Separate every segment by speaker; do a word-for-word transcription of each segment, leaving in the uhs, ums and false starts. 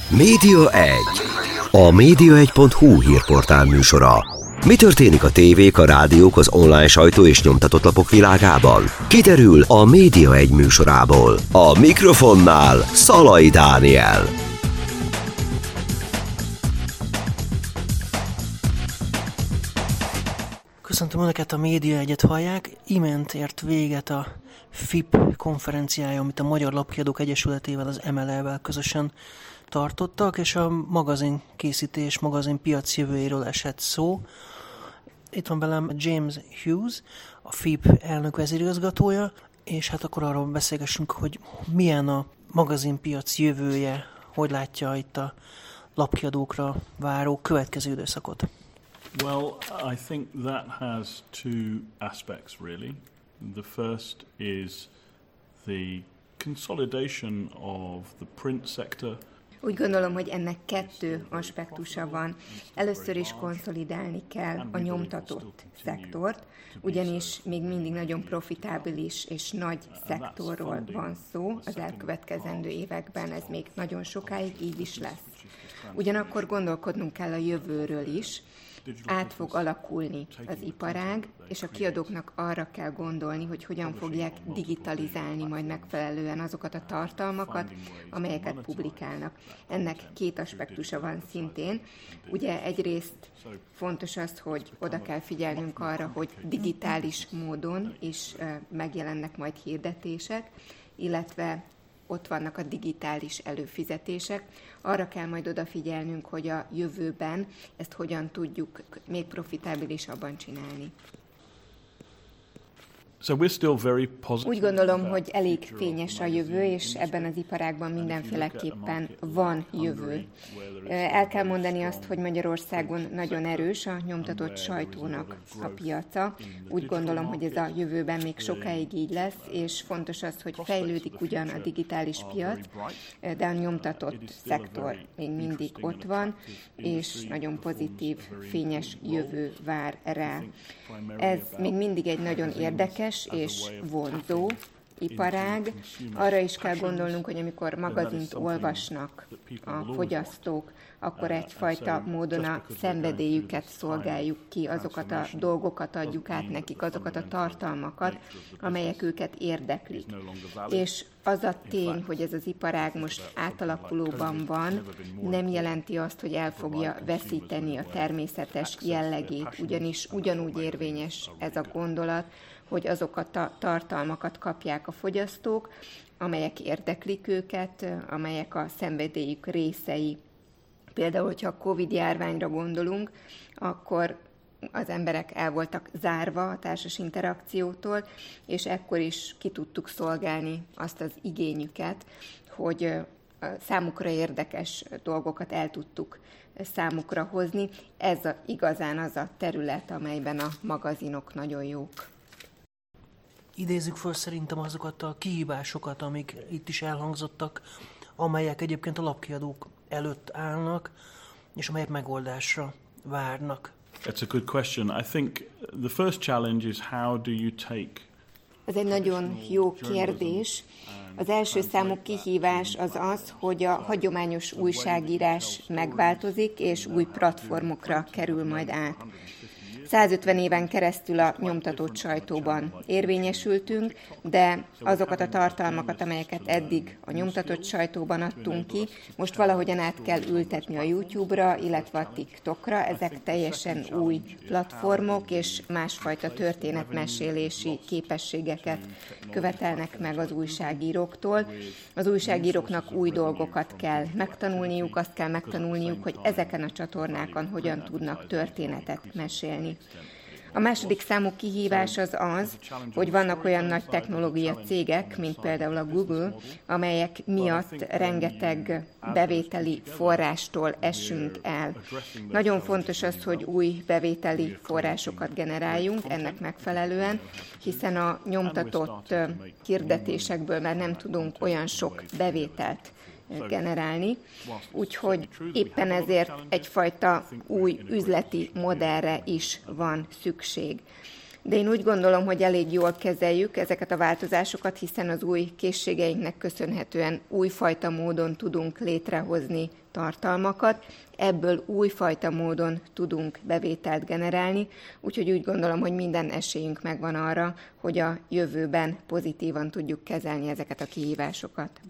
Speaker 1: Média egy. A média egy pont hu hírportál műsora. Mi történik a tévék, a rádiók, az online sajtó és nyomtatott lapok világában? Kiderül a Média egy műsorából. A mikrofonnál Szalai Dániel.
Speaker 2: Köszöntöm Önöket, a Média egyet hallják. Imént ért véget a F I P konferenciája, amit a Magyar Lapkiadók Egyesületével, az em el é-vel közösen tartottak, és a magazin készítés, magazin piac jövőjéről esett szó. Itt van velem James Hughes, a F I P elnök vezérigazgatója, és hát akkor arról beszélgessünk, hogy milyen a magazinpiac jövője, hogy látja itt a lapkiadókra váró következő időszakot.
Speaker 3: Well, I think that has two aspects, really. The first is the consolidation of the print sector.
Speaker 4: Úgy gondolom, hogy ennek kettő aspektusa van. Először is konszolidálni kell a nyomtatott szektort, ugyanis még mindig nagyon profitábilis és nagy szektorról van szó. Az elkövetkezendő években ez még nagyon sokáig így is lesz. Ugyanakkor gondolkodnunk kell a jövőről is. Át fog alakulni az iparág, és a kiadóknak arra kell gondolni, hogy hogyan fogják digitalizálni majd megfelelően azokat a tartalmakat, amelyeket publikálnak. Ennek két aspektusa van szintén. Ugye egyrészt fontos az, hogy oda kell figyelnünk arra, hogy digitális módon is megjelennek majd hirdetések, illetve ott vannak a digitális előfizetések. Arra kell majd odafigyelnünk, hogy a jövőben ezt hogyan tudjuk még profitábilisabban csinálni.
Speaker 3: So we're still very positive.
Speaker 4: Úgy gondolom, hogy elég fényes a jövő, és ebben az iparágban mindenféleképpen van jövő. El kell mondani azt, hogy Magyarországon nagyon erős a nyomtatott sajtónak a piaca. Úgy gondolom, hogy ez a jövőben még sokáig így lesz, és fontos az, hogy fejlődik ugyan a digitális piac, de a nyomtatott szektor még mindig ott van, és nagyon pozitív, fényes jövő vár rá. Ez még mindig egy nagyon érdekes és vonzó iparág. Arra is kell gondolnunk, hogy amikor magazint olvasnak a fogyasztók, akkor egyfajta módon a szenvedélyüket szolgáljuk ki, azokat a dolgokat adjuk át nekik, azokat a tartalmakat, amelyek őket érdeklik. És az a tény, hogy ez az iparág most átalakulóban van, nem jelenti azt, hogy el fogja veszíteni a természetes jellegét, ugyanis ugyanúgy érvényes ez a gondolat, hogy azokat a tartalmakat kapják a fogyasztók, amelyek érdeklik őket, amelyek a szenvedélyük részei. Például, hogyha a Covid-járványra gondolunk, akkor az emberek el voltak zárva a társas interakciótól, és ekkor is ki tudtuk szolgálni azt az igényüket, hogy számukra érdekes dolgokat el tudtuk számukra hozni. Ez a, igazán az a terület, amelyben a magazinok nagyon jók.
Speaker 2: Idézzük föl szerintem azokat a kihívásokat, amik itt is elhangzottak, amelyek egyébként a lapkiadók előtt állnak, és amelyek megoldásra várnak.
Speaker 3: That's a good question. I think the first challenge is how do you take.
Speaker 4: Ez egy nagyon jó kérdés. Az első számú kihívás az az, hogy a hagyományos újságírás megváltozik, és új platformokra kerül majd át. százötven éven keresztül a nyomtatott sajtóban érvényesültünk, de azokat a tartalmakat, amelyeket eddig a nyomtatott sajtóban adtunk ki, most valahogyan át kell ültetni a YouTube-ra, illetve a TikTokra. Ezek teljesen új platformok, és másfajta történetmesélési képességeket követelnek meg az újságíróktól. Az újságíróknak új dolgokat kell megtanulniuk, azt kell megtanulniuk, hogy ezeken a csatornákon hogyan tudnak történetet mesélni. A második számú kihívás az az, hogy vannak olyan nagy technológia cégek, mint például a Google, amelyek miatt rengeteg bevételi forrástól esünk el. Nagyon fontos az, hogy új bevételi forrásokat generáljunk ennek megfelelően, hiszen a nyomtatott hirdetésekből már nem tudunk olyan sok bevételt generálni, úgyhogy éppen ezért egyfajta új üzleti modellre is van szükség. De én úgy gondolom, hogy elég jól kezeljük ezeket a változásokat, hiszen az új készségeinknek köszönhetően újfajta módon tudunk létrehozni tartalmakat, ebből újfajta módon tudunk bevételt generálni, úgyhogy úgy gondolom, hogy minden esélyünk megvan arra, hogy a jövőben pozitívan tudjuk kezelni ezeket a kihívásokat.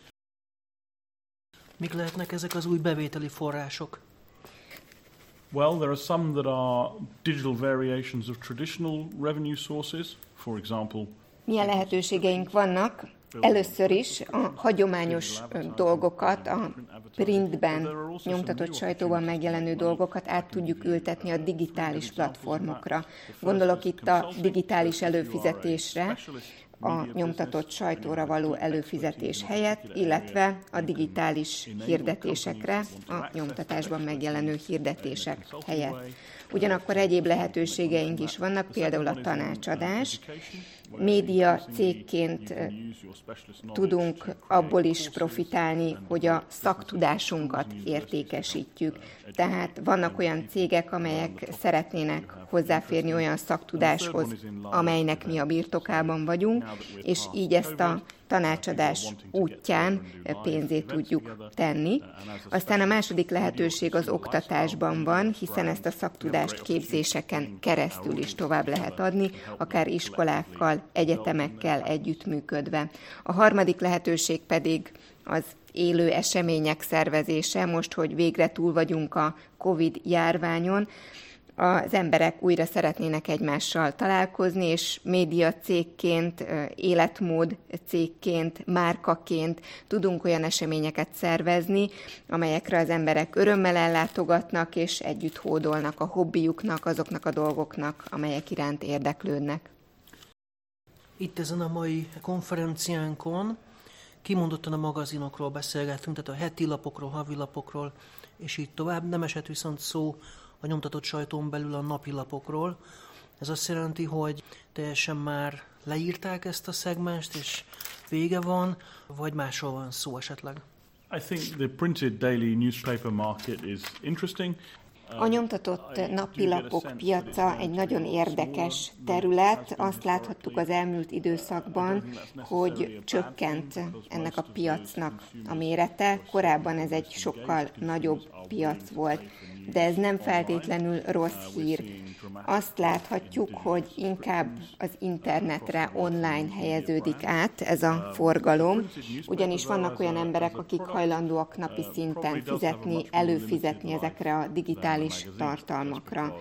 Speaker 2: Mik lehetnek ezek az új bevételi források?
Speaker 3: Well, there are some that are digital variations of traditional revenue sources, for example.
Speaker 4: Milyen lehetőségeink vannak? Először is a hagyományos dolgokat, a printben, nyomtatott sajtóban megjelenő dolgokat át tudjuk ültetni a digitális platformokra. Gondolok itt a digitális előfizetésre, a nyomtatott sajtóra való előfizetés helyett, illetve a digitális hirdetésekre, a nyomtatásban megjelenő hirdetések helyett. Ugyanakkor egyéb lehetőségeink is vannak, például a tanácsadás. Média cégként tudunk abból is profitálni, hogy a szaktudásunkat értékesítjük. Tehát vannak olyan cégek, amelyek szeretnének hozzáférni olyan szaktudáshoz, amelynek mi a birtokában vagyunk, és így ezt a tanácsadás útján pénzét tudjuk tenni. Aztán a második lehetőség az oktatásban van, hiszen ezt a szaktudást képzéseken keresztül is tovább lehet adni, akár iskolákkal, egyetemekkel együttműködve. A harmadik lehetőség pedig az élő események szervezése, most, hogy végre túl vagyunk a Covid járványon, az emberek újra szeretnének egymással találkozni, és média cégként, életmód cégként, márkaként tudunk olyan eseményeket szervezni, amelyekre az emberek örömmel ellátogatnak, és együtt hódolnak a hobbiuknak, azoknak a dolgoknak, amelyek iránt érdeklődnek.
Speaker 2: Itt ezen a mai konferenciánkon kimondottan a magazinokról beszélgettünk, tehát a heti lapokról, havilapokról, és így tovább. Nem esett viszont szó a nyomtatott sajtón belül a napilapokról. Ez azt jelenti, hogy teljesen már leírták ezt a szegmenst, és vége van, vagy másról van szó esetleg?
Speaker 3: I think the printed daily newspaper market is interesting.
Speaker 4: A nyomtatott napilapok piaca egy nagyon érdekes terület. Azt láthattuk az elmúlt időszakban, hogy csökkent ennek a piacnak a mérete. Korábban ez egy sokkal nagyobb piac volt, de ez nem feltétlenül rossz hír. Azt láthatjuk, hogy inkább az internetre, online helyeződik át ez a forgalom, ugyanis vannak olyan emberek, akik hajlandóak napi szinten fizetni, előfizetni ezekre a digitális tartalmakra.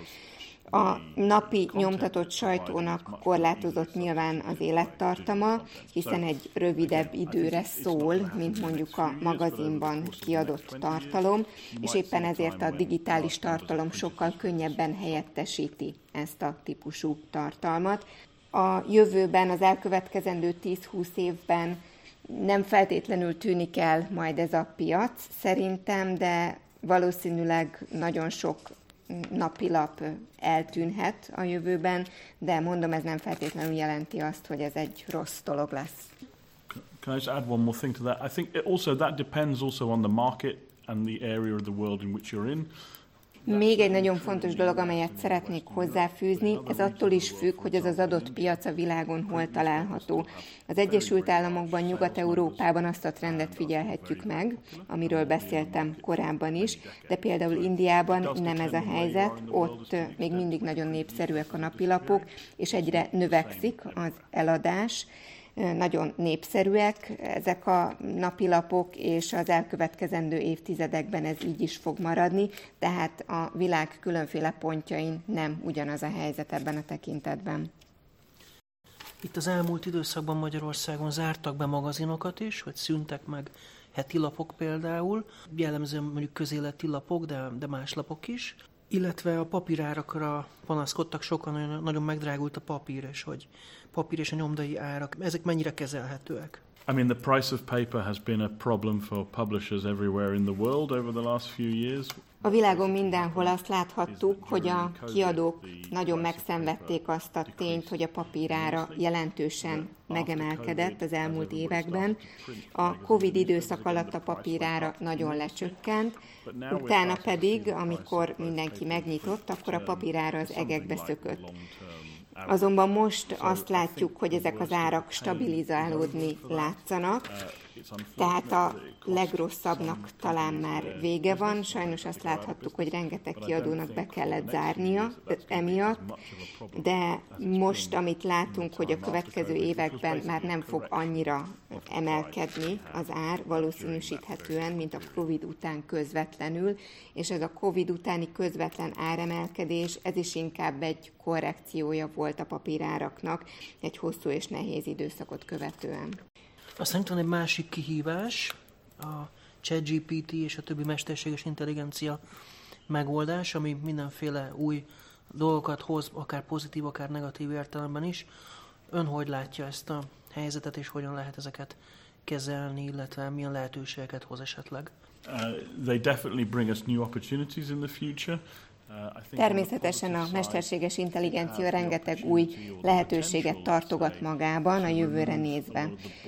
Speaker 4: A napi nyomtatott sajtónak korlátozott nyilván az élettartama, hiszen egy rövidebb időre szól, mint mondjuk a magazinban kiadott tartalom, és éppen ezért a digitális tartalom sokkal könnyebben helyettesíti ezt a típusú tartalmat. A jövőben, az elkövetkezendő tíz-húsz évben nem feltétlenül tűnik el majd ez a piac, szerintem, de valószínűleg nagyon sok napilap eltűnhet a jövőben, de mondom, ez nem feltétlenül jelenti azt, hogy ez egy rossz dolog lesz.
Speaker 3: Can I just add one more thing to that? I think it also that depends also on the market and the area of the world in which you're in.
Speaker 4: Még egy nagyon fontos dolog, amelyet szeretnék hozzáfűzni, ez attól is függ, hogy az az adott piac a világon hol található. Az Egyesült Államokban, Nyugat-Európában azt a trendet figyelhetjük meg, amiről beszéltem korábban is, de például Indiában nem ez a helyzet, ott még mindig nagyon népszerűek a napilapok, és egyre növekszik az eladás. Nagyon népszerűek ezek a napilapok, és az elkövetkezendő évtizedekben ez így is fog maradni, tehát a világ különféle pontjain nem ugyanaz a helyzet ebben a tekintetben.
Speaker 2: Itt az elmúlt időszakban Magyarországon zártak be magazinokat is, vagy szűntek meg heti lapok például, jellemzően mondjuk közéleti lapok, de, de más lapok is, illetve a papírárakra panaszkodtak sokan, nagyon, nagyon megdrágult a papír, és hogy papír és a nyomdai árak, ezek mennyire kezelhetőek?
Speaker 3: I mean, the price of paper has been a problem for publishers everywhere in the world over the last few years.
Speaker 4: A világon mindenhol azt láthattuk, hogy a kiadók nagyon megszenvedték azt a tényt, hogy a papírára jelentősen megemelkedett az elmúlt években. A Covid időszak alatt a papírára nagyon lecsökkent, utána pedig, amikor mindenki megnyitott, akkor a papírára az egekbe szökött. Azonban most azt látjuk, hogy ezek az árak stabilizálódni látszanak, tehát a legrosszabbnak talán már vége van. Sajnos azt láthattuk, hogy rengeteg kiadónak be kellett zárnia emiatt, de most, amit látunk, hogy a következő években már nem fog annyira emelkedni az ár, valószínűsíthetően, mint a Covid után közvetlenül, és ez a Covid utáni közvetlen áremelkedés, ez is inkább egy korrekciója volt a papíráraknak egy hosszú és nehéz időszakot követően.
Speaker 2: Aztán itt van egy másik kihívás, a ChatGPT és a többi mesterséges intelligencia megoldás, ami mindenféle új dolgokat hoz, akár pozitív, akár negatív értelemben is. Ön hogy látja ezt a helyzetet, és hogyan lehet ezeket kezelni, illetve milyen lehetőségeket hoz esetleg?
Speaker 3: Uh, they definitely bring us new opportunities in the future.
Speaker 4: Természetesen a mesterséges intelligencia rengeteg új lehetőséget tartogat magában a jövőre nézve.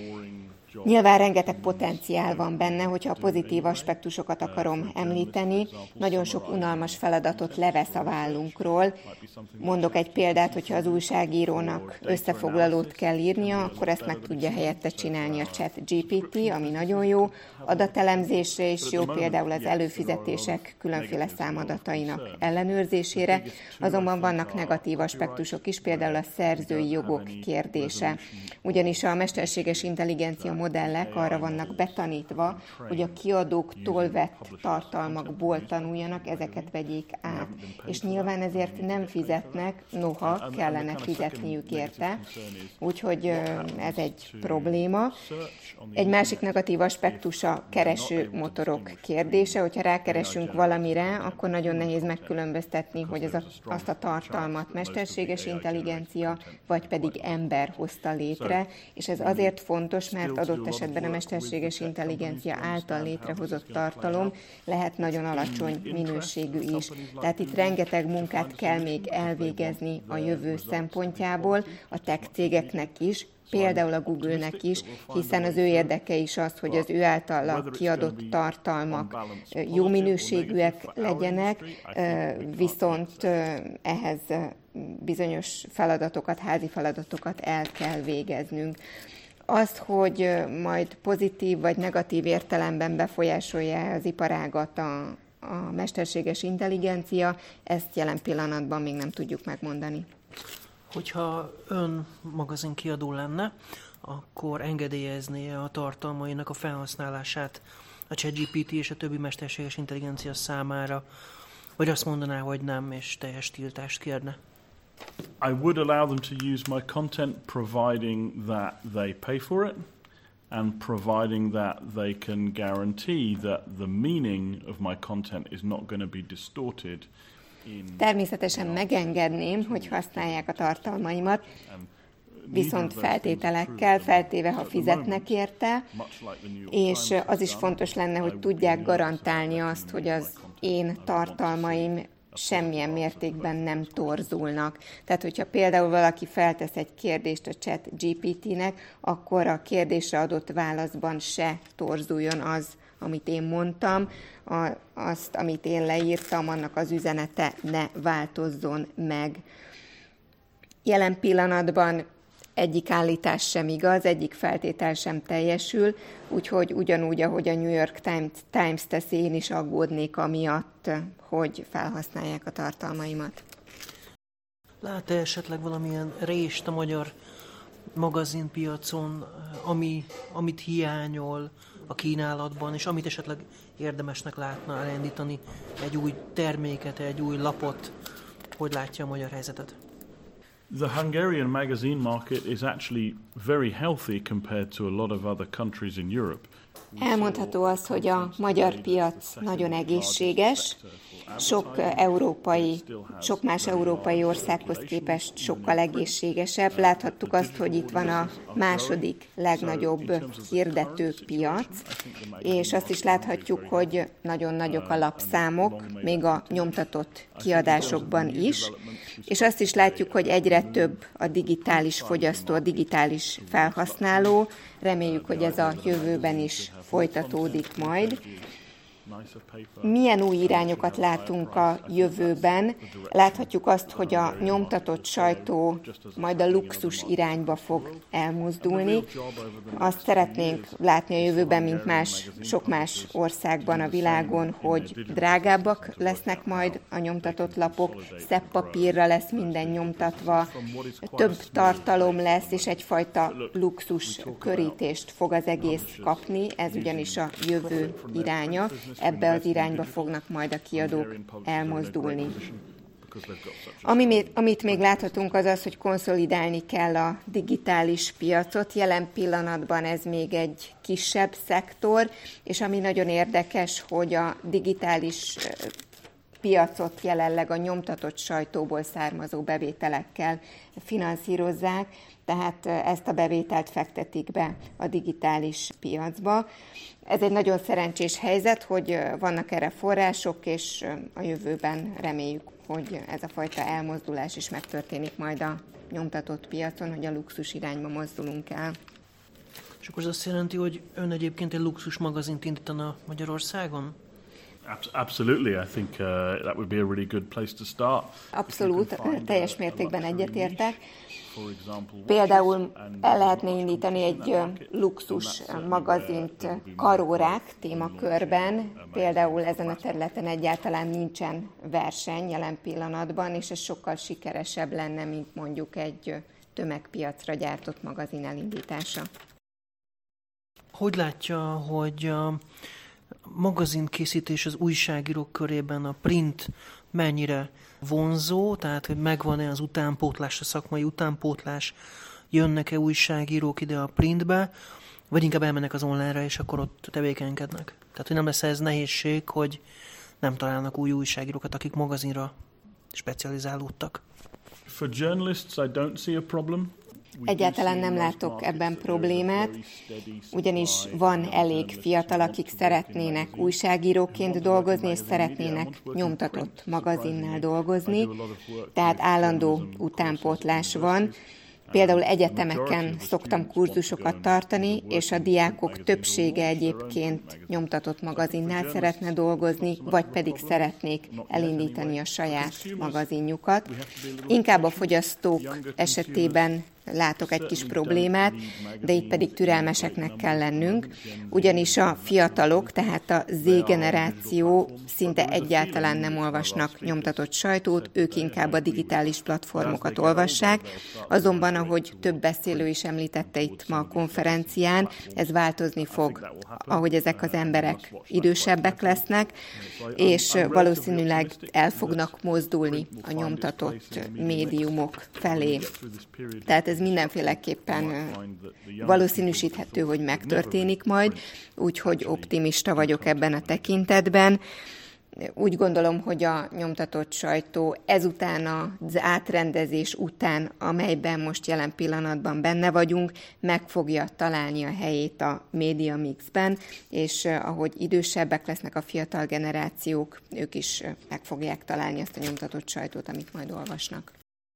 Speaker 4: Nyilván rengeteg potenciál van benne, hogyha a pozitív aspektusokat akarom említeni. Nagyon sok unalmas feladatot levesz a vállunkról. Mondok egy példát, hogyha az újságírónak összefoglalót kell írnia, akkor ezt meg tudja helyette csinálni a ChatGPT, ami nagyon jó. Adatelemzésre is jó, például az előfizetések különféle számadatainak ellenőrzésére. Azonban vannak negatív aspektusok is, például a szerzői jogok kérdése. Ugyanis a mesterséges intelligencia modellek arra vannak betanítva, hogy a kiadóktól vett tartalmakból tanuljanak, ezeket vegyék át. És nyilván ezért nem fizetnek, noha kellene fizetniük érte. Úgyhogy ez egy probléma. Egy másik negatív aspektus a keresőmotorok kérdése. Hogyha rákeresünk valamire, akkor nagyon nehéz megkülönböztetni, hogy az a, azt a tartalmat mesterséges intelligencia, vagy pedig ember hozta létre. És ez azért fontos, mert adott esetben a mesterséges intelligencia által létrehozott tartalom lehet nagyon alacsony minőségű is. Tehát itt rengeteg munkát kell még elvégezni a jövő szempontjából, a tech cégeknek is, például a Google-nek is, hiszen az ő érdeke is az, hogy az ő általa kiadott tartalmak jó minőségűek legyenek, viszont ehhez bizonyos feladatokat, házi feladatokat el kell végeznünk. Azt, hogy majd pozitív vagy negatív értelemben befolyásolja az iparágat a, a mesterséges intelligencia, ezt jelen pillanatban még nem tudjuk megmondani.
Speaker 2: Hogyha ön magazinkiadó lenne, akkor engedélyezné a tartalmainak a felhasználását a ChatGPT és a többi mesterséges intelligencia számára, vagy azt mondaná, hogy nem, és teljes tiltást kérne?
Speaker 3: I would allow them to use my content providing that they pay for it and providing that they can guarantee that the meaning of my content is not going to be distorted.
Speaker 4: Természetesen megengedném, hogy használják a tartalmaimat, viszont feltételekkel, feltéve, ha fizetnek érte, és az is fontos lenne, hogy tudják garantálni azt, hogy az én tartalmaim semmilyen mértékben nem torzulnak. Tehát, hogyha például valaki feltesz egy kérdést a ChatGPT-nek, akkor a kérdésre adott válaszban se torzuljon az, amit én mondtam, a, azt, amit én leírtam, annak az üzenete ne változzon meg. Jelen pillanatban egyik állítás sem igaz, egyik feltétel sem teljesül, úgyhogy ugyanúgy, ahogy a New York Times, Times teszi, én is aggódnék amiatt, hogy felhasználják a tartalmaimat.
Speaker 2: Lát-e esetleg valamilyen rést a magyar magazinpiacon, ami, amit hiányol a kínálatban, és amit esetleg érdemesnek látna elindítani egy új terméket, egy új lapot? Hogy látja a magyar helyzetet?
Speaker 3: The Hungarian magazine market is actually very healthy compared to a lot of other countries in Europe.
Speaker 4: Elmondható az, hogy a magyar piac nagyon egészséges, sok európai, sok más európai országhoz képest sokkal egészségesebb. Láthattuk azt, hogy itt van a második legnagyobb hirdető piac, és azt is láthatjuk, hogy nagyon nagyok a lapszámok, még a nyomtatott kiadásokban is, és azt is látjuk, hogy egyre több a digitális fogyasztó, a digitális felhasználó. Reméljük, hogy ez a jövőben is folytatódik majd. milyen új irányokat látunk a jövőben. Láthatjuk azt, hogy a nyomtatott sajtó majd a luxus irányba fog elmozdulni. Azt szeretnénk látni a jövőben, mint más, sok más országban a világon, hogy drágábbak lesznek majd a nyomtatott lapok, szebb papírra lesz minden nyomtatva, több tartalom lesz, és egyfajta luxus körítést fog az egész kapni. Ez ugyanis a jövő iránya. Ebbe az irányba fognak majd a kiadók elmozdulni. Ami, amit még láthatunk, az az, hogy konszolidálni kell a digitális piacot. Jelen pillanatban ez még egy kisebb szektor, és ami nagyon érdekes, hogy a digitális piacot jelenleg a nyomtatott sajtóból származó bevételekkel finanszírozzák, tehát ezt a bevételt fektetik be a digitális piacba. Ez egy nagyon szerencsés helyzet, hogy vannak erre források, és a jövőben reméljük, hogy ez a fajta elmozdulás is megtörténik majd a nyomtatott piacon, hogy a luxus irányba mozdulunk el.
Speaker 2: És akkor ez azt jelenti, hogy ön egyébként egy luxus magazint indítana Magyarországon?
Speaker 3: Absolutely, I think uh, that would be a really good place to start.
Speaker 4: Abszolút, teljes mértékben egyetértek. Például el lehetne indítani egy luxus magazint karórák témakörben. Például ezen a területen egyáltalán nincsen verseny jelen pillanatban, és ez sokkal sikeresebb lenne, mint mondjuk egy tömegpiacra gyártott magazin elindítása.
Speaker 2: Hogy látja, hogy a magazinkészítés az újságírók körében, a print mennyire vonzó, tehát hogy megvan-e az utánpótlás, a szakmai utánpótlás, jönnek-e újságírók ide a printbe, vagy inkább elmennek az online-ra, és akkor ott tevékenykednek. Tehát, hogy nem lesz ez nehézség, hogy nem találnak új újságírókat, akik magazinra specializálódtak.
Speaker 3: For journalists, I don't see a problem.
Speaker 4: Egyáltalán nem látok ebben problémát, ugyanis van elég fiatal, akik szeretnének újságíróként dolgozni, és szeretnének nyomtatott magazinnál dolgozni, tehát állandó utánpótlás van. Például egyetemeken szoktam kurzusokat tartani, és a diákok többsége egyébként nyomtatott magazinnál szeretne dolgozni, vagy pedig szeretnék elindítani a saját magazinjukat. Inkább a fogyasztók esetében látok egy kis problémát, de itt pedig türelmeseknek kell lennünk, ugyanis a fiatalok, tehát a Z-generáció szinte egyáltalán nem olvasnak nyomtatott sajtót, ők inkább a digitális platformokat olvassák, azonban, ahogy több beszélő is említette itt ma a konferencián, ez változni fog, ahogy ezek az emberek idősebbek lesznek, és valószínűleg el fognak mozdulni a nyomtatott médiumok felé. Tehát ez mindenféleképpen valószínűsíthető, hogy megtörténik majd, úgyhogy optimista vagyok ebben a tekintetben. Úgy gondolom, hogy a nyomtatott sajtó ezután az átrendezés után, amelyben most jelen pillanatban benne vagyunk, meg fogja találni a helyét a média mixben, és ahogy idősebbek lesznek a fiatal generációk, ők is meg fogják találni azt a nyomtatott sajtót, amit majd olvasnak.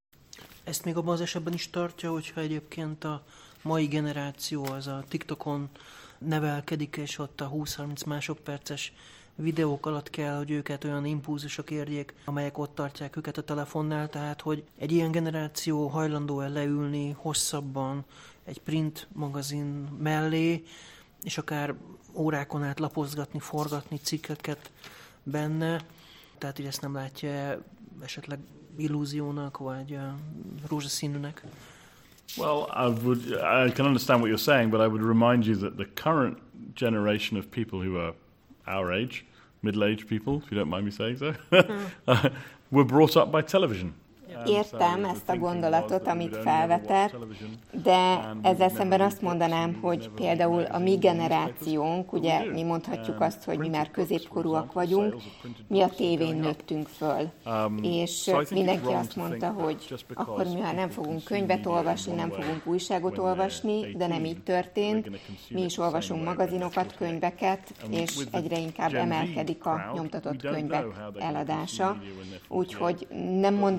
Speaker 2: Ezt még abban az esetben is tartja, hogyha egyébként a mai generáció az a TikTokon nevelkedik, és ott a húsz-harminc másodperces videók alatt kell, hogy őket olyan impulzusok érjék, amelyek ott tartják őket a telefonnál, tehát hogy egy ilyen generáció hajlandó-e leülni hosszabban egy print magazin mellé, és akár órákon át lapozgatni, forgatni cikkeket benne, tehát hogy ezt nem látja esetleg illúziónak, vagy uh, rózsaszínűnek?
Speaker 3: Well, I would. I can understand what you're saying, but I would remind you that the current generation of people who are our age, middle-aged people, if you don't mind me saying so, uh, were brought up by television.
Speaker 4: Értem ezt a gondolatot, amit felvetett, de ezzel szemben azt mondanám, hogy például a mi generációnk, ugye mi mondhatjuk azt, hogy mi már középkorúak vagyunk, mi a tévén nőttünk föl, és mindenki azt mondta, hogy akkor mi már nem fogunk könyvet olvasni, nem fogunk újságot olvasni, de nem így történt. Mi is olvasunk magazinokat, könyveket, és egyre inkább emelkedik a nyomtatott könyvek eladása. Úgyhogy nem mondanám azt,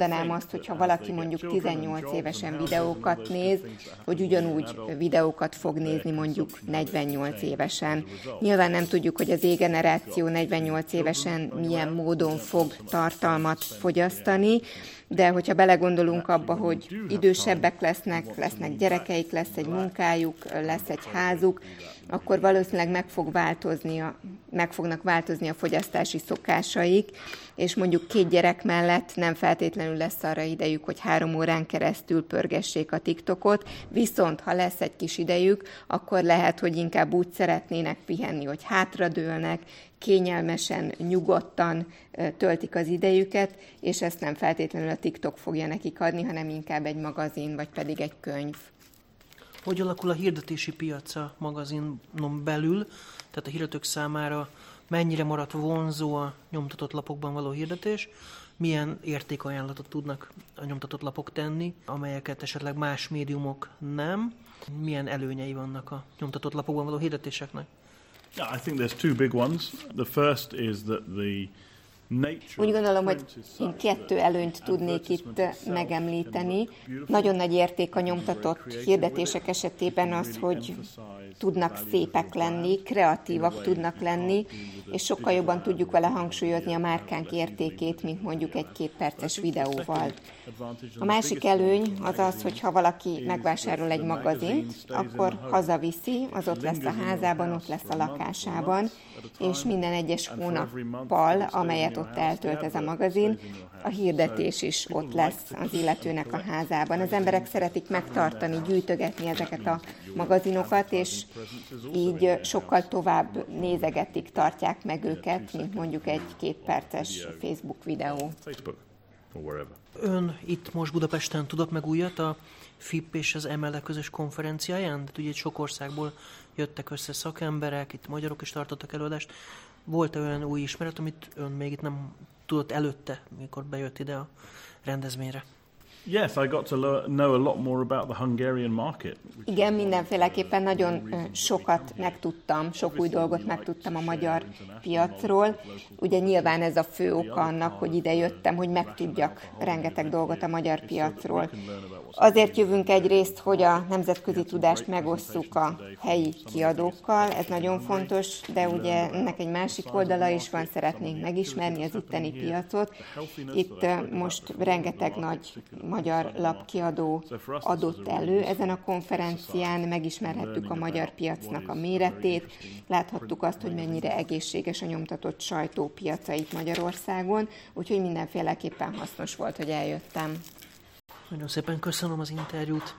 Speaker 4: azt, hogyha valaki mondjuk tizennyolc évesen videókat néz, hogy ugyanúgy videókat fog nézni mondjuk negyvennyolc évesen. Nyilván nem tudjuk, hogy az Z-generáció negyvennyolc évesen milyen módon fog tartalmat fogyasztani, de hogyha belegondolunk abba, hogy idősebbek lesznek, lesznek gyerekeik, lesz egy munkájuk, lesz egy házuk, akkor valószínűleg meg, fog változni a, meg fognak változni a fogyasztási szokásaik, és mondjuk két gyerek mellett nem feltétlenül lesz arra idejük, hogy három órán keresztül pörgessék a TikTokot, viszont ha lesz egy kis idejük, akkor lehet, hogy inkább úgy szeretnének pihenni, hogy hátradőlnek, kényelmesen, nyugodtan töltik az idejüket, és ezt nem feltétlenül a TikTok fogja nekik adni, hanem inkább egy magazin, vagy pedig egy könyv.
Speaker 2: Hogy alakul a hirdetési piac a magazinon belül, tehát a hirdetők számára mennyire maradt vonzó a nyomtatott lapokban való hirdetés, milyen értékajánlatot tudnak a nyomtatott lapok tenni, amelyeket esetleg más médiumok nem, milyen előnyei vannak a nyomtatott lapokban való hirdetéseknek?
Speaker 3: Yeah, I think there's two big ones. The first is that the
Speaker 4: Úgy gondolom, hogy én kettő előnyt tudnék itt megemlíteni. Nagyon nagy érték a nyomtatott hirdetések esetében az, hogy tudnak szépek lenni, kreatívak tudnak lenni, és sokkal jobban tudjuk vele hangsúlyozni a márkánk értékét, mint mondjuk egy két perces videóval. A másik előny az az, hogy ha valaki megvásárol egy magazint, akkor hazaviszi, az ott lesz a házában, ott lesz a lakásában, és minden egyes hónappal, amelyet ott eltölt ez a magazin, a hirdetés is ott lesz az illetőnek a házában. Az emberek szeretik megtartani, gyűjtögetni ezeket a magazinokat, és így sokkal tovább nézegetik, tartják meg őket, mint mondjuk egy két perces Facebook videó.
Speaker 2: Ön itt most Budapesten tudott meg újat a F I P és az em el e közös konferenciáján? De ugye sok országból jöttek össze szakemberek, itt magyarok is tartottak előadást. Volt-e olyan új ismeret, amit ön még itt nem tudott előtte, mikor bejött ide a rendezvényre?
Speaker 3: Yes, I got to know a lot more about the Hungarian market.
Speaker 4: Igen, mindenféleképpen nagyon sokat megtudtam, sok új dolgot megtudtam a magyar piacról. Ugye nyilván ez a fő oka annak, hogy ide jöttem, hogy megtudjak rengeteg dolgot a magyar piacról. Azért jövünk egyrészt, hogy a nemzetközi tudást megosszuk a helyi kiadókkal, ez nagyon fontos, de ugye ennek egy másik oldala is van, szeretnénk megismerni az itteni piacot. Itt most rengeteg nagy magyar lapkiadó adott elő. Ezen a konferencián megismerhettük a magyar piacnak a méretét, láthattuk azt, hogy mennyire egészséges a nyomtatott sajtó piacait Magyarországon, úgyhogy mindenféleképpen hasznos volt, hogy eljöttem.
Speaker 2: Nagyon szépen köszönöm az interjút.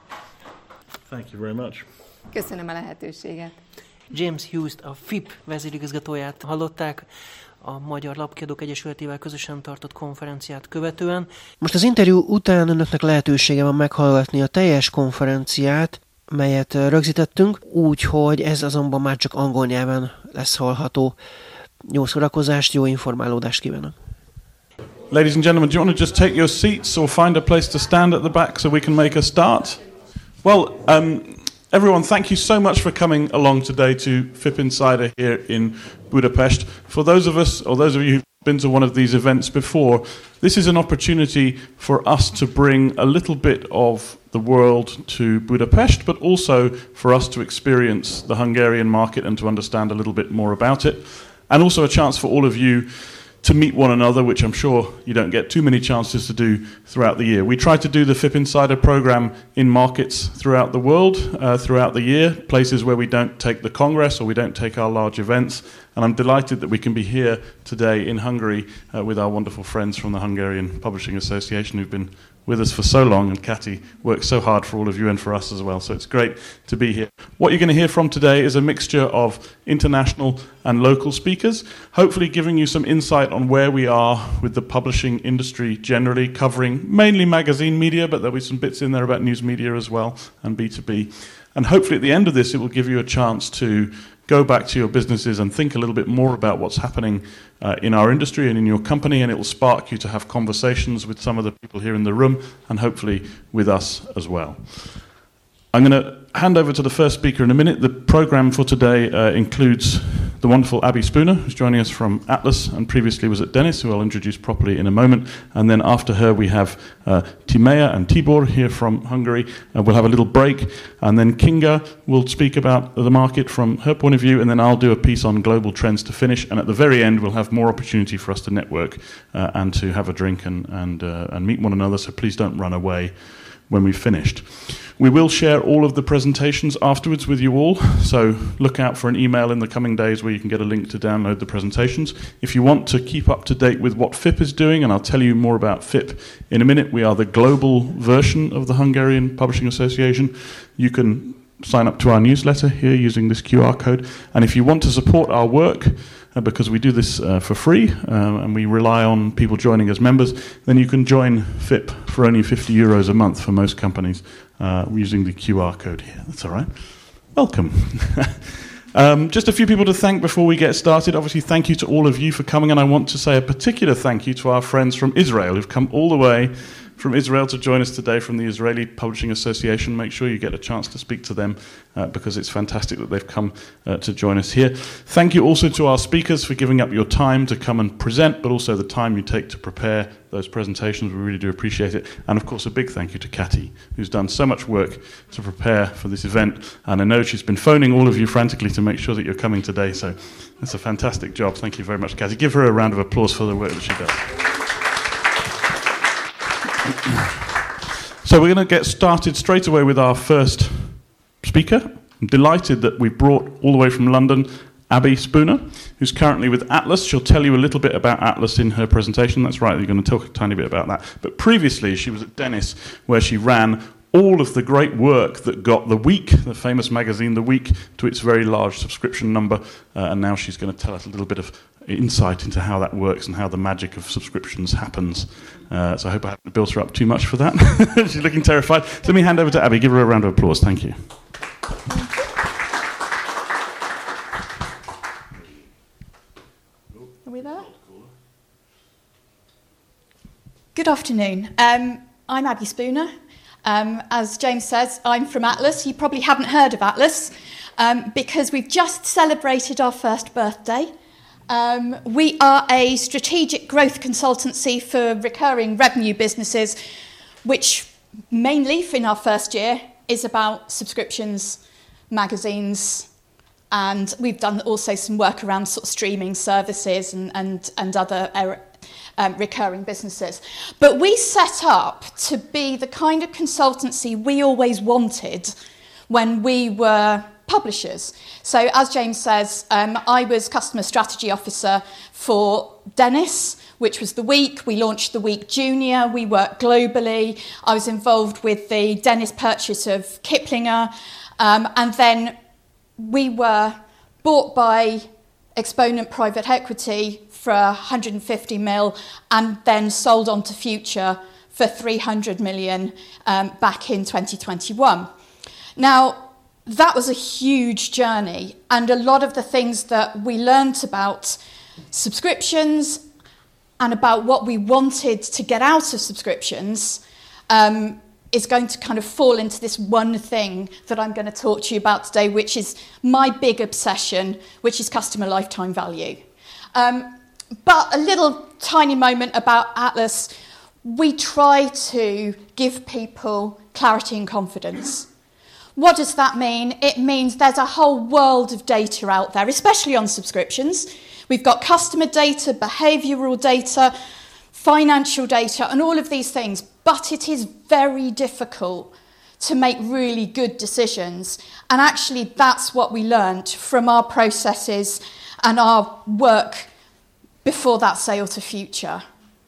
Speaker 3: Thank you very much.
Speaker 4: Köszönöm a lehetőséget.
Speaker 2: James Hughes-t, a F I P vezérigazgatóját hallották a Magyar Lapkiadók Egyesületével közösen tartott konferenciát követően. Most az interjú után önöknek lehetősége van meghallgatni a teljes konferenciát, melyet rögzítettünk, úgyhogy ez azonban már csak angol nyelven lesz hallható. Jó szórakozást, jó informálódást kívánok!
Speaker 5: Ladies and gentlemen, do you want to just take your seats or find a place to stand at the back so we can make a start? Well, um, everyone, thank you so much for coming along today to F I P Insider here in Budapest. For those of us, or those of you who've been to one of these events before, this is an opportunity for us to bring a little bit of the world to Budapest, but also for us to experience the Hungarian market and to understand a little bit more about it. And also a chance for all of you to meet one another, which I'm sure you don't get too many chances to do throughout the year. We try to do the F I P Insider program in markets throughout the world, uh, throughout the year, places where we don't take the Congress or we don't take our large events. And I'm delighted that we can be here today in Hungary uh, with our wonderful friends from the Hungarian Publishing Association who've been with us for so long, and Kati works so hard for all of you and for us as well, so it's great to be here. What you're going to hear from today is a mixture of international and local speakers, hopefully giving you some insight on where we are with the publishing industry generally, covering mainly magazine media, but there'll be some bits in there about news media as well, and B two B. And hopefully at the end of this, it will give you a chance to go back to your businesses and think a little bit more about what's happening uh, in our industry and in your company, and it will spark you to have conversations with some of the people here in the room and hopefully with us as well. I'm going to hand over to the first speaker in a minute. The program for today uh, includes the wonderful Abby Spooner, who's joining us from Atlas and previously was at Dennis, who I'll introduce properly in a moment. And then after her, we have uh, Timea and Tibor here from Hungary. Uh, we'll have a little break, and then Kinga will speak about the market from her point of view, and then I'll do a piece on global trends to finish. And at the very end, we'll have more opportunity for us to network uh, and to have a drink and, and, uh, and meet one another, so please don't run away when we've finished. We will share all of the presentations afterwards with you all, so look out for an email in the coming days where you can get a link to download the presentations. If you want to keep up to date with what F I P is doing, and I'll tell you more about F I P in a minute, we are the global version of the Hungarian Publishing Association. You can sign up to our newsletter here using this Q R code, and if you want to support our work, Uh, because we do this uh, for free uh, and we rely on people joining as members, then you can join F I P for only fifty euros a month for most companies uh, using the Q R code here. That's all right. Welcome. um, just a few people to thank before we get started. Obviously, thank you to all of you for coming, and I want to say a particular thank you to our friends from Israel who've come all the way from Israel to join us today from the Israeli Publishing Association. Make sure you get a chance to speak to them uh, because it's fantastic that they've come uh, to join us here. Thank you also to our speakers for giving up your time to come and present, but also the time you take to prepare those presentations. We really do appreciate it. And of course, a big thank you to Katty, who's done so much work to prepare for this event. And I know she's been phoning all of you frantically to make sure that you're coming today. So that's a fantastic job. Thank you very much, Katty. Give her a round of applause for the work that she does. So we're going to get started straight away with our first speaker. I'm delighted that we've brought all the way from London Abby Spooner, who's currently with Atlas. She'll tell you a little bit about Atlas in her presentation. That's right, you're going to talk a tiny bit about that. But previously she was at Dennis, where she ran all of the great work that got The Week, the famous magazine The Week, to its very large subscription number. Uh, and now she's going to tell us a little bit of insight into how that works and how the magic of subscriptions happens. Uh, so I hope I haven't built her up too much for that. She's looking terrified. So let me hand over to Abby. Give her a round of applause. Thank you.
Speaker 6: Are we there? Good afternoon. Um, I'm Abby Spooner. Um, as James says, I'm from Atlas. You probably haven't heard of Atlas um, because we've just celebrated our first birthday. Um, we are a strategic growth consultancy for recurring revenue businesses, which mainly, in our first year, is about subscriptions, magazines, and we've done also some work around sort of streaming services and, and, and other um, recurring businesses. But we set up to be the kind of consultancy we always wanted when we were publishers. So as James says, um, I was customer strategy officer for Dennis, which was The Week. We launched The Week Junior. We worked globally. I was involved with the Dennis purchase of Kiplinger. Um, and then we were bought by Exponent Private Equity for one hundred fifty mil and then sold on to Future for three hundred million um, back in twenty twenty-one. Now, that was a huge journey, and a lot of the things that we learnt about subscriptions and about what we wanted to get out of subscriptions um, is going to kind of fall into this one thing that I'm going to talk to you about today, which is my big obsession, which is customer lifetime value. Um, but a little tiny moment about Atlas. We try to give people clarity and confidence. What does that mean? It means there's a whole world of data out there, especially on subscriptions. We've got customer data, behavioural data, financial data, and all of these things. But it is very difficult to make really good decisions. And actually, that's what we learned from our processes and our work before that sale to Future.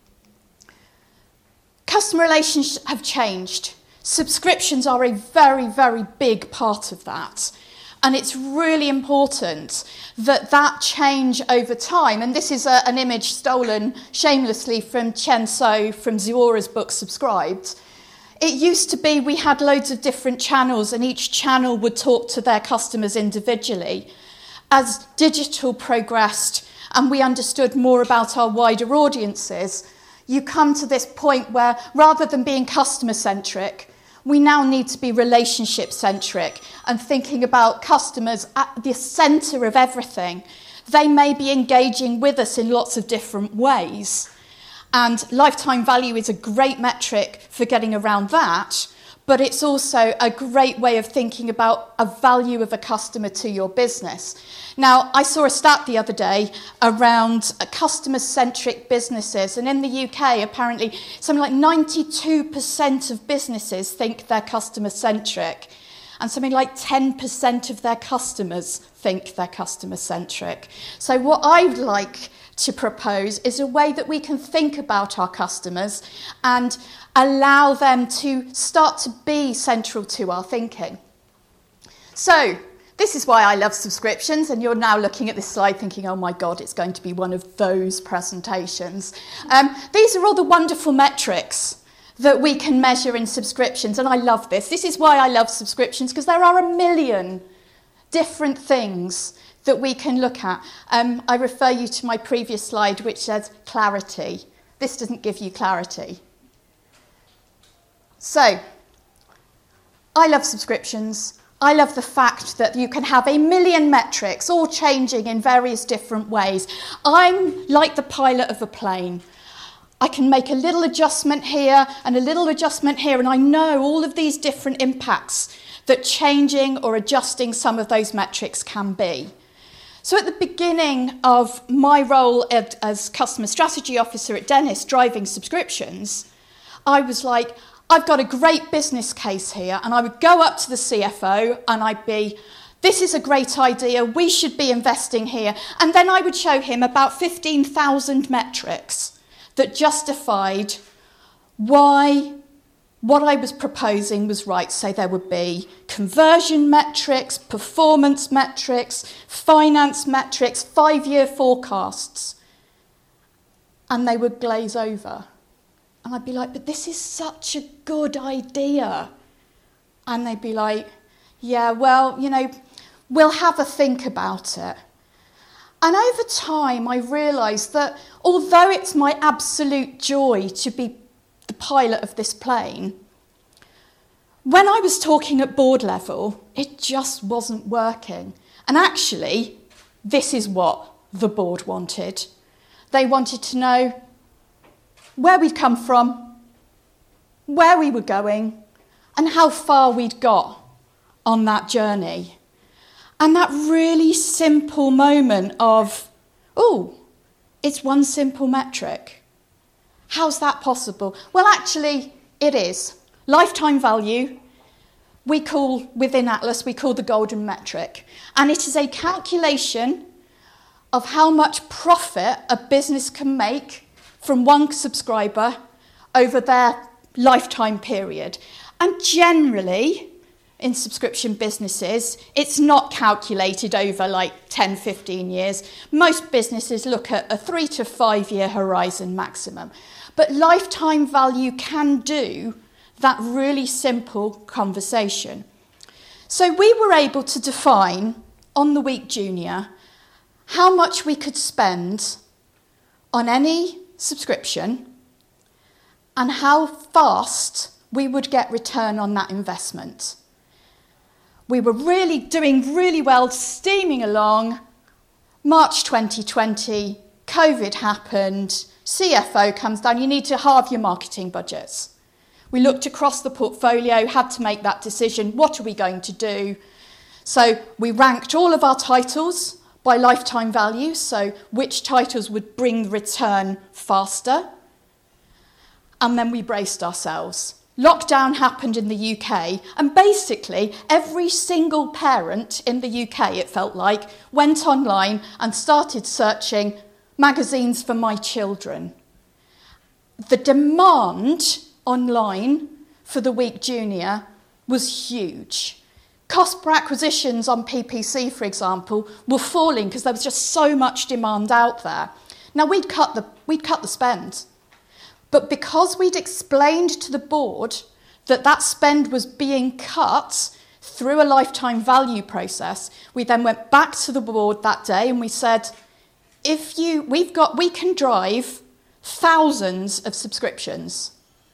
Speaker 6: Customer relations have changed. Subscriptions are a very, very big part of that. And it's really important that that change over time, and this is a, an image stolen shamelessly from Chen So from Zuora's book Subscribed. It used to be we had loads of different channels and each channel would talk to their customers individually. As digital progressed and we understood more about our wider audiences, you come to this point where rather than being customer-centric, we now need to be relationship-centric and thinking about customers at the centre of everything. they may be engaging with us in lots of different ways. And lifetime value is a great metric for getting around that, but it's also a great way of thinking about a value of a customer to your business. Now, I saw a stat the other day around customer-centric businesses, and in the U K, apparently, something like ninety-two percent of businesses think they're customer-centric, and something like ten percent of their customers think they're customer-centric. So what I'd like to propose is a way that we can think about our customers and allow them to start to be central to our thinking. So, this is why I love subscriptions, and you're now looking at this slide thinking, oh my God, it's going to be one of those presentations. Um, these are all the wonderful metrics that we can measure in subscriptions, and I love this. This is why I love subscriptions, because there are a million different things that we can look at. Um, I refer you to my previous slide, which says clarity. This doesn't give you clarity. So, I love subscriptions. I love the fact that you can have a million metrics, all changing in various different ways. I'm like the pilot of a plane. I can make a little adjustment here and a little adjustment here, and I know all of these different impacts that changing or adjusting some of those metrics can be. So at the beginning of my role at, as Customer Strategy Officer at Dennis, driving subscriptions, I was like, I've got a great business case here, and I would go up to the C F O and I'd be, this is a great idea, we should be investing here. And then I would show him about fifteen thousand metrics that justified why what I was proposing was right. So there would be conversion metrics, performance metrics, finance metrics, five-year forecasts. And they would glaze over. And I'd be like, but this is such a good idea. And they'd be like, yeah, well, you know, we'll have a think about it. And over time, I realised that although it's my absolute joy to be the pilot of this plane, when I was talking at board level, it just wasn't working. And actually, this is what the board wanted. They wanted to know where we'd come from, where we were going, and how far we'd got on that journey. And that really simple moment of, oh, it's one simple metric. How's that possible? Well, actually, it is. Lifetime value, we call, within Atlas, we call the golden metric. And it is a calculation of how much profit a business can make from one subscriber over their lifetime period. And generally, in subscription businesses, it's not calculated over like ten, fifteen years. Most businesses look at a three to five year horizon maximum. But lifetime value can do that really simple conversation. So we were able to define on the Week Junior how much we could spend on any subscription and how fast we would get return on that investment. We were really doing really well, steaming along. March twenty twenty, COVID happened, C F O comes down, you need to halve your marketing budgets. We looked across the portfolio, had to make that decision, what are we going to do? So we ranked all of our titles by lifetime value, so which titles would bring the return faster. And then we braced ourselves. Lockdown happened in the U K, and basically every single parent in the U K, it felt like, went online and started searching magazines for my children. The demand online for the Week Junior was huge. Cost per acquisitions on P P C, for example, were falling because there was just so much demand out there. Now, we'd cut the, we'd cut the spend. But because we'd explained to the board that that spend was being cut through a lifetime value process, we then went back to the board that day and we said, if you, we've got, we can drive thousands of subscriptions.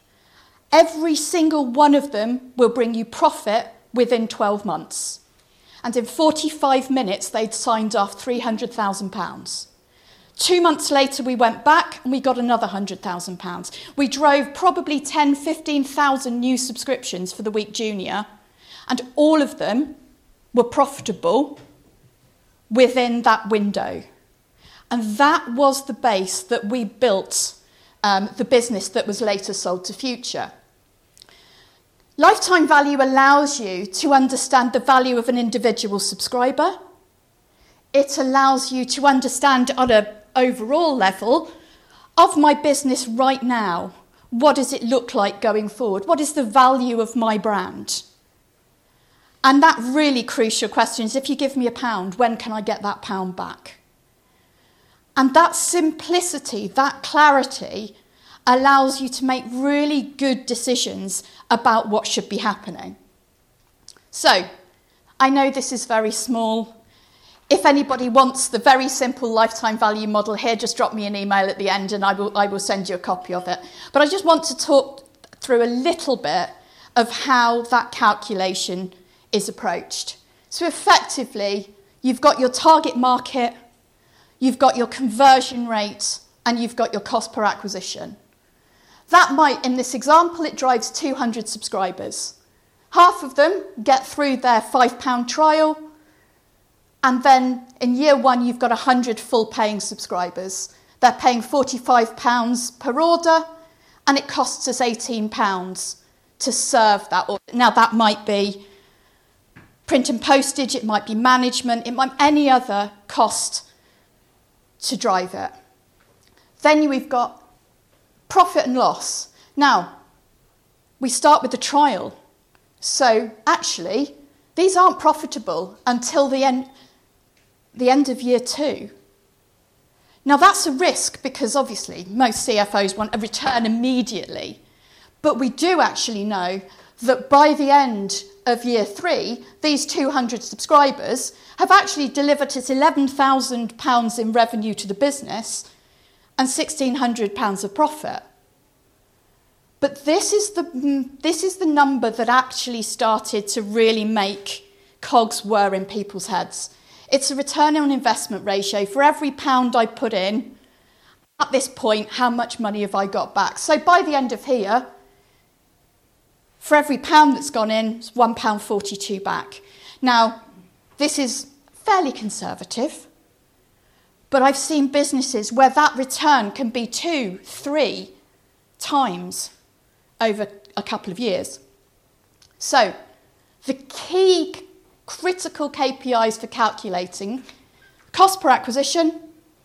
Speaker 6: Every single one of them will bring you profit within twelve months. And in forty-five minutes, they'd signed off three hundred thousand pounds. Two months later, we went back and we got another one hundred thousand pounds. We drove probably ten, fifteen thousand new subscriptions for the Week Junior, and all of them were profitable within that window. And that was the base that we built um, the business that was later sold to Future. Lifetime value allows you to understand the value of an individual subscriber. It allows you to understand on an overall level of my business right now. What does it look like going forward? What is the value of my brand? And that really crucial question is, if you give me a pound, when can I get that pound back? And that simplicity, that clarity, allows you to make really good decisions about what should be happening. So, I know this is very small. If anybody wants the very simple lifetime value model here, just drop me an email at the end and I will, I will send you a copy of it. But I just want to talk through a little bit of how that calculation is approached. So effectively, you've got your target market, you've got your conversion rate, and you've got your cost per acquisition. That might, in this example, it drives two hundred subscribers. Half of them get through their five pound trial, and then in year one, you've got one hundred full paying subscribers. They're paying forty-five pounds per order, and it costs us eighteen pounds to serve that order. Now, that might be print and postage, it might be management, it might be any other cost to drive it. Then we've got profit and loss. Now, we start with the trial. So actually, these aren't profitable until the end, the end of year two. Now, that's a risk because obviously most C F Os want a return immediately. But we do actually know that by the end of year three, these two hundred subscribers have actually delivered us eleven thousand pounds in revenue to the business and one thousand six hundred pounds of profit. But this is the this is the number that actually started to really make cogs whir in people's heads. It's a return on investment ratio. For every pound I put in, at this point, how much money have I got back? So by the end of here, for every pound that's gone in, it's one pound forty-two back. Now, this is fairly conservative, but I've seen businesses where that return can be two, three times over a couple of years. So, the key critical K P Is for calculating cost per acquisition,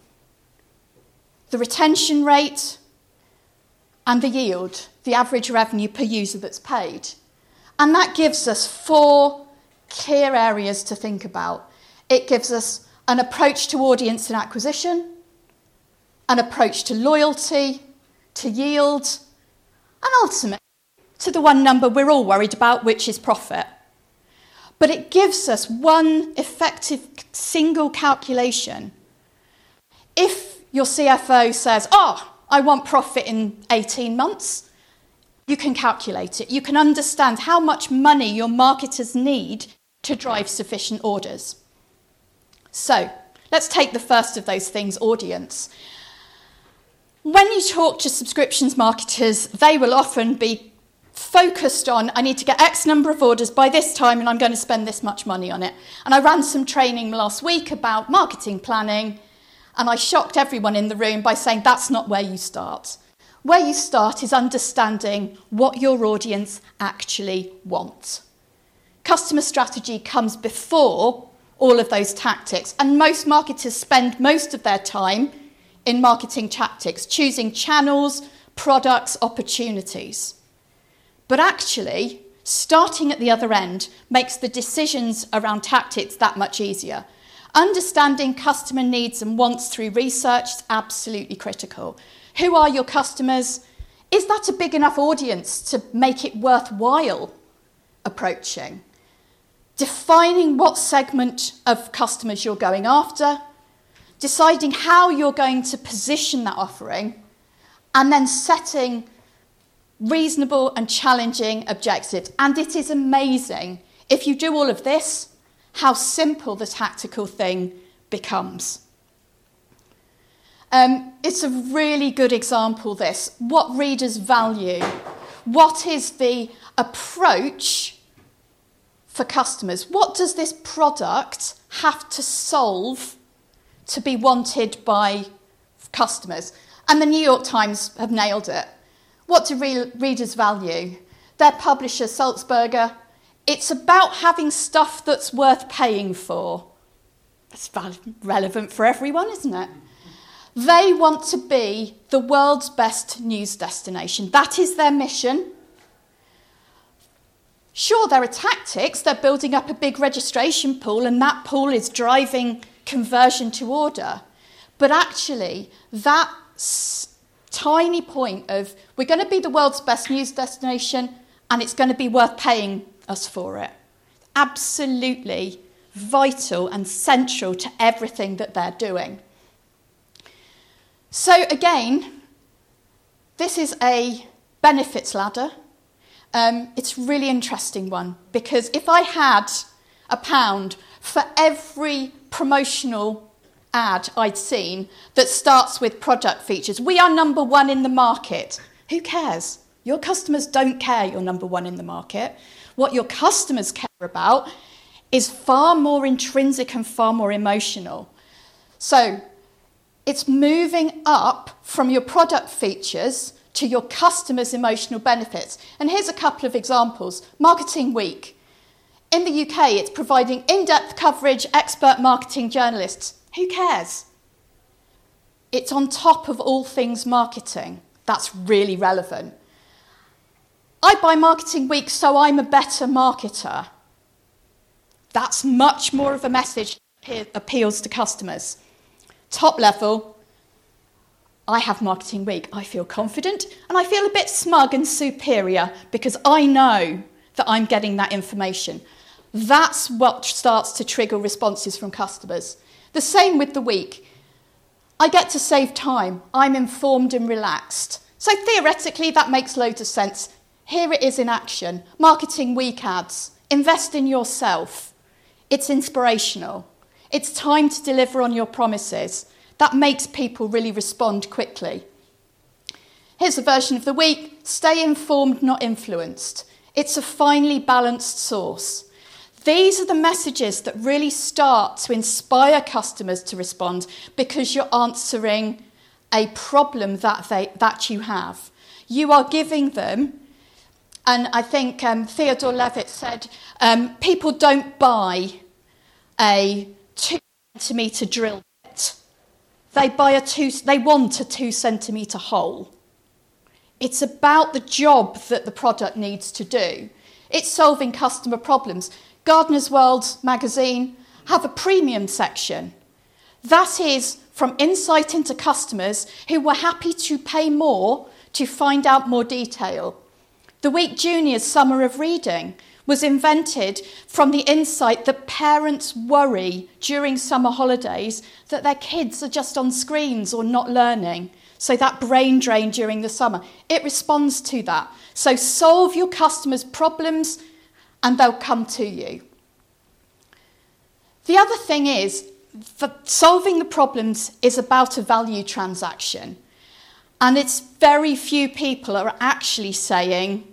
Speaker 6: the retention rate, and the yield, the average revenue per user that's paid. And that gives us four clear areas to think about. It gives us an approach to audience and acquisition, an approach to loyalty, to yield, and ultimately to the one number we're all worried about, which is profit. But it gives us one effective single calculation. If your C F O says, oh, I want profit in eighteen months, you can calculate it. You can understand how much money your marketers need to drive sufficient orders. So, let's take the first of those things, audience. When you talk to subscriptions marketers, they will often be focused on, I need to get X number of orders by this time and I'm going to spend this much money on it. And I ran some training last week about marketing planning, and I shocked everyone in the room by saying that's not where you start. Where you start is understanding what your audience actually wants. Customer strategy comes before all of those tactics, and most marketers spend most of their time in marketing tactics, choosing channels, products, opportunities. But actually, starting at the other end makes the decisions around tactics that much easier. Understanding customer needs and wants through research is absolutely critical. Who are your customers? Is that a big enough audience to make it worthwhile approaching? Defining what segment of customers you're going after, deciding how you're going to position that offering, and then setting reasonable and challenging objectives. And it is amazing. If you do all of this, how simple the tactical thing becomes. Um, it's a really good example, this. What readers value. What is the approach for customers? What does this product have to solve to be wanted by customers? And the New York Times have nailed it. What do re- readers value? Their publisher, Sulzberger, it's about having stuff that's worth paying for. That's val- relevant for everyone, isn't it? They want to be the world's best news destination. That is their mission. Sure, there are tactics. They're building up a big registration pool, and that pool is driving conversion to order. But actually, that s- tiny point of we're going to be the world's best news destination and it's going to be worth paying us for it. Absolutely vital and central to everything that they're doing. So again, this is a benefits ladder. Um, it's a really interesting one, because if I had a pound for every promotional ad I'd seen that starts with product features, we are number one in the market. Who cares? Your customers don't care you're number one in the market. What your customers care about is far more intrinsic and far more emotional. So it's moving up from your product features to your customers' emotional benefits. And here's a couple of examples. Marketing Week. In the U K, it's providing in-depth coverage, expert marketing journalists. Who cares? It's on top of all things marketing. That's really relevant. I buy Marketing Week so I'm a better marketer. That's much more of a message that appeals to customers. Top level, I have Marketing Week. I feel confident and I feel a bit smug and superior because I know that I'm getting that information. That's what starts to trigger responses from customers. The same with the week. I get to save time. I'm informed and relaxed. So theoretically, that makes loads of sense. Here it is in action. Marketing Week ads. Invest in yourself. It's inspirational. It's time to deliver on your promises. That makes people really respond quickly. Here's a version of the week. Stay informed, not influenced. It's a finely balanced source. These are the messages that really start to inspire customers to respond because you're answering a problem that they that you have. You are giving them, and I think um, Theodore Levitt said, um, people don't buy a two centimetre drill bit. They buy a two. They want a two centimetre hole. It's about the job that the product needs to do. It's solving customer problems. Gardener's World magazine have a premium section. That is from insight into customers who were happy to pay more to find out more detail. The Week Junior's Summer of Reading was invented from the insight that parents worry during summer holidays that their kids are just on screens or not learning. So that brain drain during the summer, it responds to that. So solve your customers' problems and they'll come to you. The other thing is that solving the problems is about a value transaction. And it's very few people are actually saying,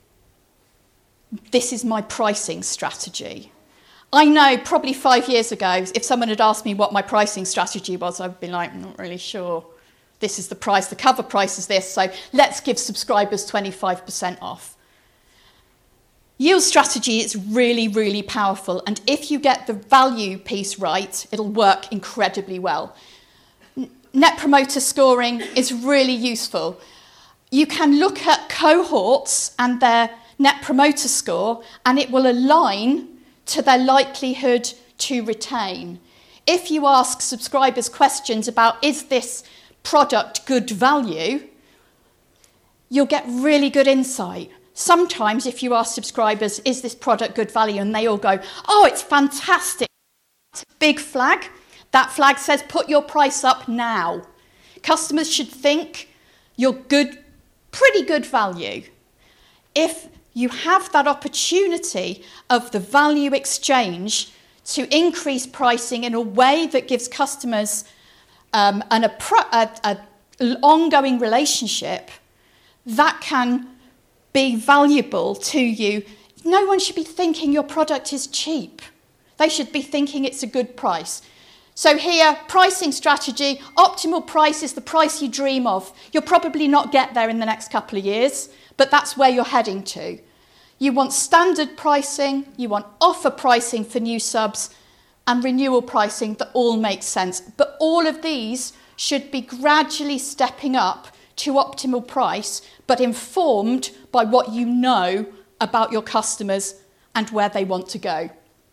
Speaker 6: this is my pricing strategy. I know probably five years ago, if someone had asked me what my pricing strategy was, I'd be like, I'm not really sure. This is the price, the cover price is this, so let's give subscribers twenty-five percent off. Yield strategy is really, really powerful, and if you get the value piece right, it'll work incredibly well. Net promoter scoring is really useful. You can look at cohorts and their net promoter score, and it will align to their likelihood to retain. If you ask subscribers questions about, is this product good value, you'll get really good insight. Sometimes if you ask subscribers, is this product good value? And they all go, oh, it's fantastic. It's a big flag. That flag says, put your price up now. Customers should think you're good, pretty good value. If you have that opportunity of the value exchange to increase pricing in a way that gives customers um, an a, a, a ongoing relationship that can be valuable to you. No one should be thinking your product is cheap. They should be thinking it's a good price. So here, pricing strategy, optimal price is the price you dream of. You'll probably not get there in the next couple of years, but that's where you're heading to. You want standard pricing, you want offer pricing for new subs, and renewal pricing that all makes sense. But all of these should be gradually stepping up to optimal price, but informed by what you know about your customers and where they want to go.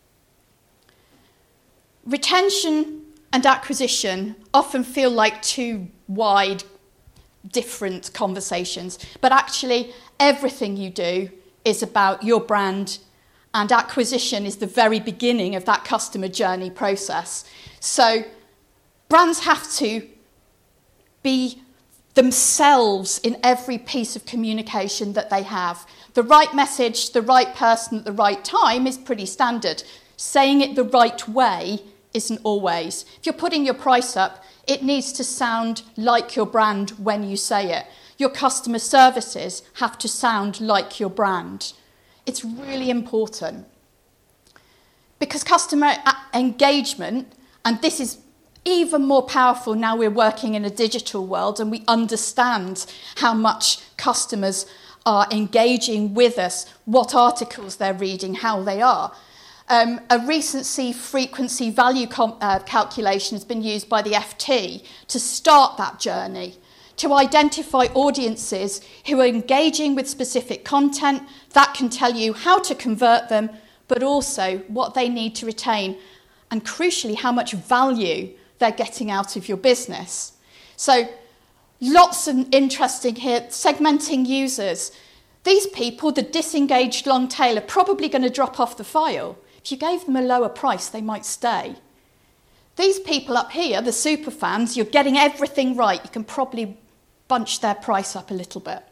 Speaker 6: Retention and acquisition often feel like two wide, different conversations, but actually everything you do is about your brand, and acquisition is the very beginning of that customer journey process. So brands have to be themselves in every piece of communication that they have. The right message, the right person at the right time is pretty standard. Saying it the right way isn't always. If you're putting your price up, it needs to sound like your brand when you say it. Your customer services have to sound like your brand. It's really important. Because customer engagement, and this is even more powerful now we're working in a digital world and we understand how much customers are engaging with us, what articles they're reading, how they are. Um, a recency frequency value com- uh, calculation has been used by the F T to start that journey, to identify audiences who are engaging with specific content that can tell you how to convert them, but also what they need to retain, and crucially, how much value they're getting out of your business. So lots of interesting here, segmenting users. These people, the disengaged long tail, are probably going to drop off the file. If you gave them a lower price, they might stay. These people up here, the super fans, you're getting everything right. You can probably bunch their price up a little bit.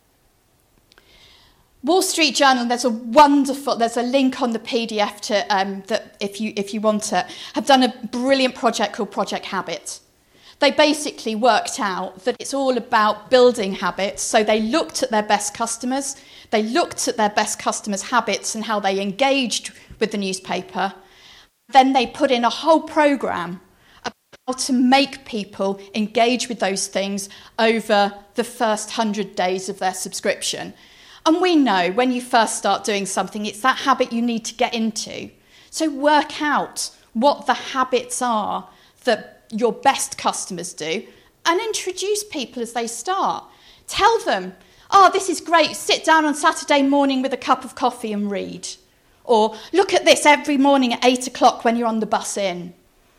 Speaker 6: Wall Street Journal, there's a wonderful, there's a link on the P D F to um, that if you if you want it, have done a brilliant project called Project Habit. They basically worked out that it's all about building habits. So they looked at their best customers, they looked at their best customers' habits and how they engaged with the newspaper. Then they put in a whole program about how to make people engage with those things over the first hundred days of their subscription. And we know when you first start doing something, it's that habit you need to get into. So work out what the habits are that your best customers do and introduce people as they start. Tell them, oh, this is great, sit down on Saturday morning with a cup of coffee and read. Or look at this every morning at eight o'clock when you're on the bus in.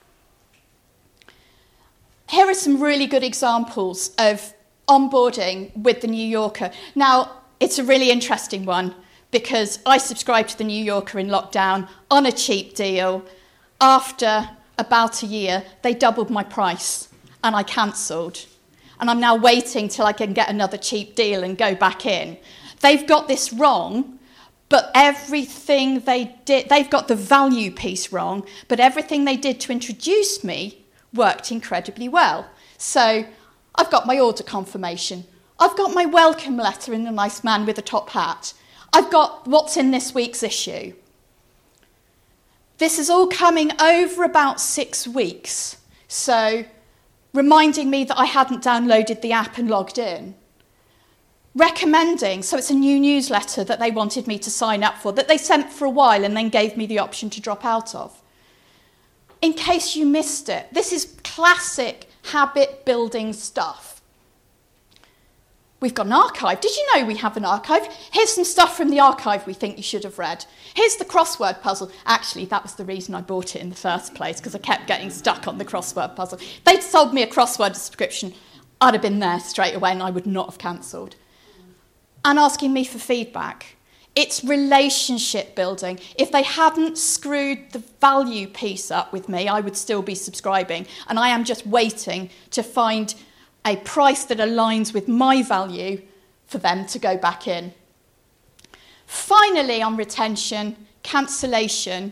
Speaker 6: Here are some really good examples of onboarding with the New Yorker. Now, it's a really interesting one because I subscribed to the New Yorker in lockdown on a cheap deal. After about a year, they doubled my price and I cancelled. And I'm now waiting till I can get another cheap deal and go back in. They've got this wrong, but everything they did, they've got the value piece wrong, but everything they did to introduce me worked incredibly well. So I've got my order confirmation. I've got my welcome letter in a nice man with a top hat. I've got what's in this week's issue. This is all coming over about six weeks. So reminding me that I hadn't downloaded the app and logged in. Recommending, so it's a new newsletter that they wanted me to sign up for, that they sent for a while and then gave me the option to drop out of. In case you missed it, this is classic habit building stuff. We've got an archive. Did you know we have an archive? Here's some stuff from the archive we think you should have read. Here's the crossword puzzle. Actually, that was the reason I bought it in the first place, because I kept getting stuck on the crossword puzzle. If they'd sold me a crossword subscription, I'd have been there straight away and I would not have cancelled. And asking me for feedback. It's relationship building. If they hadn't screwed the value piece up with me, I would still be subscribing. And I am just waiting to find a price that aligns with my value for them to go back in. Finally, on retention, cancellation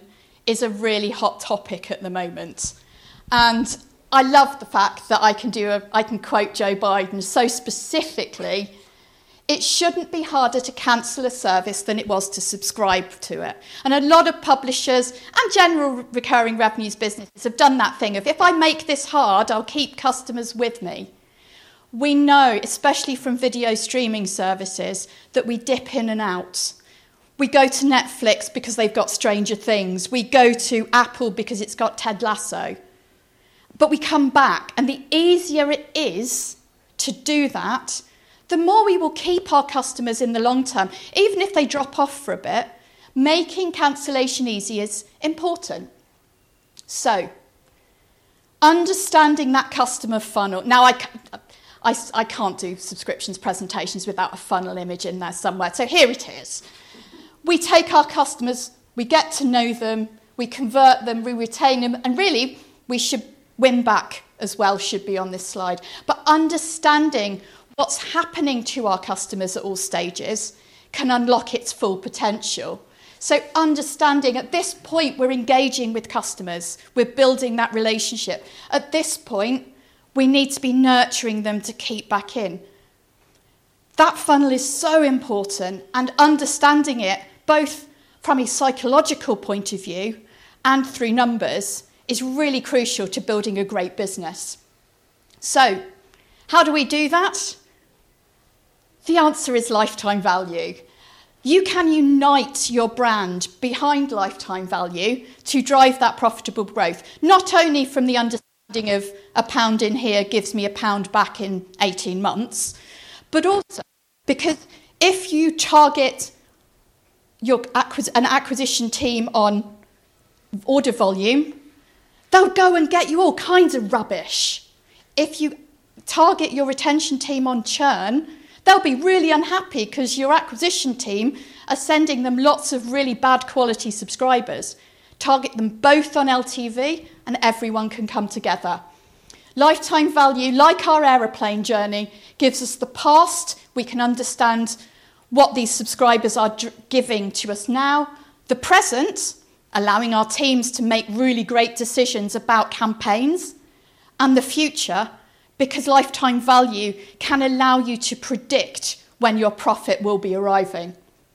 Speaker 6: is a really hot topic at the moment. And I love the fact that I can do a, I can quote Joe Biden so specifically. It shouldn't be harder to cancel a service than it was to subscribe to it. And a lot of publishers and general recurring revenues businesses have done that thing of, if I make this hard, I'll keep customers with me. We know, especially from video streaming services, that we dip in and out. We go to Netflix because they've got Stranger Things. We go to Apple because it's got Ted Lasso. But we come back, and the easier it is to do that, the more we will keep our customers in the long term, even if they drop off for a bit. Making cancellation easy is important. So, understanding that customer funnel. Now, I, I, I can't do subscriptions presentations without a funnel image in there somewhere. So here it is. We take our customers, we get to know them, we convert them, we retain them, and really, we should win back as well, should be on this slide. But understanding what's happening to our customers at all stages can unlock its full potential. So understanding at this point we're engaging with customers, we're building that relationship. At this point, we need to be nurturing them to keep back in. That funnel is so important, and understanding it both from a psychological point of view and through numbers is really crucial to building a great business. So, how do we do that? The answer is lifetime value. You can unite your brand behind lifetime value to drive that profitable growth, not only from the understanding of a pound in here gives me a pound back in eighteen months, but also because if you target your acquis- an acquisition team on order volume, they'll go and get you all kinds of rubbish. If you target your retention team on churn, they'll be really unhappy because your acquisition team are sending them lots of really bad quality subscribers. Target them both on L T V and everyone can come together. Lifetime value, like our aeroplane journey, gives us the past. We can understand what these subscribers are d- giving to us now. The present, allowing our teams to make really great decisions about campaigns. And the future, because lifetime value can allow you to predict when your profit will be arriving.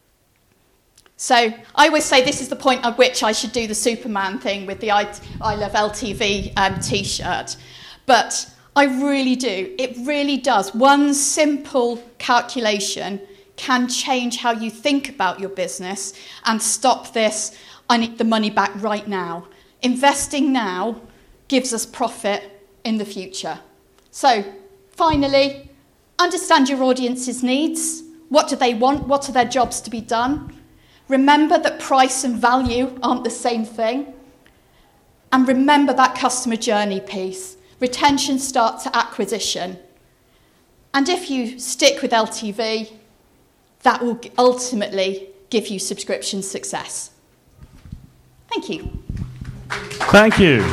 Speaker 6: So I always say this is the point at which I should do the Superman thing with the I, I Love L T V um, t-shirt. But I really do. It really does. One simple calculation can change how you think about your business and stop this, I need the money back right now. Investing now gives us profit in the future. So, finally, understand your audience's needs. What do they want? What are their jobs to be done? Remember that price and value aren't the same thing. And remember that customer journey piece. Retention starts at acquisition. And if you stick with L T V, that will ultimately give you subscription success. Thank you.
Speaker 5: Thank you.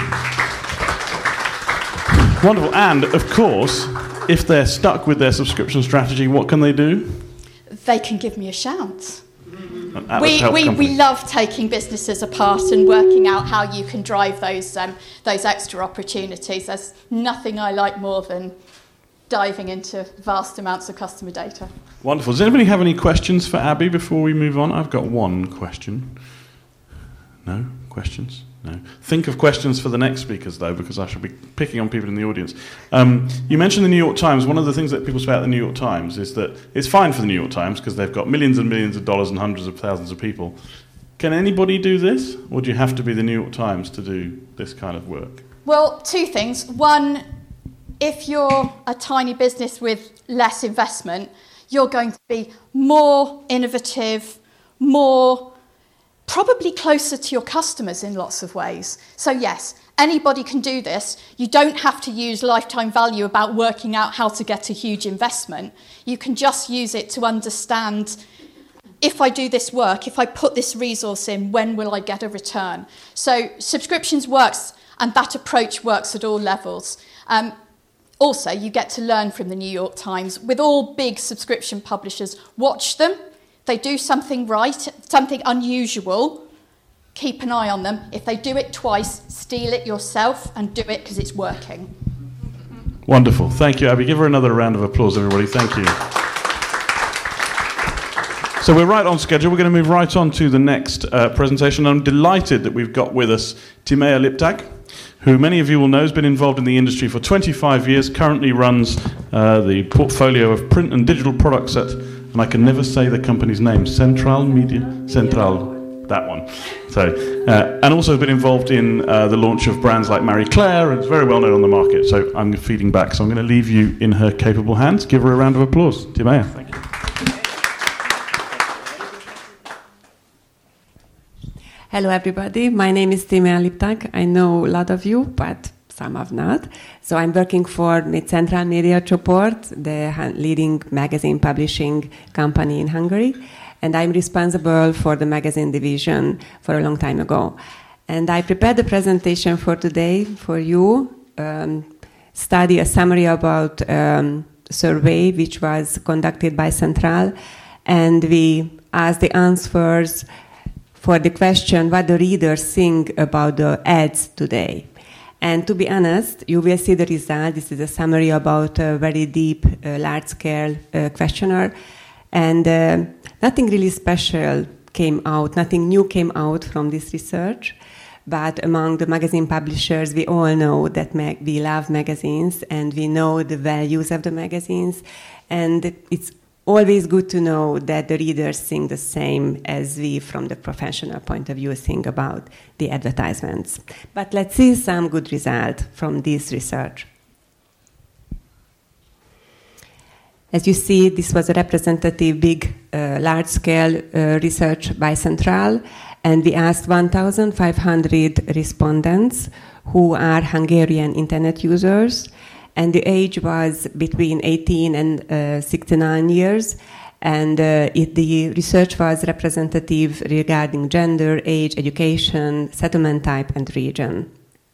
Speaker 5: Wonderful. And, of course, if they're stuck with their subscription strategy, what can they do?
Speaker 6: They can give me a shout. We, we, we love taking businesses apart and working out how you can drive those, um, those extra opportunities. There's nothing I like more than diving into vast amounts of customer data.
Speaker 5: Wonderful. Does anybody have any questions for Abby before we move on? I've got one question. No? Questions? No. Think of questions for the next speakers, though, because I shall be picking on people in the audience. Um, you mentioned the New York Times. One of the things that people say about the New York Times is that it's fine for the New York Times because they've got millions and millions of dollars and hundreds of thousands of people. Can anybody do this, or do you have to be the New York Times to do this kind of work?
Speaker 6: Well, two things. One, if you're a tiny business with less investment, you're going to be more innovative, more probably closer to your customers in lots of ways. So yes, anybody can do this. You don't have to use lifetime value about working out how to get a huge investment. You can just use it to understand, if I do this work, if I put this resource in, when will I get a return? So subscriptions works, and that approach works at all levels. Um, also, you get to learn from the New York Times. With all big subscription publishers, watch them. They do something right, something unusual, keep an eye on them. If they do it twice, steal it yourself and do it because it's working.
Speaker 5: Wonderful. Thank you, Abby. Give her another round of applause, everybody. Thank you. So we're right on schedule. We're going to move right on to the next uh, presentation. I'm delighted that we've got with us Timea Liptak, who many of you will know has been involved in the industry for twenty-five years, currently runs uh, the portfolio of print and digital products at, and I can never say the company's name, Central Media, Central, that one. So, uh, and also has been involved in uh, the launch of brands like Marie Claire, and it's very well known on the market. So I'm feeding back, so I'm going to leave you in her capable hands. Give her a round of applause. Timea. Thank you.
Speaker 7: Hello, everybody. My name is Timea Liptak. I know a lot of you, but some have not. So I'm working for Central Media Csoport, the leading magazine publishing company in Hungary. And I'm responsible for the magazine division for a long time ago. And I prepared the presentation for today for you, um, study a summary about um, a survey which was conducted by Central. And we asked the answers for the question what the readers think about the ads today. And to be honest, you will see the result. This is a summary about a very deep, uh, large-scale uh, questionnaire. And uh, nothing really special came out, nothing new came out from this research. But among the magazine publishers, we all know that mag- we love magazines and we know the values of the magazines. And it's always good to know that the readers think the same as we, from the professional point of view, think about the advertisements. But let's see some good result from this research. As you see, this was a representative, big, uh, large-scale uh, research by Central, and we asked one thousand five hundred respondents who are Hungarian internet users, and the age was between eighteen and uh, sixty-nine years, and uh, it, the research was representative regarding gender, age, education, settlement type, and region.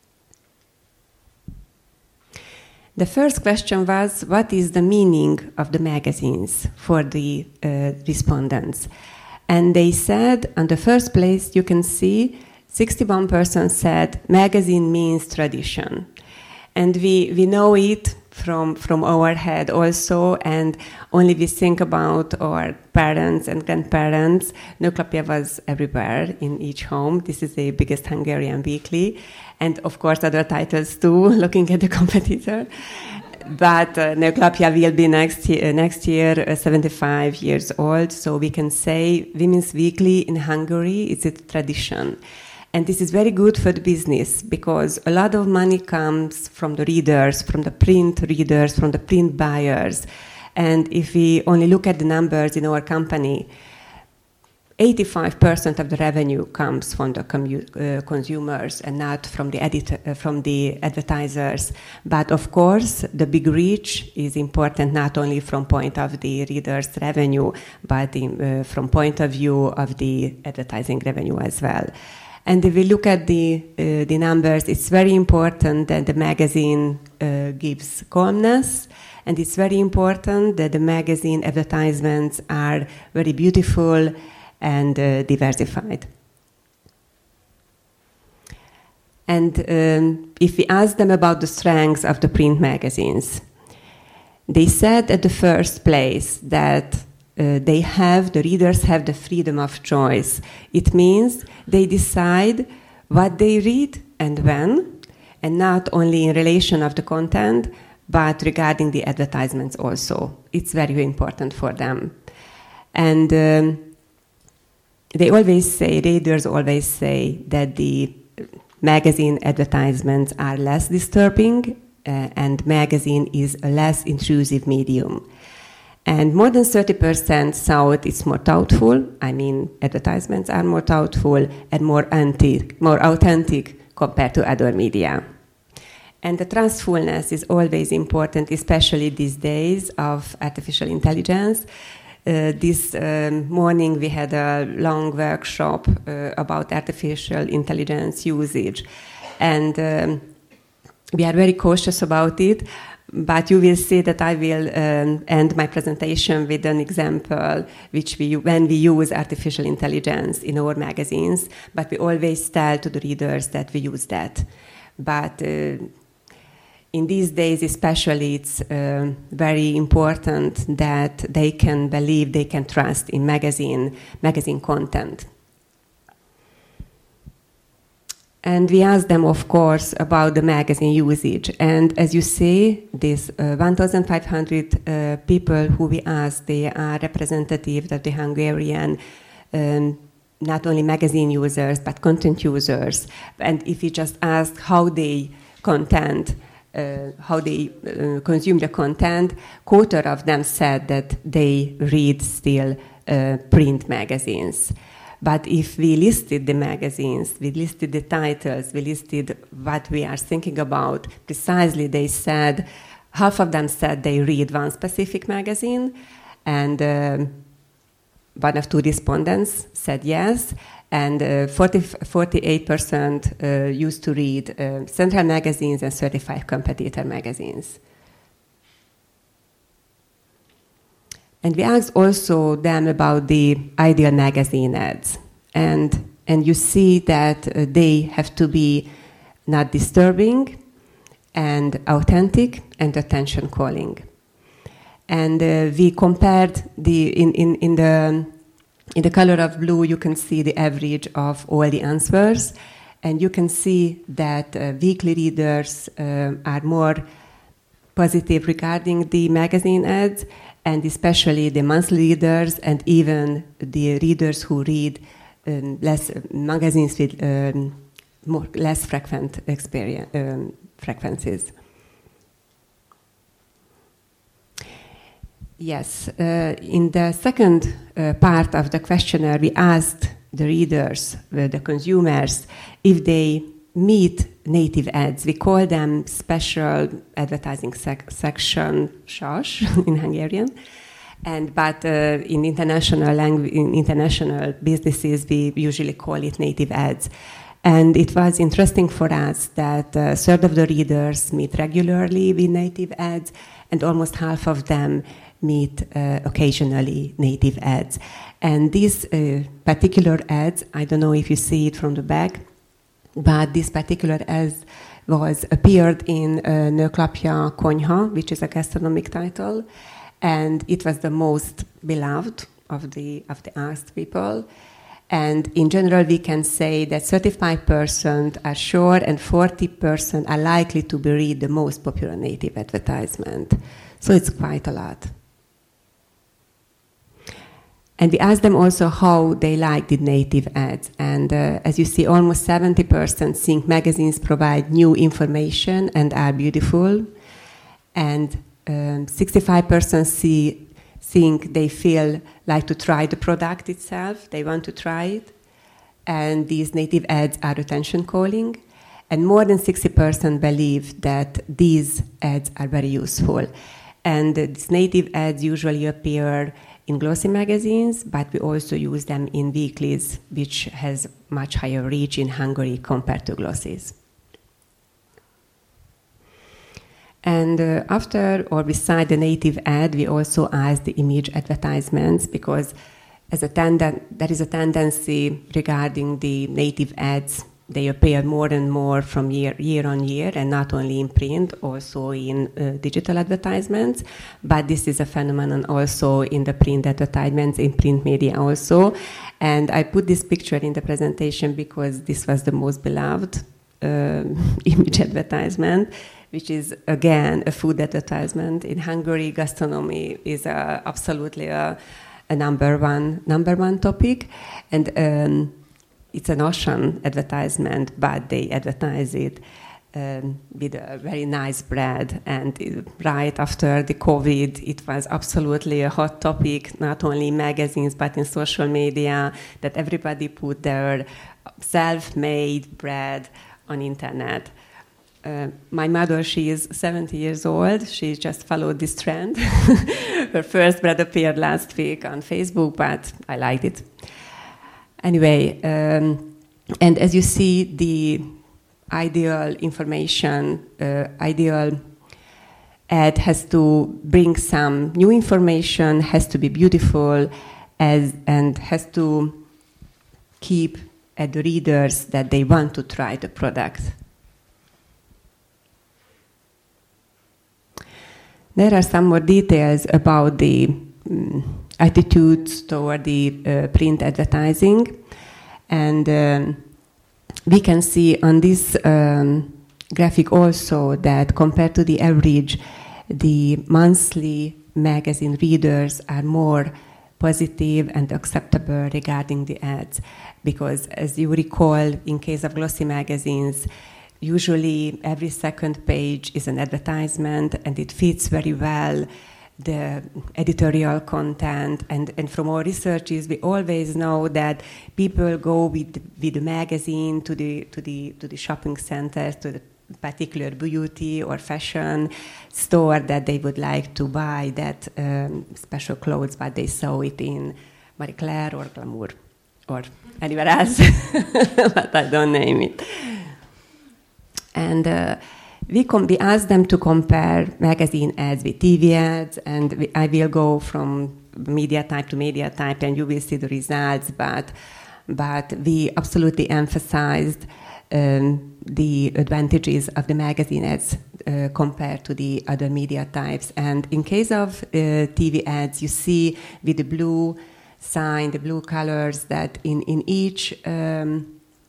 Speaker 7: The first question was, what is the meaning of the magazines for the uh, respondents? And they said, on the first place, you can see sixty-one percent said magazine means tradition. And we, we know it from, from our head also, and only we think about our parents and grandparents. Nőklapja was everywhere in each home. This is the biggest Hungarian weekly. And of course other titles too, looking at the competitor. But uh, Nőklapja will be next year, next year uh, seventy-five years old, so we can say Women's Weekly in Hungary is a tradition. And this is very good for the business because a lot of money comes from the readers, from the print readers, from the print buyers. And if we only look at the numbers in our company, eighty-five percent of the revenue comes from the commu- uh, consumers and not from the editor, uh, from the advertisers. But of course, the big reach is important not only from point of the readers' revenue, but in, uh, from point of view of the advertising revenue as well. And if we look at the uh, the numbers, it's very important that the magazine uh, gives calmness, and it's very important that the magazine advertisements are very beautiful and uh, diversified. And um, if we ask them about the strengths of the print magazines, they said at the first place that uh, they have, the readers have the freedom of choice. It means they decide what they read and when, and not only in relation of the content, but regarding the advertisements also. It's very important for them. And um, they always say, readers always say that the magazine advertisements are less disturbing uh, and magazine is a less intrusive medium. And more than thirty percent thought it's more thoughtful. I mean, advertisements are more thoughtful and more antique, more authentic compared to other media. And the trustfulness is always important, especially these days of artificial intelligence. Uh, this um, morning we had a long workshop uh, about artificial intelligence usage, and um, we are very cautious about it. But you will see that I will um, end my presentation with an example which we, when we use artificial intelligence in our magazines, but we always tell to the readers that we use that. But uh, in these days especially, it's uh, very important that they can believe, they can trust in magazine, magazine content. And we asked them, of course, about the magazine usage. And as you see, these uh, one thousand five hundred uh, people who we asked, they are representative of the Hungarian, um, not only magazine users, but content users. And if we just ask how they content, uh, how they uh, consume the content, quarter of them said that they read still uh, print magazines. But if we listed the magazines, we listed the titles, we listed what we are thinking about, precisely they said, half of them said they read one specific magazine, and um, one of two respondents said yes, and uh, forty, forty-eight percent uh, used to read uh, central magazines and thirty-five competitor magazines. And we asked also them about the ideal magazine ads. And, and you see that uh, they have to be not disturbing and authentic and attention calling. And uh, we compared the, in, in, in, the, in the color of blue, you can see the average of all the answers. And you can see that uh, weekly readers uh, are more positive regarding the magazine ads, and especially the monthly readers and even the readers who read um, less magazines with um, more, less frequent experience, um, frequencies. Yes, uh, in the second uh, part of the questionnaire, we asked the readers, uh, the consumers, if they meet native ads. We call them special advertising sec section, S A S in Hungarian. And but uh, in international language, in international businesses, we usually call it native ads. And it was interesting for us that a third of the readers meet regularly with native ads, and almost half of them meet uh, occasionally native ads. And these uh, particular ads, I don't know if you see it from the back, but this particular ad was appeared in uh, Nőklapja Konyha, which is a gastronomic title, and it was the most beloved of the of the asked people. And in general, we can say that thirty-five percent are sure and forty percent are likely to be read the most popular native advertisement. So it's quite a lot. And we asked them also how they like the native ads. And uh, as you see, almost seventy percent think magazines provide new information and are beautiful. And um, sixty-five percent see, think they feel like to try the product itself. They want to try it. And these native ads are attention calling. And more than sixty percent believe that these ads are very useful. And uh, these native ads usually appear in glossy magazines, but we also use them in weeklies, which has much higher reach in Hungary compared to glossies. And uh, after or beside the native ad, we also ask the image advertisements, because as a tenden- there is a tendency regarding the native ads. They appear more and more from year, year on year, and not only in print, also in uh, digital advertisements. But this is a phenomenon also in the print advertisements, in print media also. And I put this picture in the presentation because this was the most beloved uh, image advertisement, which is, again, a food advertisement. In Hungary, gastronomy is uh, absolutely a, a number one, number one topic. And um, it's an Austrian advertisement, but they advertise it um, with a very nice bread. And it, right after the COVID, it was absolutely a hot topic, not only in magazines, but in social media, that everybody put their self-made bread on internet. Uh, my mother, she is seventy years old. She just followed this trend. Her first bread appeared last week on Facebook, but I liked it. Anyway, um, and as you see, the ideal information, uh, ideal ad has to bring some new information, has to be beautiful, as, and has to keep at the readers that they want to try the product. There are some more details about the um, attitudes toward the uh, print advertising, and um, we can see on this um, graphic also that compared to the average, the monthly magazine readers are more positive and acceptable regarding the ads, because as you recall, in case of glossy magazines, usually every second page is an advertisement, and it fits very well the editorial content. And, and from our researches, we always know that people go with with the magazine to the to the to the shopping centers, to the particular beauty or fashion store that they would like to buy that um, special clothes, but they saw it in Marie Claire or Glamour or anywhere else, but I don't name it. And uh, we, com- we asked them to compare magazine ads with T V ads, and we, I will go from media type to media type, and you will see the results, but, but we absolutely emphasized um, the advantages of the magazine ads uh, compared to the other media types. And in case of uh, T V ads, you see with the blue sign, the blue colors, that in, in each um,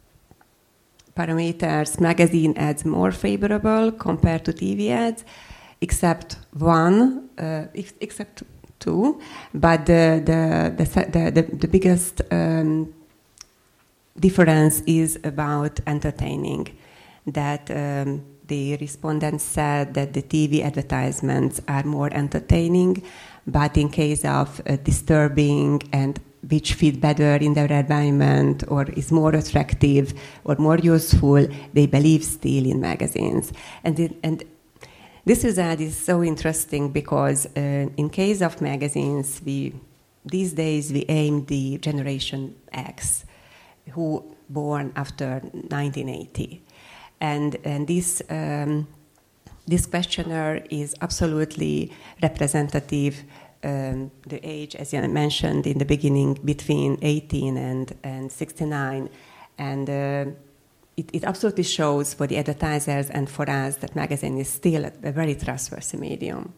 Speaker 7: parameters, magazine ads more favorable compared to T V ads, except one, uh, except two, but the the the the, the biggest um, difference is about entertaining. That um, the respondents said that the T V advertisements are more entertaining, but in case of uh, disturbing and which fit better in their environment or is more attractive or more useful, they believe still in magazines. And, it, and this result is so interesting because uh, in case of magazines, we these days we aim the Generation X, who born after nineteen eighty. And, and this, um, this questionnaire is absolutely representative. Um, the age, as I mentioned in the beginning, between eighteen and, and sixty-nine. And uh, it, it absolutely shows for the advertisers and for us that magazine is still a, a very trustworthy medium.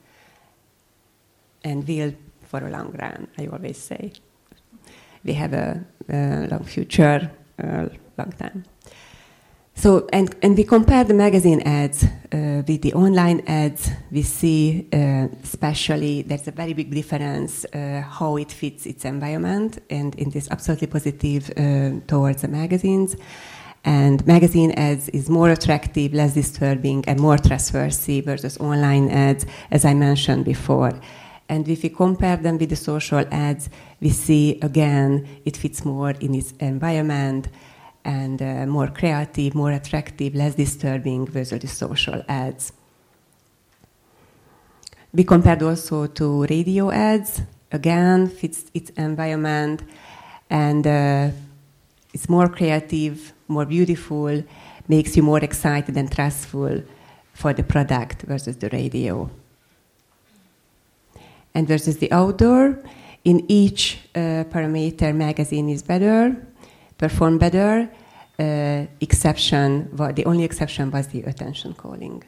Speaker 7: And will for a long run, I always say. We have a, a long future, a long time. So, and, and we compare the magazine ads uh, with the online ads. We see, uh, especially, there's a very big difference uh, how it fits its environment, and it is absolutely positive uh, towards the magazines. And magazine ads is more attractive, less disturbing, and more trustworthy versus online ads, as I mentioned before. And if we compare them with the social ads, we see, again, it fits more in its environment, and uh, more creative, more attractive, less disturbing versus the social ads. We compared also to radio ads. Again, fits its environment, and uh, it's more creative, more beautiful, makes you more excited and trustful for the product versus the radio. And versus the outdoor, in each uh, parameter, magazine is better, perform better. Uh, exception, well, the only exception was the attention calling.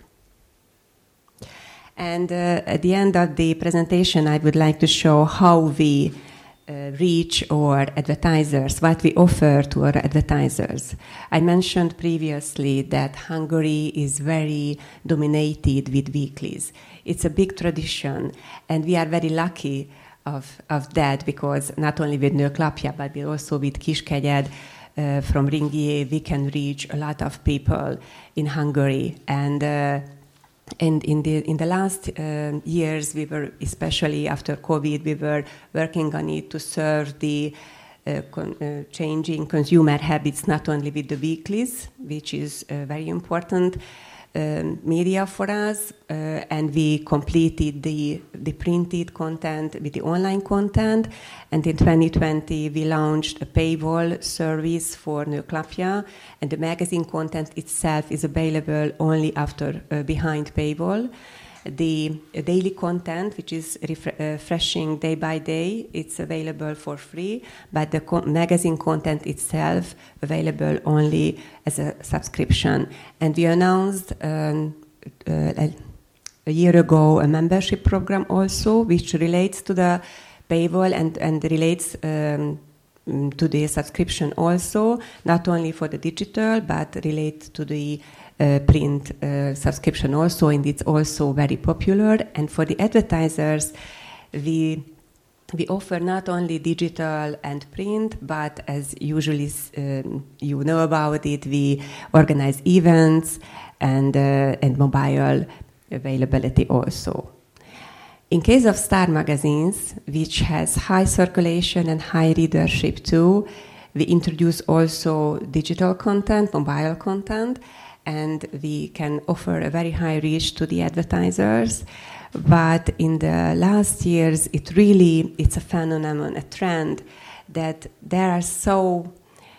Speaker 7: And uh, at the end of the presentation, I would like to show how we uh, reach our advertisers, what we offer to our advertisers. I mentioned previously that Hungary is very dominated with weeklies. It's a big tradition, and we are very lucky of, of that, because not only with Nőklapja, but also with Kiskegyed, Uh, from Ringier, we can reach a lot of people in Hungary. And uh, and in the in the last uh, years, we were, especially after COVID, we were working on it to serve the uh, con- uh, changing consumer habits, not only with the weeklies, which is uh, very important um, media for us, uh, and we completed the the printed content with the online content. And in twenty twenty, we launched a paywall service for Nőklapja, and the magazine content itself is available only after uh, behind paywall. The daily content, which is refre- refreshing day by day, it's available for free, but the co- magazine content itself available only as a subscription. And we announced um, uh, a, a year ago a membership program also, which relates to the paywall and, and relates um, to the subscription also, not only for the digital, but relates to the uh, print uh, subscription also, and it's also very popular. And for the advertisers, we we offer not only digital and print, but as usually um, you know about it, we organize events and uh, and mobile availability also. In case of Star magazines, which has high circulation and high readership too, we introduce also digital content, mobile content, and we can offer a very high reach to the advertisers. But in the last years, it really, it's a phenomenon, a trend, that there are so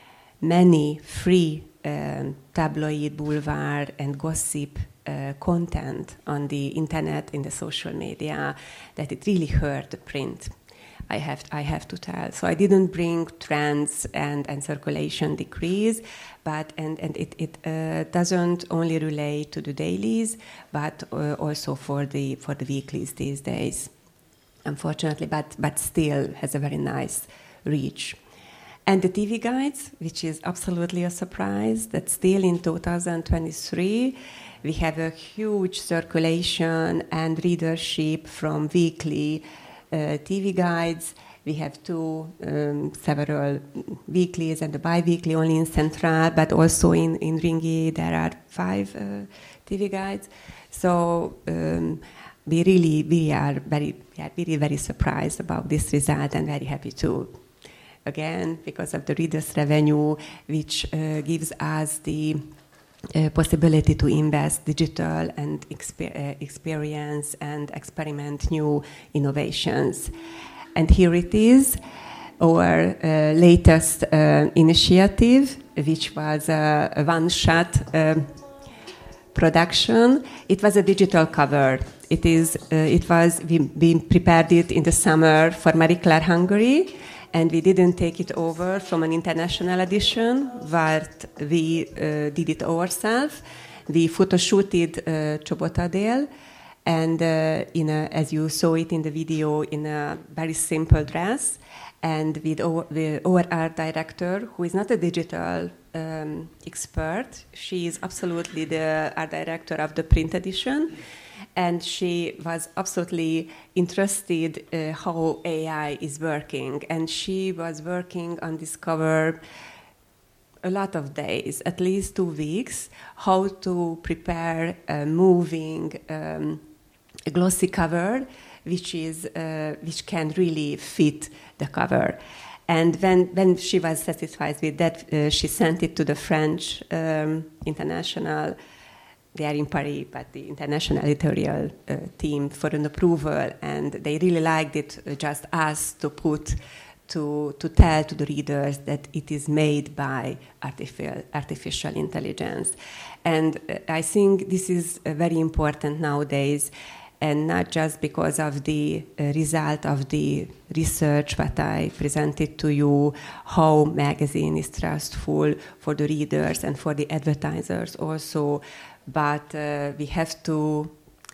Speaker 7: many free um, tabloid, boulevard, and gossip Uh, content on the internet, in the social media, that it really hurt the print. I have I have to tell. So I didn't bring trends and, and circulation decrease, but and and it it uh, doesn't only relate to the dailies, but uh, also for the for the weeklies these days, unfortunately. But but still has a very nice reach. And the T V guides, which is absolutely a surprise, that still in two thousand twenty-three. We have a huge circulation and readership from weekly uh, T V guides. We have two, um, several weeklies and the bi-weekly only in Central, but also in, in Ringi there are five uh, T V guides. So um, we really we are very, we are really very surprised about this result and very happy too. Again, because of the readers' revenue, which uh, gives us the Uh, possibility to invest digital and exper- uh, experience and experiment new innovations. And here it is, our uh, latest uh, initiative, which was a, a one-shot uh, production. It was a digital cover. It is. Uh, it was. We, we prepared it in the summer for Marie Claire Hungary. And we didn't take it over from an international edition, but we uh, did it ourselves. We photoshooted uh, Csobotadél, and uh, in a, as you saw it in the video, in a very simple dress, and with our, the, our art director, who is not a digital um, expert. She is absolutely the art director of the print edition. And she was absolutely interested uh, how A I is working. And she was working on this cover a lot of days, at least two weeks, how to prepare a moving um, a glossy cover, which is uh, which can really fit the cover. And when, when she was satisfied with that, uh, she sent it to the French um, international. They are in Paris, but the international editorial uh, team for an approval, and they really liked it. Uh, just asked to put, to to tell to the readers that it is made by artificial artificial intelligence, and uh, I think this is uh, very important nowadays, and not just because of the uh, result of the research that I presented to you, how magazine is trustful for the readers and for the advertisers also. But uh, we have to,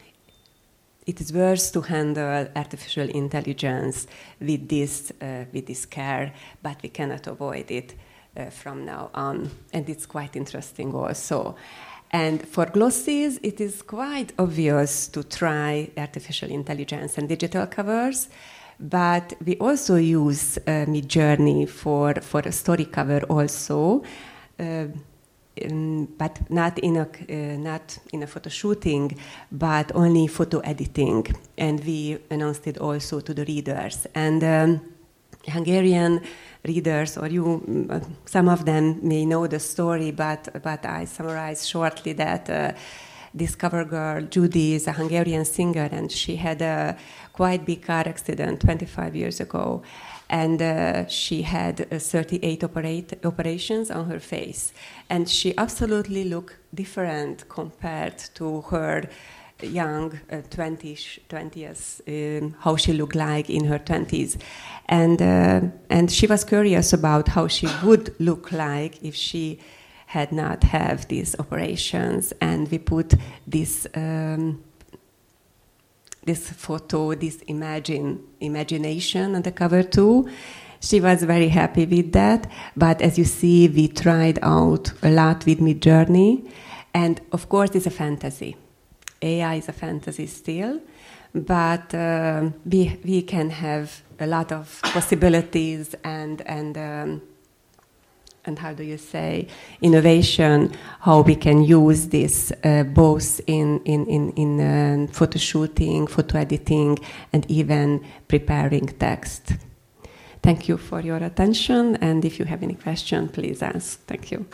Speaker 7: it is worth to handle artificial intelligence with this, uh, with this care, but we cannot avoid it uh, from now on. And it's quite interesting also. And for glossies, it is quite obvious to try artificial intelligence and digital covers, but we also use uh, Midjourney for, for a story cover also. Uh, Um, but not in a uh, not in a photo shooting, but only photo editing, and we announced it also to the readers. And um, Hungarian readers, or you, uh, some of them may know the story, but but I summarize shortly that uh, this cover girl Judy is a Hungarian singer, and she had a quite big car accident twenty-five years ago. And uh, she had uh, thirty-eight operate, operations on her face. And she absolutely looked different compared to her young, uh, twenties, twentieth, um, how she looked like in her twenties. And, uh, and she was curious about how she would look like if she had not have these operations. And we put this, um, this photo, this imagine, imagination on the cover too. She was very happy with that. But as you see, we tried out a lot with Midjourney. And of course, it's a fantasy. A I is a fantasy still, but uh, we we can have a lot of possibilities and and um, and how do you say innovation? How we can use this uh, both in in in in uh, photo shooting, photo editing, and even preparing text. Thank you for your attention, and if you have any question, please ask. Thank you.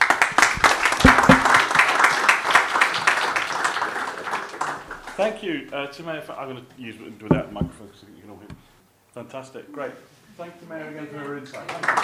Speaker 5: Thank you, uh, Timea. I'm going to use it without the microphone so you can all hear. Fantastic, great. Thank you, Timea, again for your insight.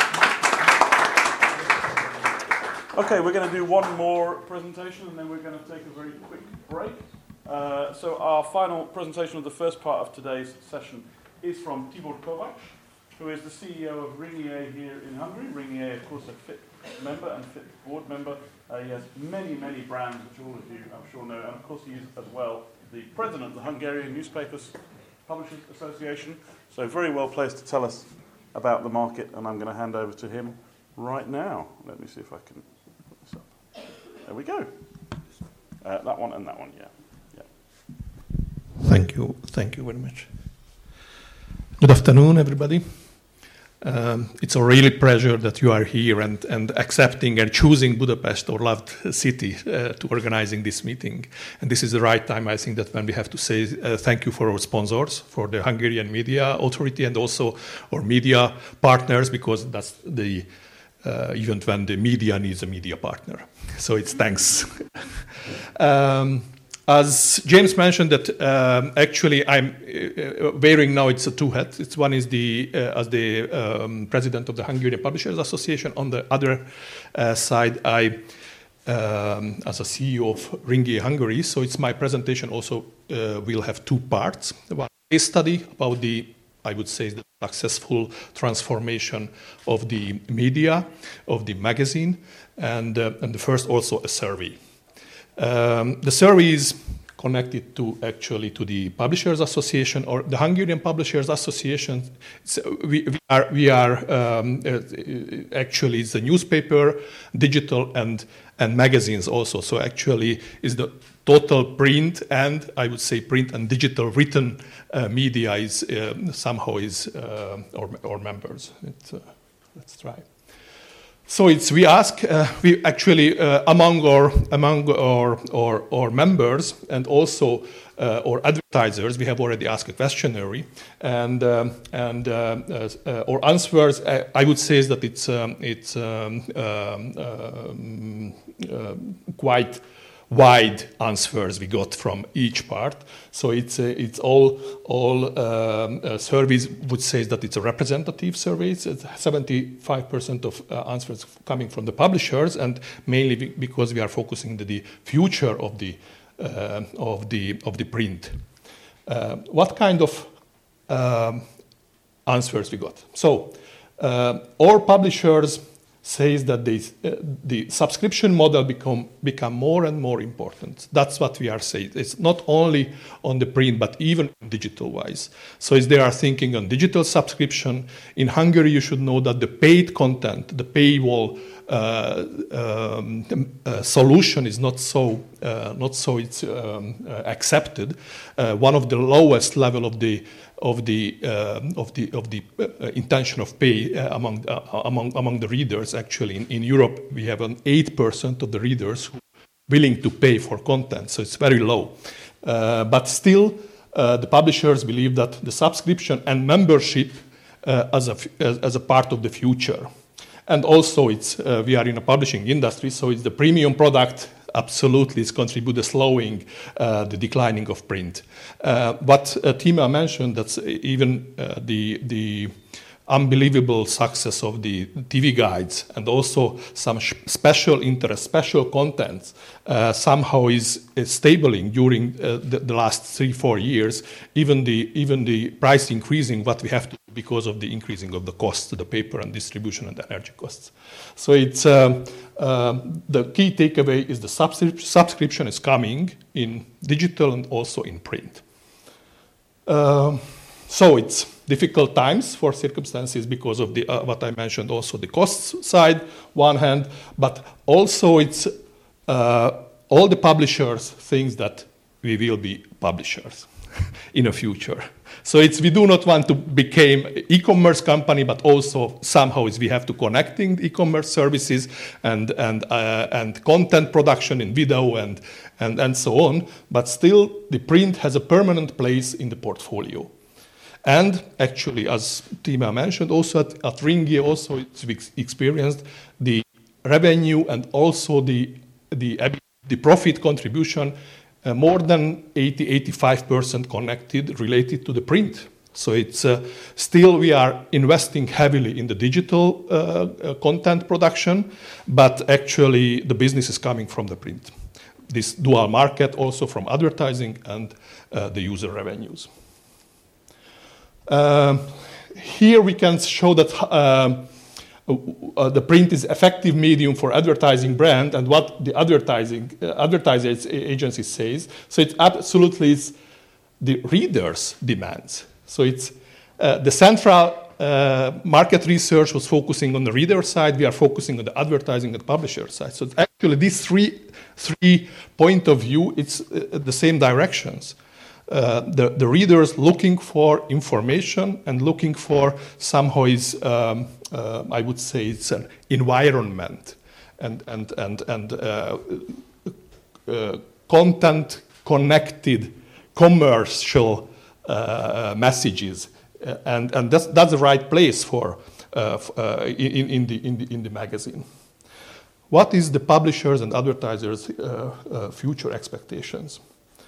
Speaker 5: Okay, we're going to do one more presentation and then we're going to take a very quick break. Uh, so our final presentation of the first part of today's session is from Tibor Kovacs, who is the C E O of Ringier here in Hungary. Ringier, of course, a FIP member and FIP board member. Uh, he has many, many brands, which all of you, I'm sure, know. And of course, he is as well the president of the Hungarian Newspapers Publishers Association. So very well placed to tell us about the market. And I'm going to hand over to him right now. Let me see if I can put this up. There we go. Uh, that one and that one, yeah. yeah.
Speaker 8: Thank you. Thank you very much. Good afternoon, everybody. Um, it's a really pleasure that you are here and, and accepting and choosing Budapest, our loved city, uh, to organizing this meeting. And this is the right time, I think, that when we have to say uh, thank you for our sponsors, for the Hungarian Media Authority, and also our media partners, because that's the uh, event when the media needs a media partner. So it's thanks. um, As James mentioned, that um, actually I'm uh, wearing now, it's a two hats. It's one is the uh, as the um, president of the Hungarian Publishers Association. On the other uh, side, I um, as a C E O of Ringier Hungary. So it's my presentation also uh, will have two parts. One case study about the, I would say, the successful transformation of the media, of the magazine, and uh, and the first also a survey. Um, the survey is connected to actually to the Publishers Association or the Hungarian Publishers Association. So we, we are, we are um, uh, actually it's a newspaper, digital, and and magazines also. So actually, is the total print and I would say print and digital written uh, media is uh, somehow is uh, our, our members. It's, uh, let's try. So it's we ask uh, we actually uh, among our among our, our our members and also uh, our advertisers, we have already asked a questionnaire, and um, and uh, uh, our answers uh, I would say is that it's um, it's um, um, um, uh, quite wide answers we got from each part. So it's uh, it's all all um, uh, surveys would say that it's a representative survey. It's seventy-five percent of uh, answers coming from the publishers, and mainly because we are focusing on the future of the uh, of the of the print. Uh, what kind of um, answers we got? So uh, all publishers says that they, uh, the subscription model become become more and more important. That's what we are saying. It's not only on the print, but even digital wise. So as they are thinking on digital subscription, in Hungary you should know that the paid content, the paywall uh, um, uh, solution is not so uh, not so it's um, uh, accepted. Uh, one of the lowest level of the of the uh, of the of the uh, intention of pay uh, among uh, among among the readers. Actually, in, in Europe, we have an eight percent of the readers who are willing to pay for content, so it's very low. Uh, but still, uh, the publishers believe that the subscription and membership uh, as a as, as a part of the future, and also it's uh, we are in a publishing industry, so it's the premium product. Absolutely, it's contributed to slowing uh, the declining of print. Uh, but uh, Tima mentioned that even uh, the the unbelievable success of the T V guides and also some sh- special interest, special contents uh, somehow is, is stabling during uh, the, the last three, four years, even the, even the price increasing what we have to do because of the increasing of the costs, the paper and distribution and energy costs. So it's, um, uh, the key takeaway is the subscri- subscription is coming in digital and also in print. Um, so it's difficult times for circumstances because of the uh, what I mentioned, also the cost side, one hand, but also it's uh, all the publishers think that we will be publishers in the future. So it's we do not want to become an e-commerce company, but also somehow is we have to connecting e-commerce services and and uh, and content production in video and and and so on. But still, the print has a permanent place in the portfolio. And actually, as Tima mentioned, also at, at Ringier, also it's experienced the revenue and also the the, the profit contribution uh, more than eighty to eighty-five percent connected, related to the print. So it's uh, still we are investing heavily in the digital uh, uh, content production, but actually the business is coming from the print. This dual market also from advertising and uh, the user revenues. Uh, here we can show that uh, uh, the print is effective medium for advertising brand and what the advertising uh, advertising agency says. So it absolutely is the reader's demands. So it's uh, the central uh, market research was focusing on the reader side. We are focusing on the advertising and publisher side. So it's actually these three three point of view, it's uh, the same directions. Uh, the, the readers looking for information and looking for somehow is, um, uh, I would say, it's an environment and and and and uh, uh, content connected commercial uh, messages, uh, and and that's that's the right place for uh, uh, in in the in the in the magazine. What is the publishers and advertisers' uh, uh, future expectations?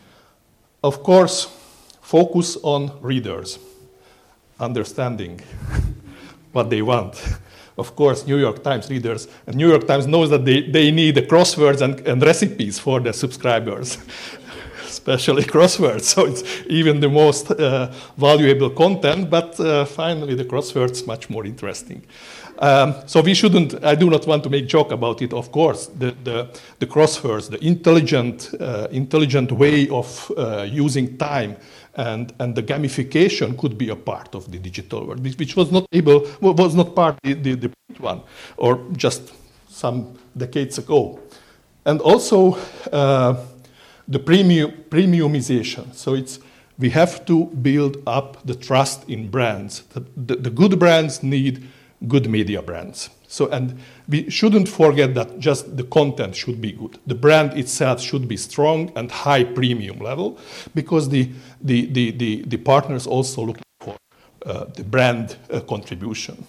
Speaker 8: Of course, focus on readers, understanding what they want. Of course, New York Times readers, and New York Times knows that they, they need the crosswords and, and recipes for their subscribers, especially crosswords. So it's even the most uh, valuable content, but uh, finally the crosswords much more interesting. Um, so we shouldn't, I do not want to make joke about it, of course. The, the, the crosswords, the intelligent, uh, intelligent way of uh, using time and, and the gamification could be a part of the digital world, which was not able, was not part of the, the, the print one, or just some decades ago. And also uh, the premium, premiumization. So it's, we have to build up the trust in brands. The, the, the good brands need good media brands. So, and we shouldn't forget that just the content should be good. The brand itself should be strong and high premium level, because the the the the, the partners also looking for uh, the brand uh, contribution.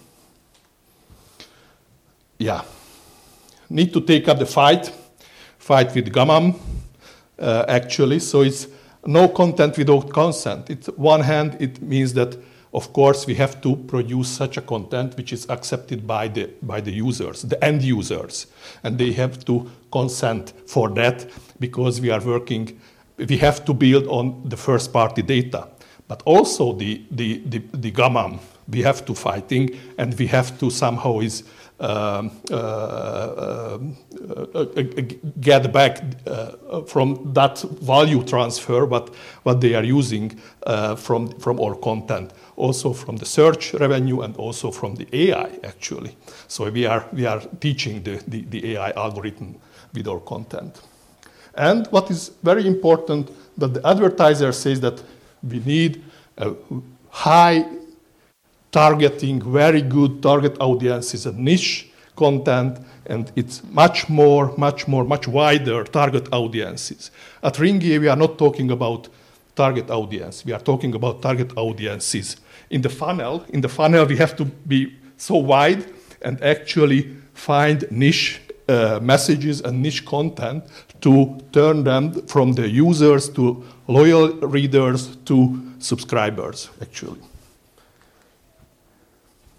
Speaker 8: Yeah, need to take up the fight, fight with Gamam, uh, actually. So it's no content without consent. It's one hand, it means that, of course, we have to produce such a content which is accepted by the by the users, the end users, and they have to consent for that, because we are working. We have to build on the first-party data, but also the the the, the Gamam. We have to fighting, and we have to somehow is um, uh, uh, uh, get back uh, from that value transfer what what they are using uh, from from our content. Also from the search revenue and also from the A I, actually. So we are we are teaching the, the, the A I algorithm with our content. And what is very important, that the advertiser says that we need a high targeting, very good target audiences and niche content, and it's much more, much more, much wider target audiences. At Ringier, we are not talking about target audience. We are talking about target audiences. In the funnel, in the funnel, we have to be so wide and actually find niche uh, messages and niche content to turn them from the users to loyal readers to subscribers, actually.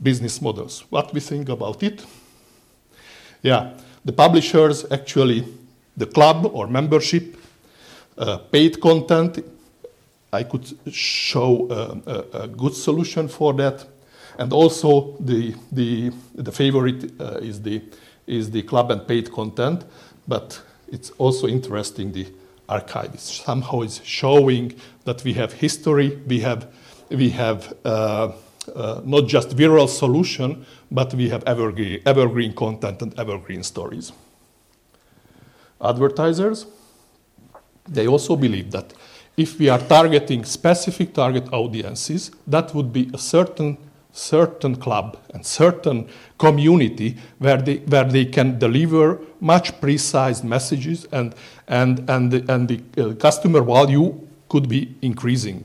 Speaker 8: business models. What we think about it? Yeah, the publishers actually, the club or membership, uh, paid content. I could show uh, a, a good solution for that. And also the, the, the favorite uh, is, the, is the club and paid content, but it's also interesting, the archive is somehow is showing that we have history, we have, we have uh, uh, not just viral solution, but we have evergreen, evergreen content and evergreen stories. Advertisers, they also believe that if we are targeting specific target audiences, that would be a certain certain club and certain community where they where they can deliver much precise messages, and and and the, and the uh, customer value could be increasing.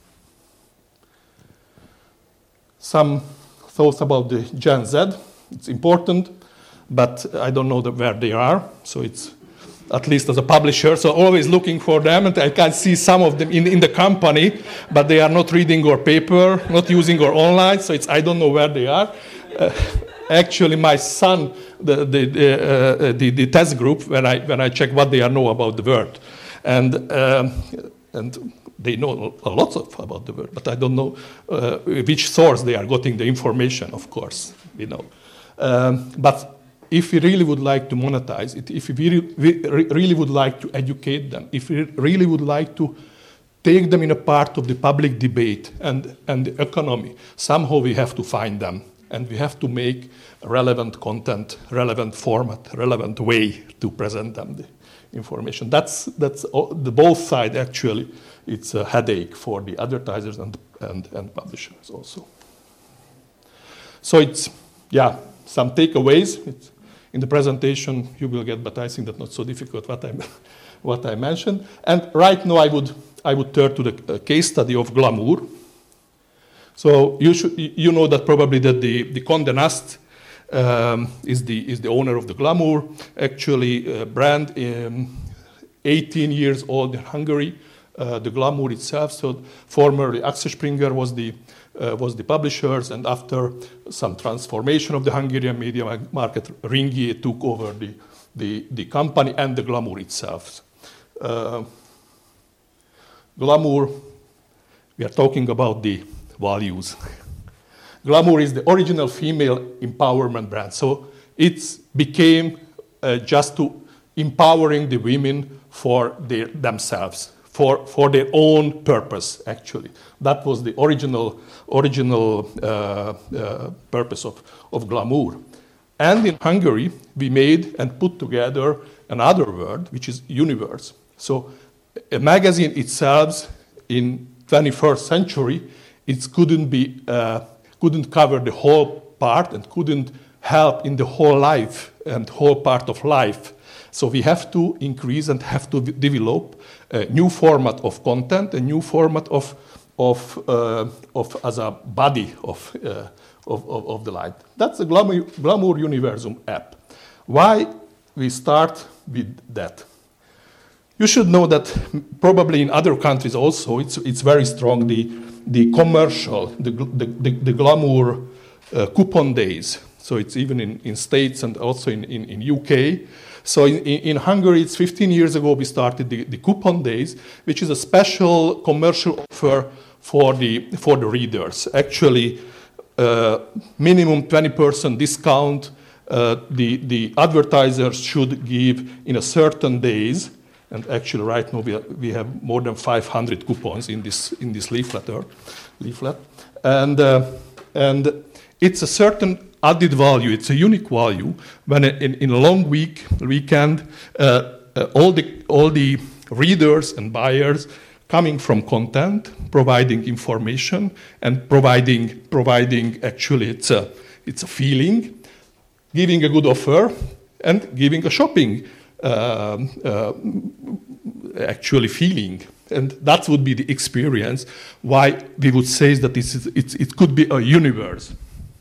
Speaker 8: Some thoughts about the Gen Z. It's important, but I don't know the, where they are. So it's at least as a publisher, so always looking for them, and I can see some of them in, in the company, but they are not reading our paper, not using our online, so it's, I don't know where they are. Uh, actually, my son, the, the, uh, the, the test group, when I, when I check what they know about the word, and, um, and they know a lot of about the word, but I don't know uh, which source they are getting the information, of course, you know. Um, but if we really would like to monetize it, if we really would like to educate them, if we really would like to take them in a part of the public debate and, and the economy, somehow we have to find them. And we have to make relevant content, relevant format, relevant way to present them the information. That's, that's the both sides, actually. It's a headache for the advertisers and, and, and publishers also. So it's, yeah, some takeaways. It's, in the presentation you will get, but I think that's not so difficult what I, what I mentioned. And right now I would, I would turn to the case study of Glamour. So you, should, you know that probably that the, the Condé Nast um, is, the, is the owner of the Glamour, actually uh, brand, um, eighteen years old in Hungary, uh, the Glamour itself. So formerly Axel Springer was the Uh, was the publishers, and after some transformation of the Hungarian media market, Ringier took over the, the, the company and the Glamour itself. Uh, Glamour, we are talking about the values. Glamour is the original female empowerment brand, so it became uh, just to empowering the women for their, themselves. For, for their own purpose, actually. That was the original, original uh, uh, purpose of, of Glamour. And in Hungary, we made and put together another word, which is universe. So a magazine itself in twenty-first century, it couldn't, be, uh, couldn't cover the whole part and couldn't help in the whole life and whole part of life. So we have to increase and have to develop a new format of content, a new format of, of, uh, of as a body of, uh, of, of, of the light. That's the Glamour, Glamour Universum app. Why we start with that? You should know that probably in other countries also, it's, it's very strong, the, the commercial, the, the, the, the Glamour uh, coupon days. So it's even in, in States and also in, in, in U K. So in, in Hungary, it's fifteen years ago, we started the, the coupon days, which is a special commercial offer for the, for the readers. Actually, uh, minimum twenty percent discount uh, the, the advertisers should give in a certain days. And actually, right now, we, are, we have more than five hundred coupons in this, in this leaflet. leaflet. And, uh, and it's a certain added value, it's a unique value when in, in a long week, weekend, uh, uh, all, the, all the readers and buyers coming from content, providing information, and providing, providing actually it's a, it's a feeling, giving a good offer, and giving a shopping uh, uh, actually feeling. And that would be the experience, why we would say that this is, it's, it could be a universe.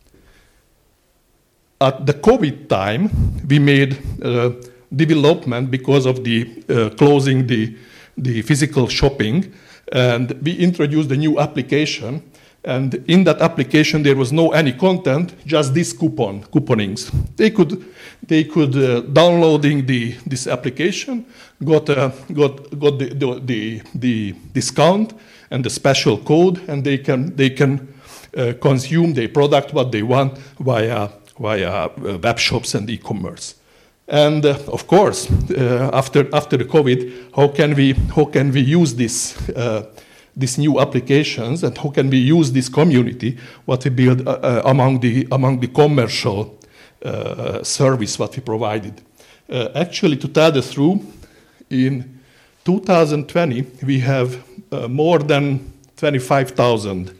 Speaker 8: At the COVID time, we made uh, development because of the uh, closing the, the physical shopping, and we introduced a new application And in that application, there was no any content, just this coupon, couponings. They could, they could uh, downloading the this application, got uh, got got the, the the the discount and the special code, and they can they can uh, consume the product what they want via via uh, web shops and e-commerce. And uh, of course, uh, after after the COVID, how can we how can we use this? Uh, these new applications, and how can we use this community, what we build uh, uh, among the among the commercial uh, service what we provided. Uh, actually, to tell the truth, in two thousand twenty, we have uh, more than twenty-five thousand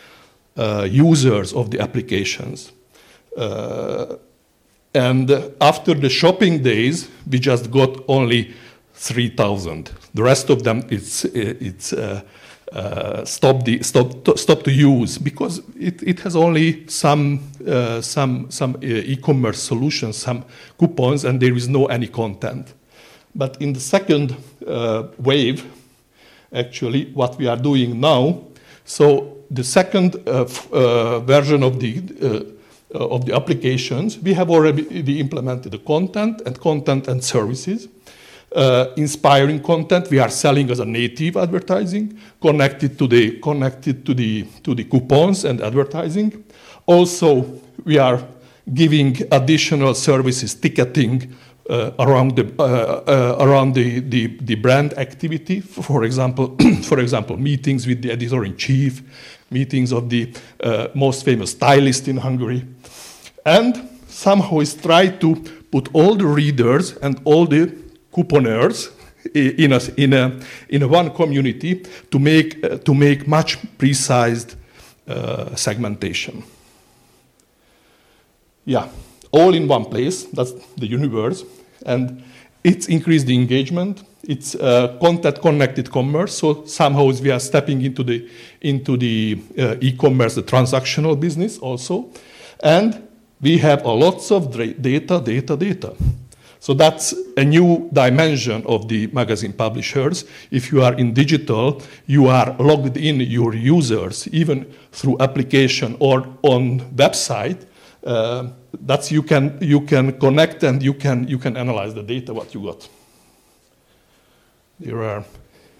Speaker 8: uh, users of the applications. Uh, and after the shopping days, we just got only three thousand. The rest of them, it's, it's uh, Uh, stop the stop to, stop to use because it, it has only some uh, some some uh, e-commerce solutions, some coupons, and there is no any content. But in the second uh, wave, actually, what we are doing now, so the second uh, f- uh, version of the uh, of the applications, we have already implemented the content and content and services. Uh, inspiring content we are selling as a native advertising connected to the connected to the to the coupons and advertising. Also, we are giving additional services, ticketing uh, around the uh, uh, around the, the the brand activity. For example, for example, meetings with the editor in chief, meetings of the uh, most famous stylist in Hungary, and somehow is try to put all the readers and all the couponers in a, in a, in a one community to make, uh, to make much precise uh, segmentation. Yeah, all in one place, that's the universe, and it's increased the engagement, it's uh, content-connected commerce, so somehow we are stepping into the, into the uh, e-commerce, the transactional business also, and we have a lots of data, data, data. So that's a new dimension of the magazine publishers. If you are in digital, you are logged in your users, even through application or on website. Uh, that's you can you can connect and you can you can analyze the data what you got. There are.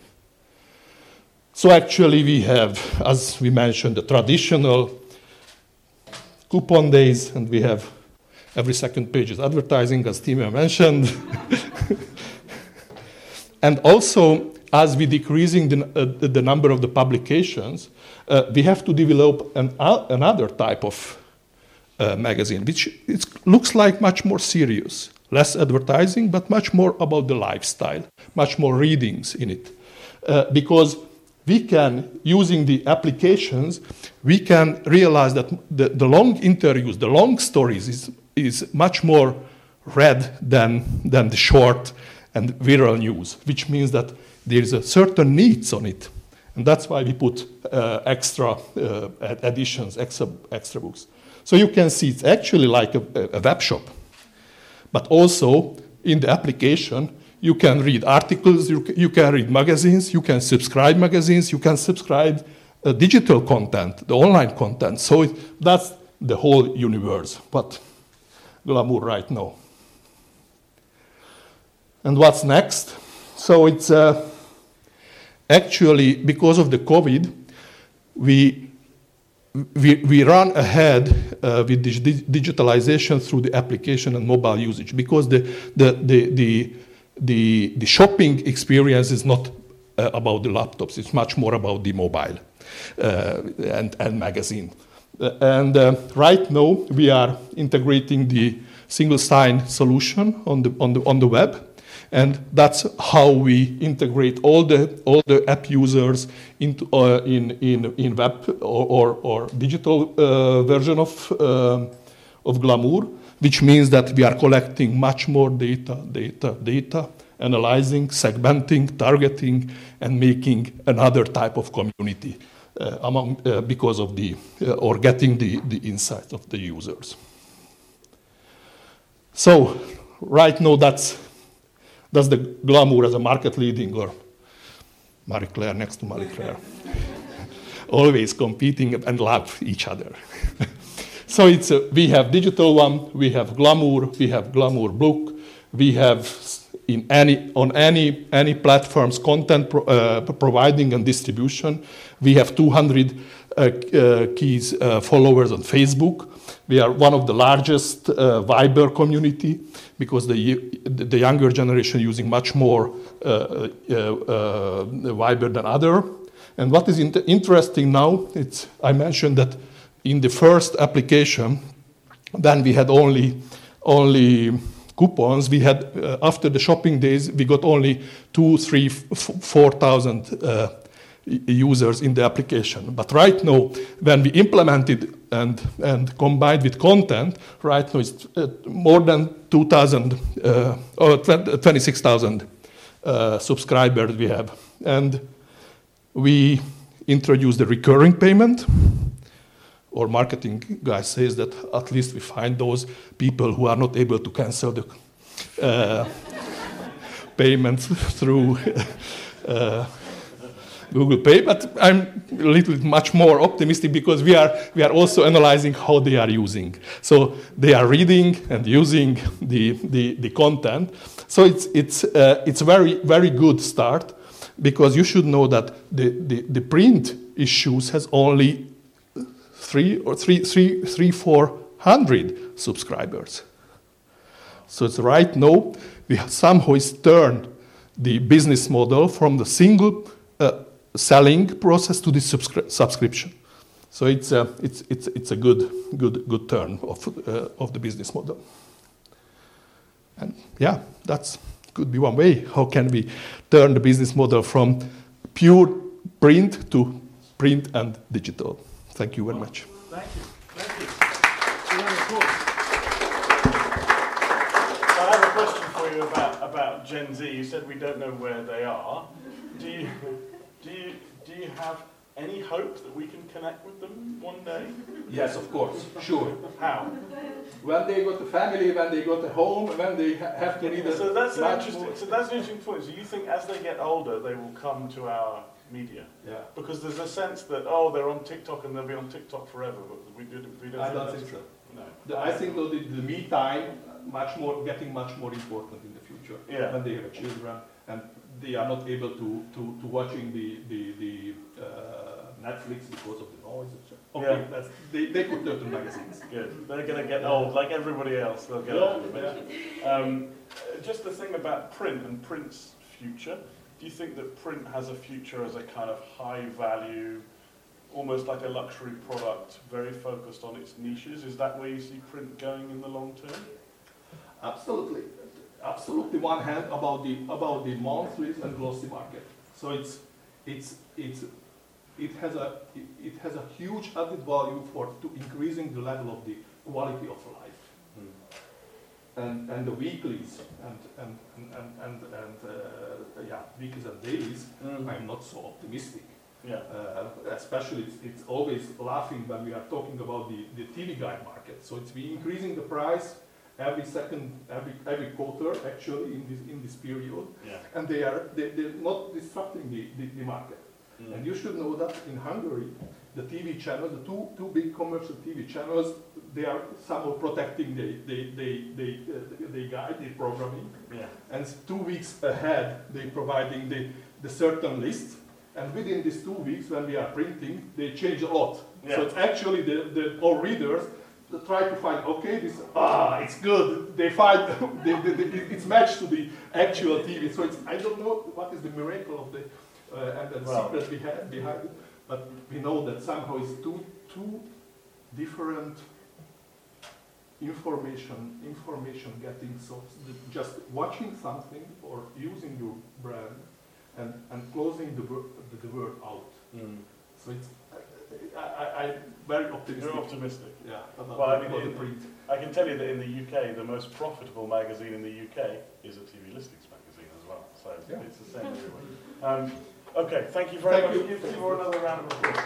Speaker 8: So actually, we have, as we mentioned, the traditional coupon days, and we have. Every second page is advertising, as Timo mentioned. And also, as we're decreasing the, uh, the number of the publications, uh, we have to develop an, uh, another type of uh, magazine, which it looks like much more serious. Less advertising, but much more about the lifestyle, much more readings in it. Uh, because we can, using the applications, we can realize that the, the long interviews, the long stories is is much more read than, than the short and viral news, which means that there is a certain needs on it. And that's why we put uh, extra uh, editions, extra, extra books. So you can see it's actually like a, a web shop. But also, in the application, you can read articles, you, you can read magazines, you can subscribe magazines, you can subscribe uh, digital content, the online content. So it, that's the whole universe. But Glamour right now. And what's next? So it's uh, actually because of the COVID, we we, we run ahead uh, with this digitalization through the application and mobile usage because the the the the the, the shopping experience is not uh, about the laptops; it's much more about the mobile uh, and and magazine. Uh, and uh, right now we are integrating the single sign solution on the on the on the web, and that's how we integrate all the all the app users into uh, in in in web or or, or digital uh, version of uh, of Glamour, which means that we are collecting much more data, data, data, analyzing, segmenting, targeting, and making another type of community. Uh, among uh, because of the uh, or getting the, the insights of the users. So right now that's that's the Glamour as a market leading, or Marie Claire next to Marie Claire. always competing and love each other. So it's a, we have digital one, we have Glamour, we have Glamour Book, we have in any on any any platforms content pro, uh, providing and distribution. We have two hundred uh, uh, keys uh, followers on Facebook. We are one of the largest uh, Viber community because the the younger generation using much more uh, uh, uh, Viber than other. And what is in- interesting now, it's I mentioned that in the first application, then we had only only coupons. We had uh, after the shopping days, we got only two, three, f- four thousand uh, users in the application. But right now, when we implemented and and combined with content, right now it's uh, more than two thousand uh, or twenty-six thousand uh, subscribers we have, and we introduced the recurring payment. Or marketing guy says that at least we find those people who are not able to cancel the uh, payments through uh, Google Pay. But I'm a little bit much more optimistic because we are we are also analyzing how they are using. So they are reading and using the the, the content. So it's it's uh, it's a very very good start because you should know that the the, the print issues has only three or three, three, three, four hundred subscribers. So it's right now we have somehow is turned the business model from the single uh, selling process to the subscri- subscription. So it's a it's it's it's a good good good turn of uh, of the business model. And yeah, that's could be one way. How can we turn the business model from pure print to print and digital? Thank you very much.
Speaker 3: Thank you. Thank you. So I have a question for you about, about Gen Z. You said we don't know where they are. Do you, do you, do you have any hope that we can connect with them one day?
Speaker 8: Yes, of course. Sure.
Speaker 3: How?
Speaker 8: When they got a family, when they got a home, when they ha- have to need a...
Speaker 3: So that's, an interesting, so that's an interesting point. So you think as they get older, they will come to our media?
Speaker 8: Yeah.
Speaker 3: Because there's a sense that, oh, they're on TikTok and they'll be on TikTok forever, but we, do, we don't
Speaker 8: I
Speaker 3: think
Speaker 8: don't
Speaker 3: that's
Speaker 8: think
Speaker 3: true.
Speaker 8: so.
Speaker 3: No.
Speaker 8: The, I think though the, the me time much more getting much more important in the future
Speaker 3: Yeah.
Speaker 8: when they have children and they are not able to to, to watching the the, the uh, Netflix because of the noise. Okay,
Speaker 3: Yeah.
Speaker 8: that's, they they could turn to magazines.
Speaker 3: Good. They're going to get old like everybody else. They'll get
Speaker 8: Yeah,
Speaker 3: old eventually. Um, just the thing about print and print's future. Do you think that print has a future as a kind of high value, almost like a luxury product, very focused on its niches? Is that where you see print going in the long term?
Speaker 8: Absolutely, absolutely. One hand about the about the monthly and glossy market. So it's it's it's it has a it, it has a huge added value for to increasing the level of the quality of life. Mm. And and the weeklies and and and and and, and uh, yeah weeklies and dailies. Mm. I'm not so optimistic.
Speaker 3: Yeah.
Speaker 8: Uh, especially, it's, it's always laughing when we are talking about the, the T V guide market. So it's we increasing the price every second, every every quarter actually in this in this period,
Speaker 3: yeah.
Speaker 8: and they are they, they're not disrupting the, the, the market. Mm. And you should know that in Hungary, the T V channels, the two two big commercial T V channels, they are somehow protecting the they they they uh, they guide the programming.
Speaker 3: Yeah. And
Speaker 8: two weeks ahead, they providing the the certain list. And within these two weeks, when we are printing, they change a lot. Yeah. So it's actually the, the all readers that try to find, okay, this ah, it's good. They find they, they, they, it's matched to the actual T V. So it's I don't know what is the miracle of the uh, and the well, secret we have behind it, but we know that somehow it's two two different information information getting. So just watching something or using your brand. And, and closing the, wor- the, the word out. Mm. So it's, I, I, I'm very optimistic.
Speaker 3: You're optimistic?
Speaker 8: Yeah.
Speaker 3: Well, I mean, in, print. I can tell you that in the U K, the most profitable magazine in the U K is a T V listings magazine as well. So yeah. It's the same everywhere. Um, okay, thank you very thank much. You. Give you another round of applause.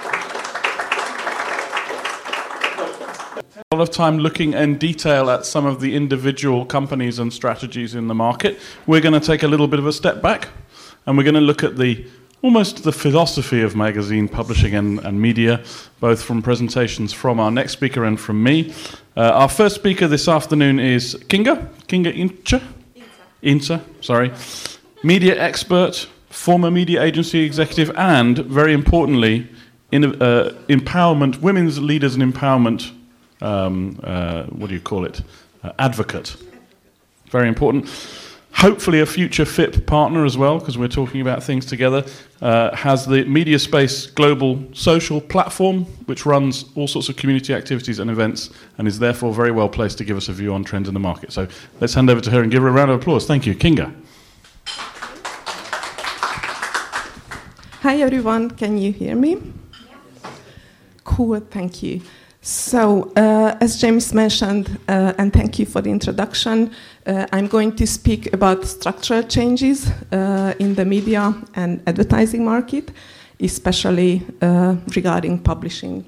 Speaker 5: A lot of time looking in detail at some of the individual companies and strategies in the market. We're going to take a little bit of a step back. And we're going to look at the almost the philosophy of magazine publishing and, and media, both from presentations from our next speaker and from me. Uh, our first speaker this afternoon is Kinga, Kinga Ince, Ince, sorry, media expert, former media agency executive, and very importantly, in, uh, empowerment, women's leaders and empowerment, um, uh, what do you call it, uh, advocate. Very important. Hopefully a future F I P partner as well, because we're talking about things together, uh, has the MediaSpace Global Social Platform, which runs all sorts of community activities and events, and is therefore very well placed to give us a view on trends in the market. So let's hand over to her and give her a round of applause. Thank you. Kinga.
Speaker 9: Hi everyone, can you hear me? Yeah. Cool, thank you. So, uh, as James mentioned, uh, and thank you for the introduction, uh, I'm going to speak about structural changes uh, in the media and advertising market, especially uh, regarding publishing.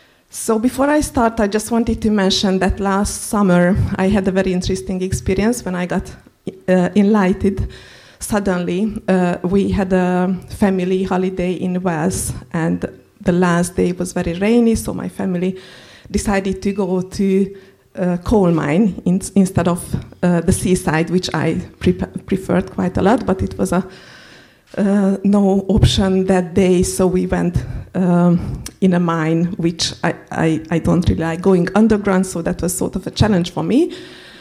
Speaker 9: So before I start, I just wanted to mention that last summer I had a very interesting experience when I got uh, enlightened. Suddenly, uh, we had a family holiday in Wales, and the last day was very rainy, so my family decided to go to a coal mine in, instead of uh, the seaside, which I pre preferred quite a lot, but it was a uh, no option that day, so we went um, in a mine, which I, I, I don't really like going underground, so that was sort of a challenge for me.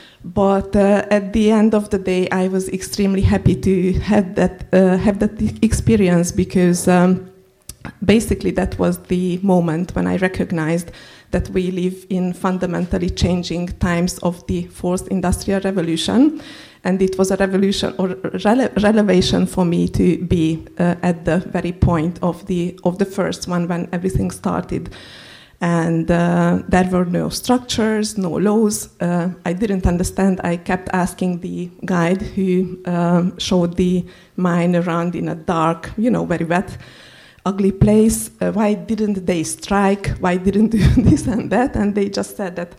Speaker 9: But uh, at the end of the day, I was extremely happy to have that, uh, have that experience, because um, basically that was the moment when I recognized that we live in fundamentally changing times of the fourth industrial revolution, and it was a revolution or rele relevation for me to be uh, at the very point of the of the first one when everything started. And uh, there were no structures, no laws. Uh, I didn't understand. I kept asking the guide who um, showed the mine around in a dark, you know, very wet, ugly place. Uh, why didn't they strike? Why didn't do this and that? And they just said that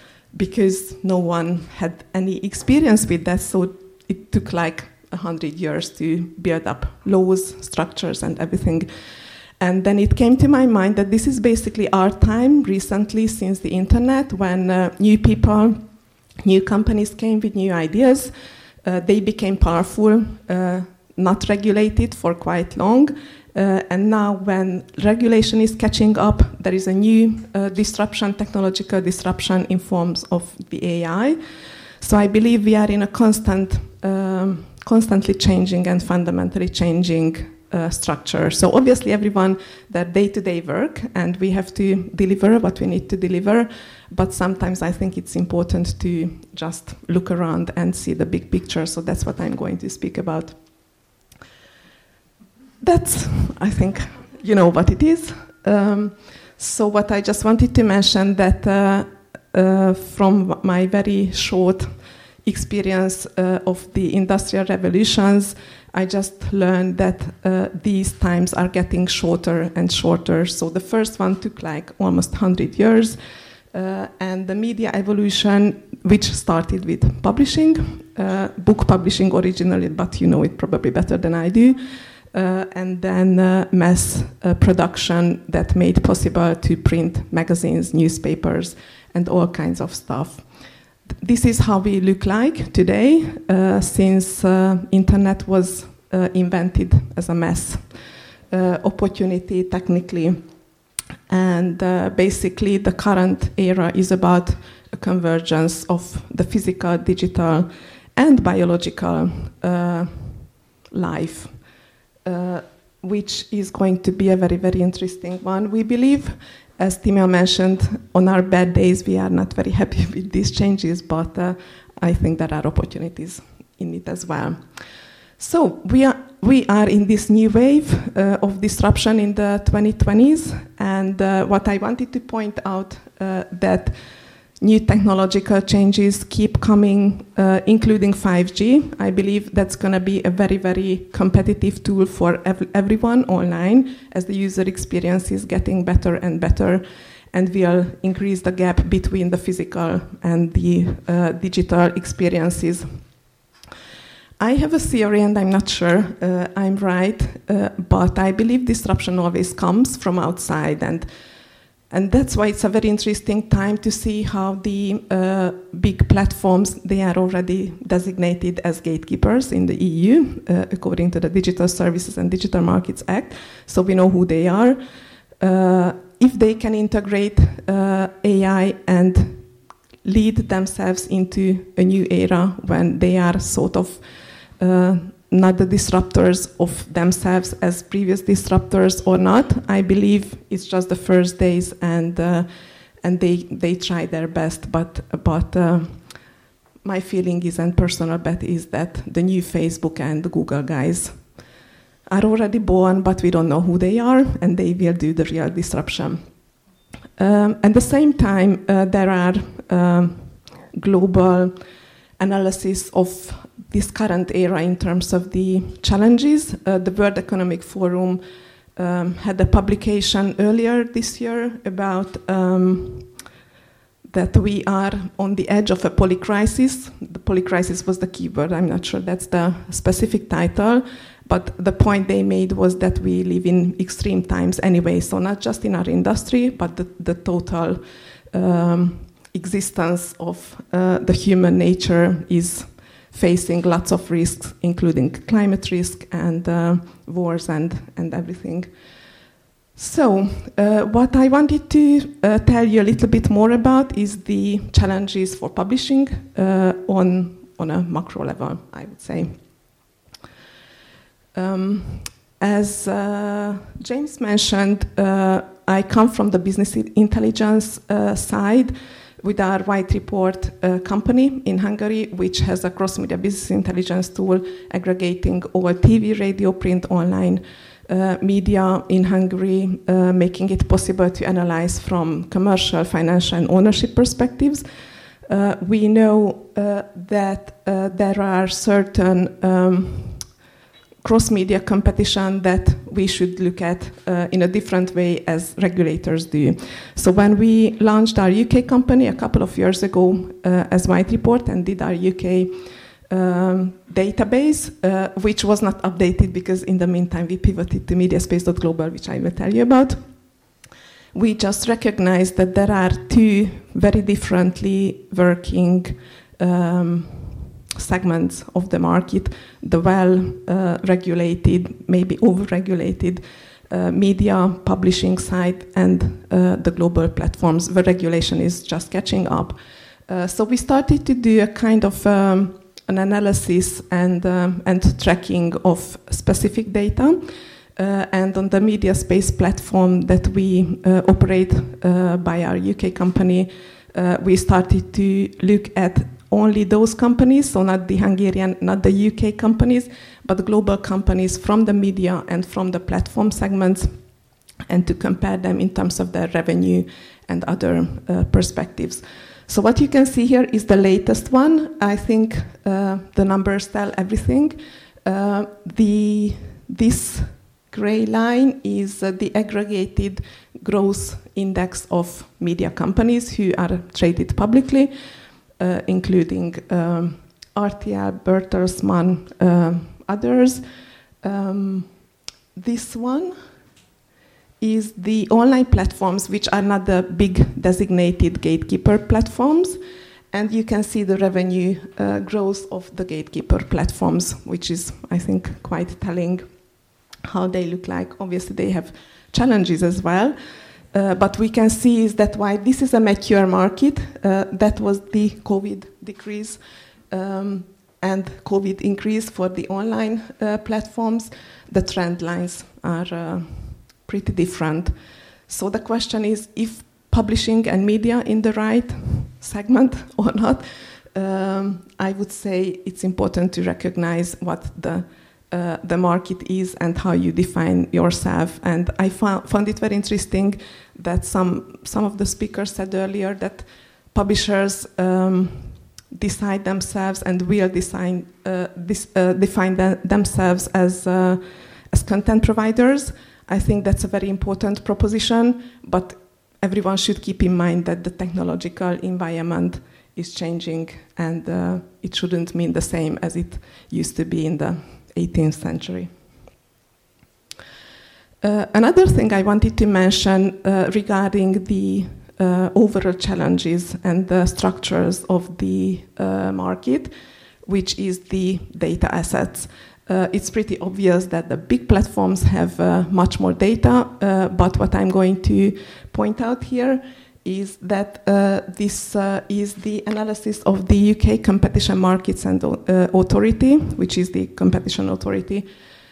Speaker 9: because no one had any experience with that, so it took like a hundred years to build up laws, structures, and everything. And then it came to my mind that this is basically our time recently since the internet, when uh, new people, new companies came with new ideas. Uh, they became powerful, uh, not regulated for quite long. Uh, and now when regulation is catching up, there is a new uh, disruption, technological disruption in forms of the A I. So I believe we are in a constant, um, constantly changing and fundamentally changing Uh, structure. So obviously everyone, their day-to-day work, and we have to deliver what we need to deliver, but sometimes I think it's important to just look around and see the big picture, so that's what I'm going to speak about. That's, I think, you know what it is. Um, so what I just wanted to mention that uh, uh, from my very short experience uh, of the industrial revolutions, I just learned that uh, these times are getting shorter and shorter. So the first one took like almost one hundred years. Uh, and the media evolution, which started with publishing, uh, book publishing originally, but you know it probably better than I do. Uh, and then uh, mass uh, production that made possible to print magazines, newspapers, and all kinds of stuff. This is how we look like today, uh, since uh, internet was uh, invented as a mass uh, opportunity technically. And uh, basically the current era is about a convergence of the physical, digital, and biological uh, life, uh, which is going to be a very, very interesting one. We believe, as Timea mentioned, on our bad days, we are not very happy with these changes, but uh, I think there are opportunities in it as well. So we are, we are in this new wave uh, of disruption in the twenty twenties, and uh, what I wanted to point out uh, that new technological changes keep coming, uh, including five G. I believe that's going to be a very, very competitive tool for ev everyone online, as the user experience is getting better and better, and will increase the gap between the physical and the uh, digital experiences. I have a theory, and I'm not sure uh, I'm right, uh, but I believe disruption always comes from outside, and and that's why it's a very interesting time to see how the uh, big platforms, they are already designated as gatekeepers in the E U, uh, according to the Digital Services and Digital Markets Act, so we know who they are. Uh, if they can integrate uh, A I and lead themselves into a new era when they are sort of uh, not the disruptors of themselves as previous disruptors or not. I believe it's just the first days, and uh, and they they try their best. But but uh, my feeling is, and personal bet is, that the new Facebook and the Google guys are already born, but we don't know who they are, and they will do the real disruption. Um, at the same time, uh, there are um, global analysis of this current era in terms of the challenges. Uh, the World Economic Forum um, had a publication earlier this year about um, that we are on the edge of a polycrisis. The polycrisis was the keyword. I'm not sure that's the specific title, but the point they made was that we live in extreme times anyway, so not just in our industry, but the, the total um, existence of uh, the human nature is facing lots of risks, including climate risk and uh, wars and, and everything. So uh, what I wanted to uh, tell you a little bit more about is the challenges for publishing uh, on, on a macro level, I would say. Um, as uh, James mentioned, uh, I come from the business intelligence uh, side with our White Report uh, company in Hungary, which has a cross-media business intelligence tool aggregating all T V, radio, print, online uh, media in Hungary, uh, making it possible to analyze from commercial, financial, and ownership perspectives. Uh, we know uh, that uh, there are certain um, cross-media competition that we should look at uh, in a different way as regulators do. So when we launched our U K company a couple of years ago uh, as White Report and did our U K um, database, uh, which was not updated because in the meantime we pivoted to mediaspace dot global, which I will tell you about, we just recognized that there are two very differently working um, segments of the market: the well-regulated, uh, maybe over-regulated uh, media publishing side, and uh, the global platforms where regulation is just catching up. Uh, so we started to do a kind of um, an analysis and, um, and tracking of specific data. Uh, and on the MediaSpace platform that we uh, operate uh, by our U K company, uh, we started to look at only those companies, so not the Hungarian, not the U K companies, but global companies from the media and from the platform segments, and to compare them in terms of their revenue and other uh, perspectives. So what you can see here is the latest one. I think uh, the numbers tell everything. Uh, the this gray line is uh, the aggregated growth index of media companies who are traded publicly, Uh, including um, R T L, Bertelsmann, uh, others. Um, this one is the online platforms, which are not the big designated gatekeeper platforms. And you can see the revenue uh, growth of the gatekeeper platforms, which is, I think, quite telling how they look like. Obviously, they have challenges as well. Uh, but we can see is that while this is a mature market, uh, that was the COVID decrease um, and COVID increase for the online uh, platforms, the trend lines are uh, pretty different. So the question is if publishing and media in the right segment or not. Um, I would say it's important to recognize what the Uh, the market is and how you define yourself. And I found, found it very interesting that some some of the speakers said earlier that publishers um, decide themselves and will design, uh, this, uh, define them, themselves as, uh, as content providers. I think that's a very important proposition, but everyone should keep in mind that the technological environment is changing, and uh, it shouldn't mean the same as it used to be in the eighteenth century. Uh, another thing I wanted to mention uh, regarding the uh, overall challenges and the structures of the uh, market, which is the data assets. Uh, it's pretty obvious that the big platforms have uh, much more data, uh, but what I'm going to point out here is that uh, this uh, is the analysis of the U K Competition Markets and uh, Authority, which is the competition authority,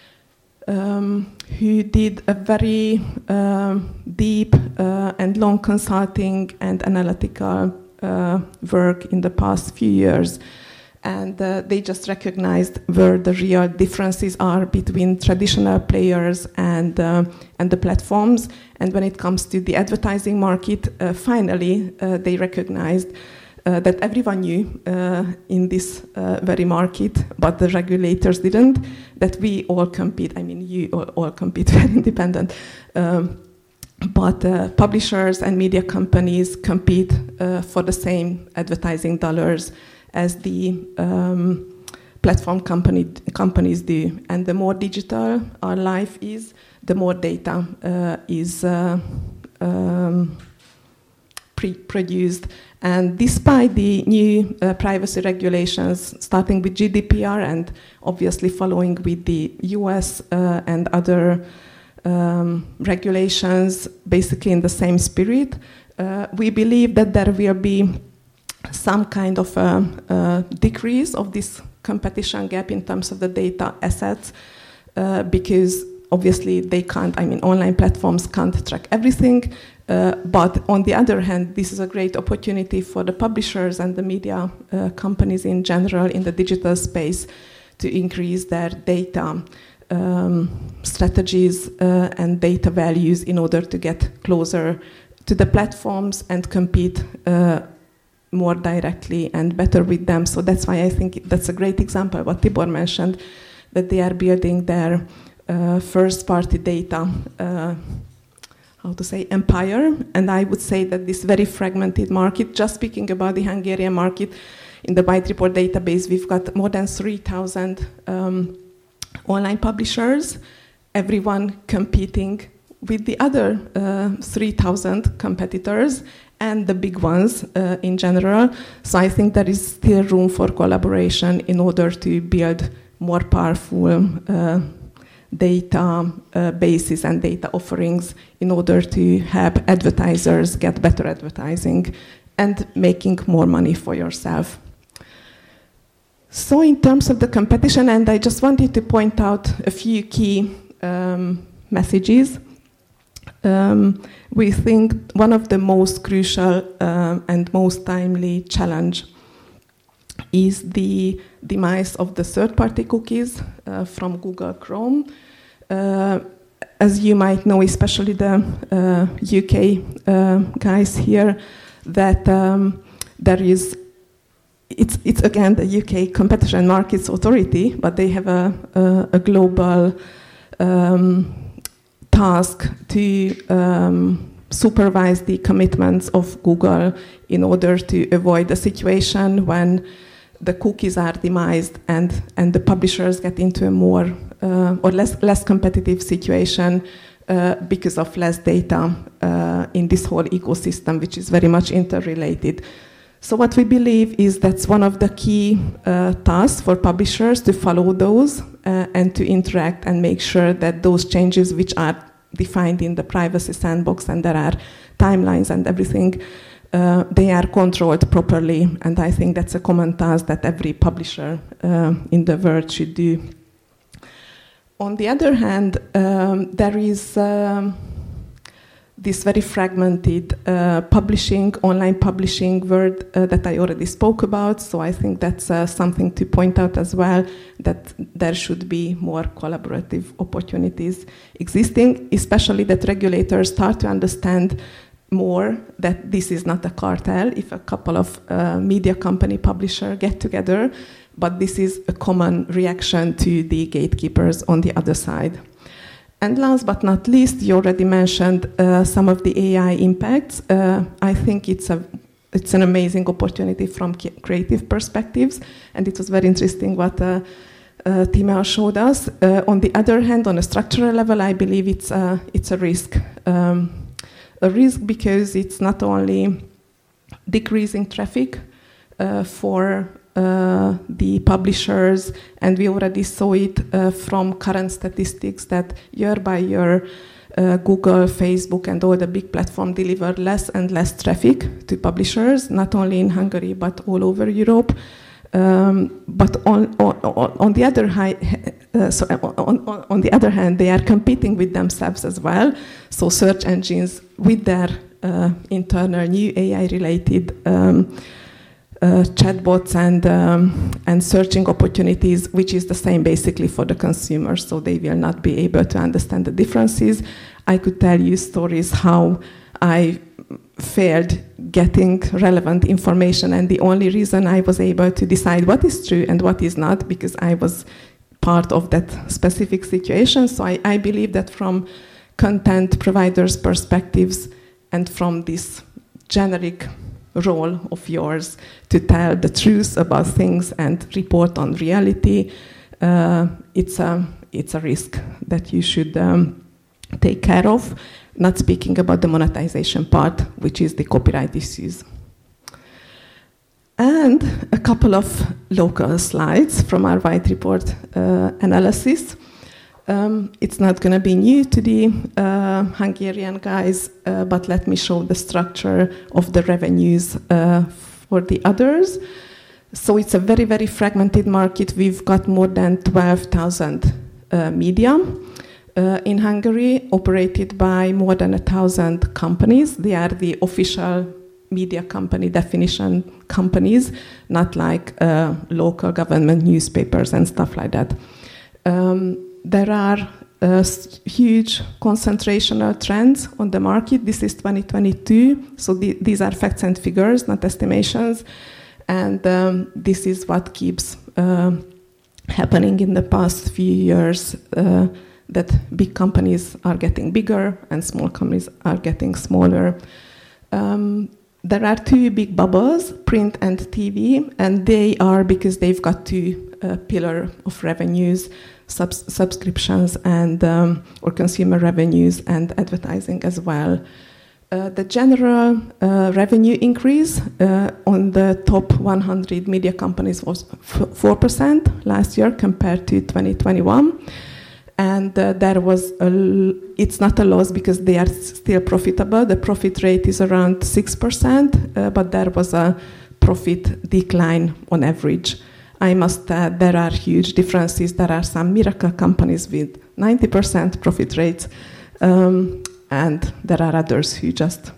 Speaker 9: um, who did a very uh, deep uh, and long consulting and analytical uh, work in the past few years. And uh, they just recognized where the real differences are between traditional players and uh, and the platforms. And when it comes to the advertising market, uh, finally uh, they recognized uh, that everyone knew uh, in this uh, very market, but the regulators didn't, that we all compete. I mean, you all, all compete, very independent. Um, but uh, publishers and media companies compete uh, for the same advertising dollars as the um, platform company, companies do. And the more digital our life is, the more data uh, is uh, um, pre- produced. And despite the new uh, privacy regulations, starting with G D P R and obviously following with the U S uh, and other um, regulations, basically in the same spirit, uh, we believe that there will be some kind of a, a decrease of this competition gap in terms of the data assets, uh, because obviously they can't, I mean, online platforms can't track everything, uh, but on the other hand, this is a great opportunity for the publishers and the media uh, companies in general in the digital space to increase their data um, strategies uh, and data values in order to get closer to the platforms and compete uh, more directly and better with them. So that's why I think that's a great example, what Tibor mentioned, that they are building their uh, first-party data, uh, how to say, empire. And I would say that this very fragmented market, just speaking about the Hungarian market, in the White Report database, we've got more than three thousand um, online publishers, everyone competing with the other uh, three thousand competitors, and the big ones uh, in general. So I think there is still room for collaboration in order to build more powerful uh, data uh, bases and data offerings in order to help advertisers get better advertising and making more money for yourself. So in terms of the competition, and I just wanted to point out a few key um, messages. Um, we think one of the most crucial uh, and most timely challenge is the demise of the third-party cookies uh, from Google Chrome. Uh, as you might know, especially the uh, U K uh, guys here, that um, there is, it's, it's again the U K Competition Markets Authority, but they have a, a, a global um, task to um, supervise the commitments of Google in order to avoid a situation when the cookies are demised and, and the publishers get into a more uh, or less, less competitive situation uh, because of less data uh, in this whole ecosystem, which is very much interrelated. So what we believe is that's one of the key uh, tasks for publishers, to follow those uh, and to interact and make sure that those changes which are defined in the privacy sandbox, and there are timelines and everything, uh, they are controlled properly. And I think that's a common task that every publisher uh, in the world should do. On the other hand, um, there is um, this very fragmented uh, publishing, online publishing world uh, that I already spoke about. So I think that's uh, something to point out as well, that there should be more collaborative opportunities existing, especially that regulators start to understand more that this is not a cartel if a couple of uh, media company publisher get together, but this is a common reaction to the gatekeepers on the other side. And last but not least, you already mentioned uh, some of the A I impacts. Uh, I think it's a it's an amazing opportunity from creative perspectives, and it was very interesting what uh, uh, Timea showed us. Uh, on the other hand, on a structural level, I believe it's a, it's a risk. Um, a risk because it's not only decreasing traffic uh, for uh, the publishers, and we already saw it uh, from current statistics that year by year uh, Google, Facebook, and all the big platforms deliver less and less traffic to publishers, not only in Hungary but all over Europe. Um, but on, on, on the other high, uh, so on, on, on the other hand, they are competing with themselves as well. So search engines with their uh, internal new A I-related um, uh, chatbots and um, and searching opportunities, which is the same basically for the consumers. So they will not be able to understand the differences. I could tell you stories how I failed getting relevant information, and the only reason I was able to decide what is true and what is not, because I was part of that specific situation. So I, I believe that from content providers' perspectives and from this generic role of yours to tell the truth about things and report on reality, uh, it's a it's a risk that you should um, take care of. Not speaking about the monetization part, which is the copyright issues. And a couple of local slides from our white report uh, analysis. Um, it's not going to be new to the uh, Hungarian guys, uh, but let me show the structure of the revenues uh, for the others. So it's a very, very fragmented market. We've got more than twelve thousand uh, media. Uh, in Hungary, operated by more than a thousand companies. They are the official media company definition companies, not like uh, local government newspapers and stuff like that. Um, there are uh, huge concentrational trends on the market. This is twenty twenty-two, so the, these are facts and figures, not estimations. And um, this is what keeps uh, happening in the past few years. Uh, that big companies are getting bigger and small companies are getting smaller. Um, there are two big bubbles, print and T V, and they are because they've got two uh, pillars of revenues, subs- subscriptions and um, or consumer revenues and advertising as well. Uh, the general uh, revenue increase uh, on the top one hundred media companies was f- four percent last year compared to twenty twenty-one. And uh, there was, a l- it's not a loss because they are still profitable. The profit rate is around six percent, uh, but there was a profit decline on average. I must add, there are huge differences. There are some miracle companies with ninety percent profit rates, um, and there are others who just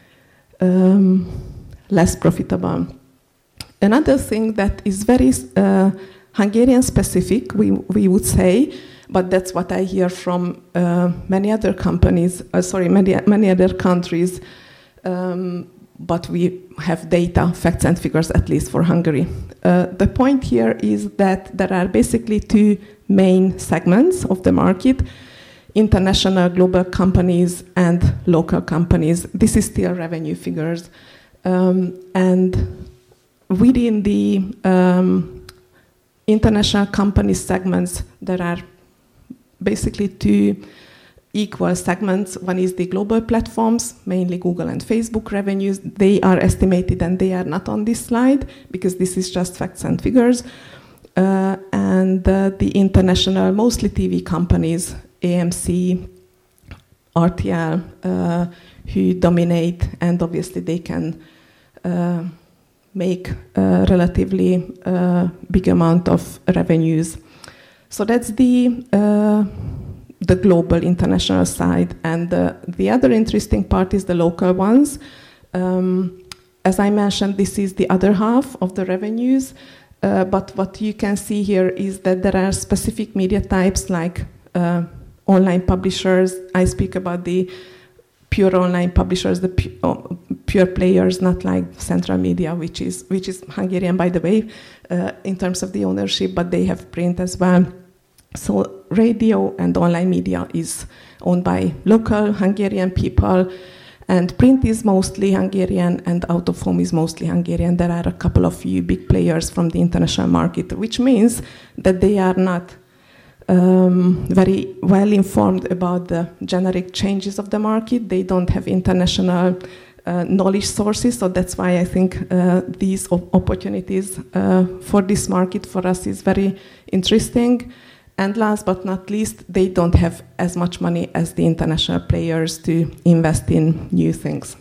Speaker 9: um, less profitable. Another thing that is very uh, Hungarian specific, we, we would say, but that's what I hear from uh, many other companies, uh, sorry, many, many other countries, um, but we have data, facts and figures, at least for Hungary. Uh, the point here is that there are basically two main segments of the market, international global companies and local companies. This is still revenue figures. Um, and within the um, international company segments, there are basically two equal segments. One is the global platforms, mainly Google and Facebook revenues. They are estimated and they are not on this slide because this is just facts and figures. Uh, and uh, the international, mostly T V companies, A M C, R T L, uh, who dominate, and obviously they can uh, make a relatively uh, big amount of revenues. So that's the uh, the global international side, and uh, the other interesting part is the local ones. Um, as I mentioned, this is the other half of the revenues, uh, but what you can see here is that there are specific media types like uh, online publishers. I speak about the pure online publishers, the pu- oh, pure players, not like Central Media, which is which is Hungarian, by the way, uh, in terms of the ownership, but they have print as well. So radio and online media is owned by local Hungarian people, And print is mostly Hungarian and out of home is mostly Hungarian. There are a couple of few big players from the international market, which means that they are not um, very well informed about the generic changes of the market. They don't have international uh, knowledge sources, so that's why I think uh, these op- opportunities uh, for this market for us is very interesting. And last but not least, they don't have as much money as the international players to invest in new things.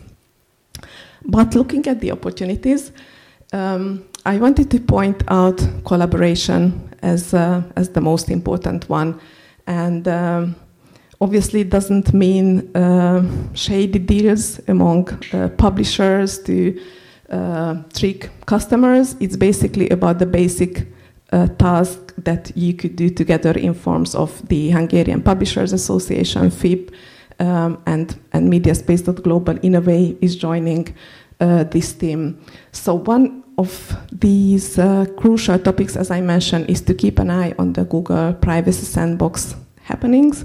Speaker 9: But looking at the opportunities, um, I wanted to point out collaboration as uh, as the most important one. And um, obviously it doesn't mean uh, shady deals among uh, publishers to uh, trick customers. It's basically about the basic uh, task that you could do together in forms of the Hungarian Publishers Association, F I P, um, and, and Mediaspace.global in a way is joining uh, this team. So one of these uh, crucial topics, as I mentioned, is to keep an eye on the Google Privacy Sandbox happenings.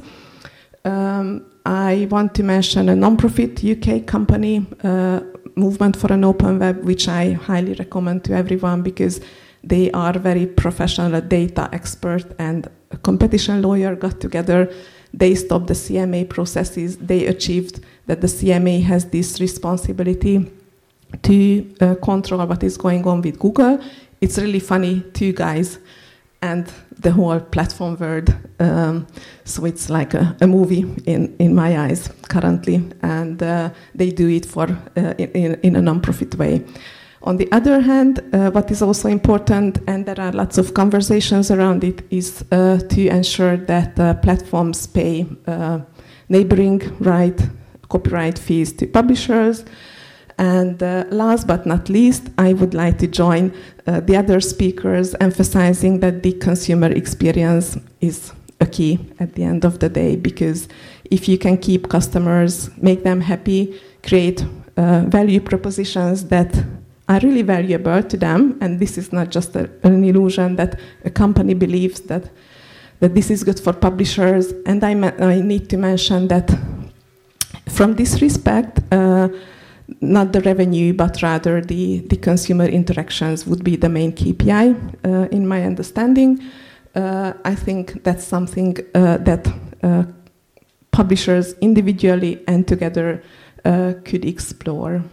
Speaker 9: Um, I want to mention a non-profit U K company, uh, Movement for an Open Web, which I highly recommend to everyone because they are very professional, a data expert and a competition lawyer got together. They stopped the C M A processes. They achieved that the C M A has this responsibility to uh, control what is going on with Google. It's really funny, two guys and the whole platform world. Um, so it's like a, a movie in, in my eyes currently. And uh, they do it for uh, in, in a non-profit way. On the other hand, uh, what is also important, and there are lots of conversations around it, is uh, to ensure that uh, platforms pay uh, neighboring right, copyright fees to publishers. And uh, last but not least, I would like to join uh, the other speakers emphasizing that the consumer experience is a key at the end of the day, because if you can keep customers, make them happy, create uh, value propositions that are really valuable to them, and this is not just a, an illusion that a company believes that that this is good for publishers. And I, ma- I need to mention that from this respect, uh, not the revenue, but rather the, the consumer interactions would be the main K P I, uh, in my understanding. Uh, I think that's something uh, that uh, publishers individually and together uh, could explore.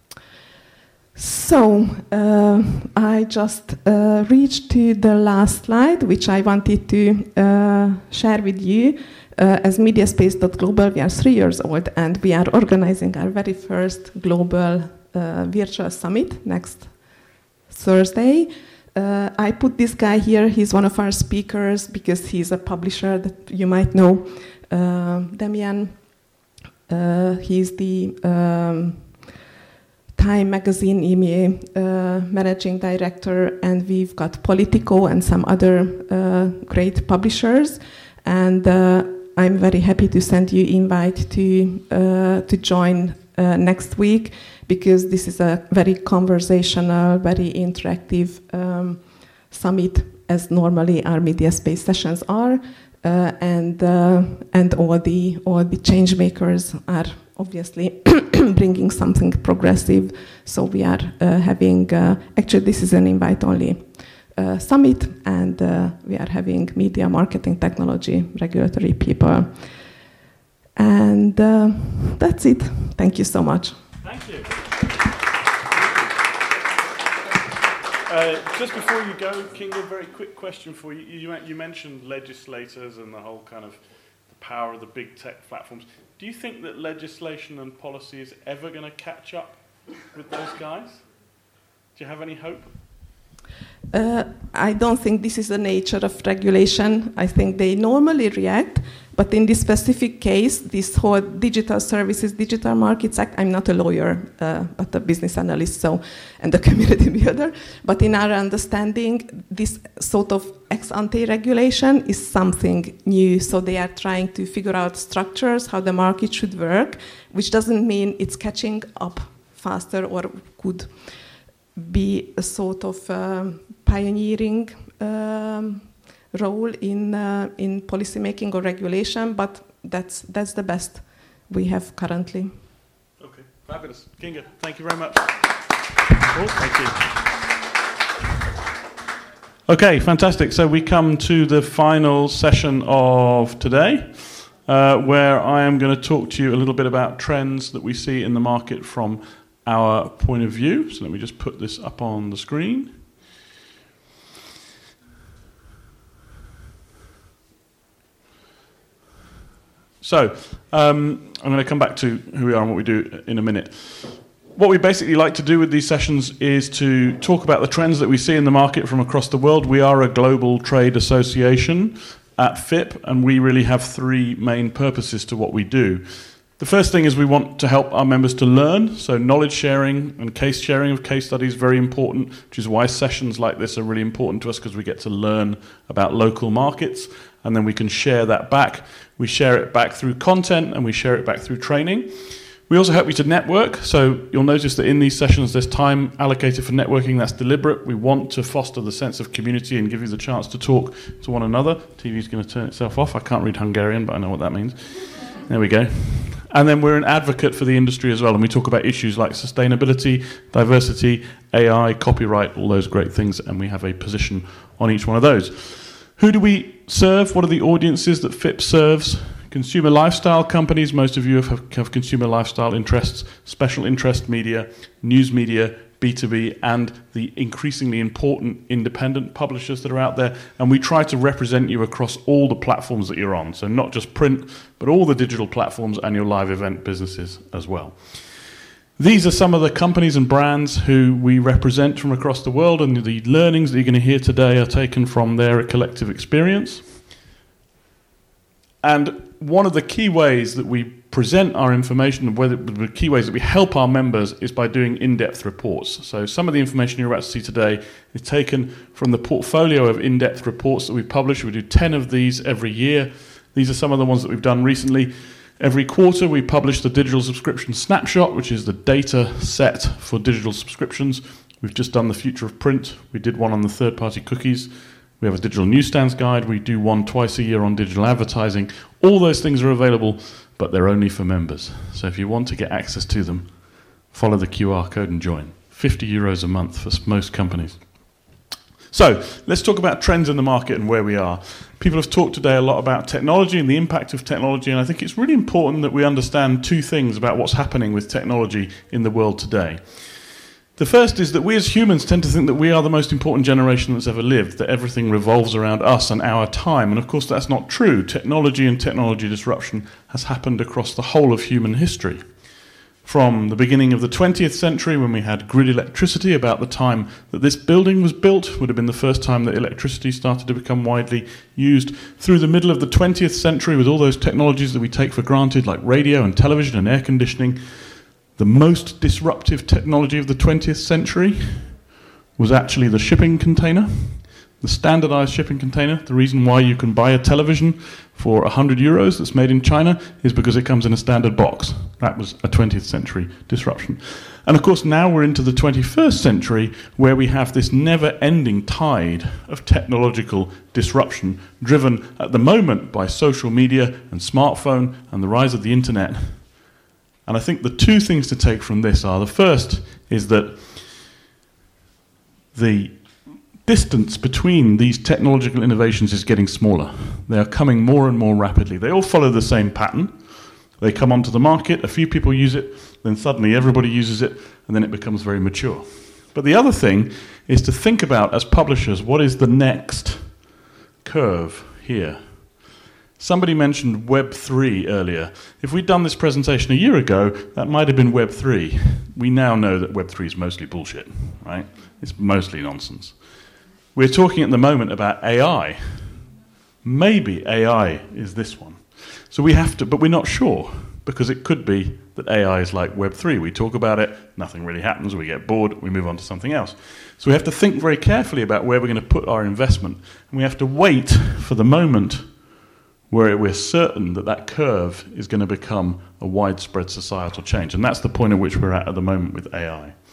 Speaker 9: So uh, I just uh, reached to the last slide, which I wanted to uh, share with you. Uh, as Mediaspace.global, we are three years old, and we are organizing our very first global uh, virtual summit next Thursday. Uh, I put this guy here. He's one of our speakers because he's a publisher that you might know, uh, Damian. Uh, he's the um, Time Magazine E M E A uh, managing director, and we've got Politico and some other uh, great publishers. And uh, I'm very happy to send you invite to uh, to join uh, next week, because this is a very conversational, very interactive um, summit, as normally our Mediaspace sessions are, uh, and uh, and all the all the change makers are obviously bringing something progressive. So we are uh, having uh, actually this is an invite only Uh, summit, and uh, we are having media, marketing, technology, regulatory people. And uh, that's it. Thank you so much.
Speaker 3: Thank you. Uh, just before you go, Kinga, a very quick question for you. you. You mentioned legislators and the whole kind of the power of the big tech platforms. Do you think that legislation and policy is ever going to catch up with those guys? Do you have any hope?
Speaker 9: Uh, I don't think this is the nature of regulation. I think they normally react, but in this specific case, this whole Digital Services, Digital Markets Act, I'm not a lawyer, uh, but a business analyst, so, and a community builder, but in our understanding, this sort of ex-ante regulation is something new, so they are trying to figure out structures, how the market should work, which doesn't mean it's catching up faster or could be a sort of um, pioneering um, role in uh, in policy making or regulation, but that's that's the best we have currently.
Speaker 3: Okay.
Speaker 5: Fabulous. Kinga, thank you very much. Oh, thank you. Okay, fantastic. So we come to the final session of today, uh, where I am going to talk to you a little bit about trends that we see in the market from our point of view. So let me just put this up on the screen. So, um, I'm going to come back to who we are and what we do in a minute. What we basically like to do with these sessions is to talk about the trends that we see in the market from across the world. We are a global trade association at F I P, and we really have three main purposes to what we do. The first thing is we want to help our members to learn, so knowledge sharing and case sharing of case studies is very important, which is why sessions like this are really important to us, because we get to learn about local markets, and then we can share that back. We share it back through content, and we share it back through training. We also help you to network, so you'll notice that in these sessions there's time allocated for networking. That's deliberate. We want to foster the sense of community and give you the chance to talk to one another. T V's going to turn itself off. I can't read Hungarian, but I know what that means. There we go. And then we're an advocate for the industry as well, and we talk about issues like sustainability, diversity, A I, copyright, all those great things, and we have a position on each one of those. Who do we serve? What are the audiences that F I P serves? Consumer lifestyle companies. Most of you have, have consumer lifestyle interests, special interest media, news media, B two B, and the increasingly important independent publishers that are out there. And we try to represent you across all the platforms that you're on. So not just print, but all the digital platforms and your live event businesses as well. These are some of the companies and brands who we represent from across the world, and the learnings that you're going to hear today are taken from their collective experience. And one of the key ways that we present our information, whether the key ways that we help our members, is by doing in-depth reports. So some of the information you're about to see today is taken from the portfolio of in-depth reports that we publish. We do ten of these every year. These are some of the ones that we've done recently. Every quarter we publish the digital subscription snapshot, which is the data set for digital subscriptions. We've just done the future of print. We did one on the third-party cookies. We have a digital newsstands guide. We do one twice a year on digital advertising. All those things are available, but they're only for members. So if you want to get access to them, follow the Q R code and join. fifty euros a month for most companies. So let's talk about trends in the market and where we are. People have talked today a lot about technology and the impact of technology, and I think it's really important that we understand two things about what's happening with technology in the world today. The first is that we as humans tend to think that we are the most important generation that's ever lived, that everything revolves around us and our time. And of course that's not true. Technology and technology disruption has happened across the whole of human history. From the beginning of the twentieth century, when we had grid electricity, about the time that this building was built, would have been the first time that electricity started to become widely used, through the middle of the twentieth century, with all those technologies that we take for granted, like radio and television and air conditioning. The most disruptive technology of the twentieth century was actually the shipping container, the standardized shipping container. The reason why you can buy a television for one hundred euros that's made in China is because it comes in a standard box. That was a twentieth century disruption. And of course now we're into the twenty-first century, where we have this never-ending tide of technological disruption, driven at the moment by social media and smartphone and the rise of the internet. And I think the two things to take from this are, the first is that the distance between these technological innovations is getting smaller. They are coming more and more rapidly. They all follow the same pattern. They come onto the market, a few people use it, then suddenly everybody uses it, and then it becomes very mature. But the other thing is to think about, as publishers, what is the next curve here? Somebody mentioned Web three earlier. If we'd done this presentation a year ago, that might have been Web three. We now know that Web three is mostly bullshit, right? It's mostly nonsense. We're talking at the moment about A I. Maybe A I is this one. So we have to, but we're not sure, because it could be that A I is like Web three. We talk about it, nothing really happens, we get bored, we move on to something else. So we have to think very carefully about where we're going to put our investment, and we have to wait for the moment where we're certain that that curve is going to become a widespread societal change. And that's the point at which we're at at the moment with A I.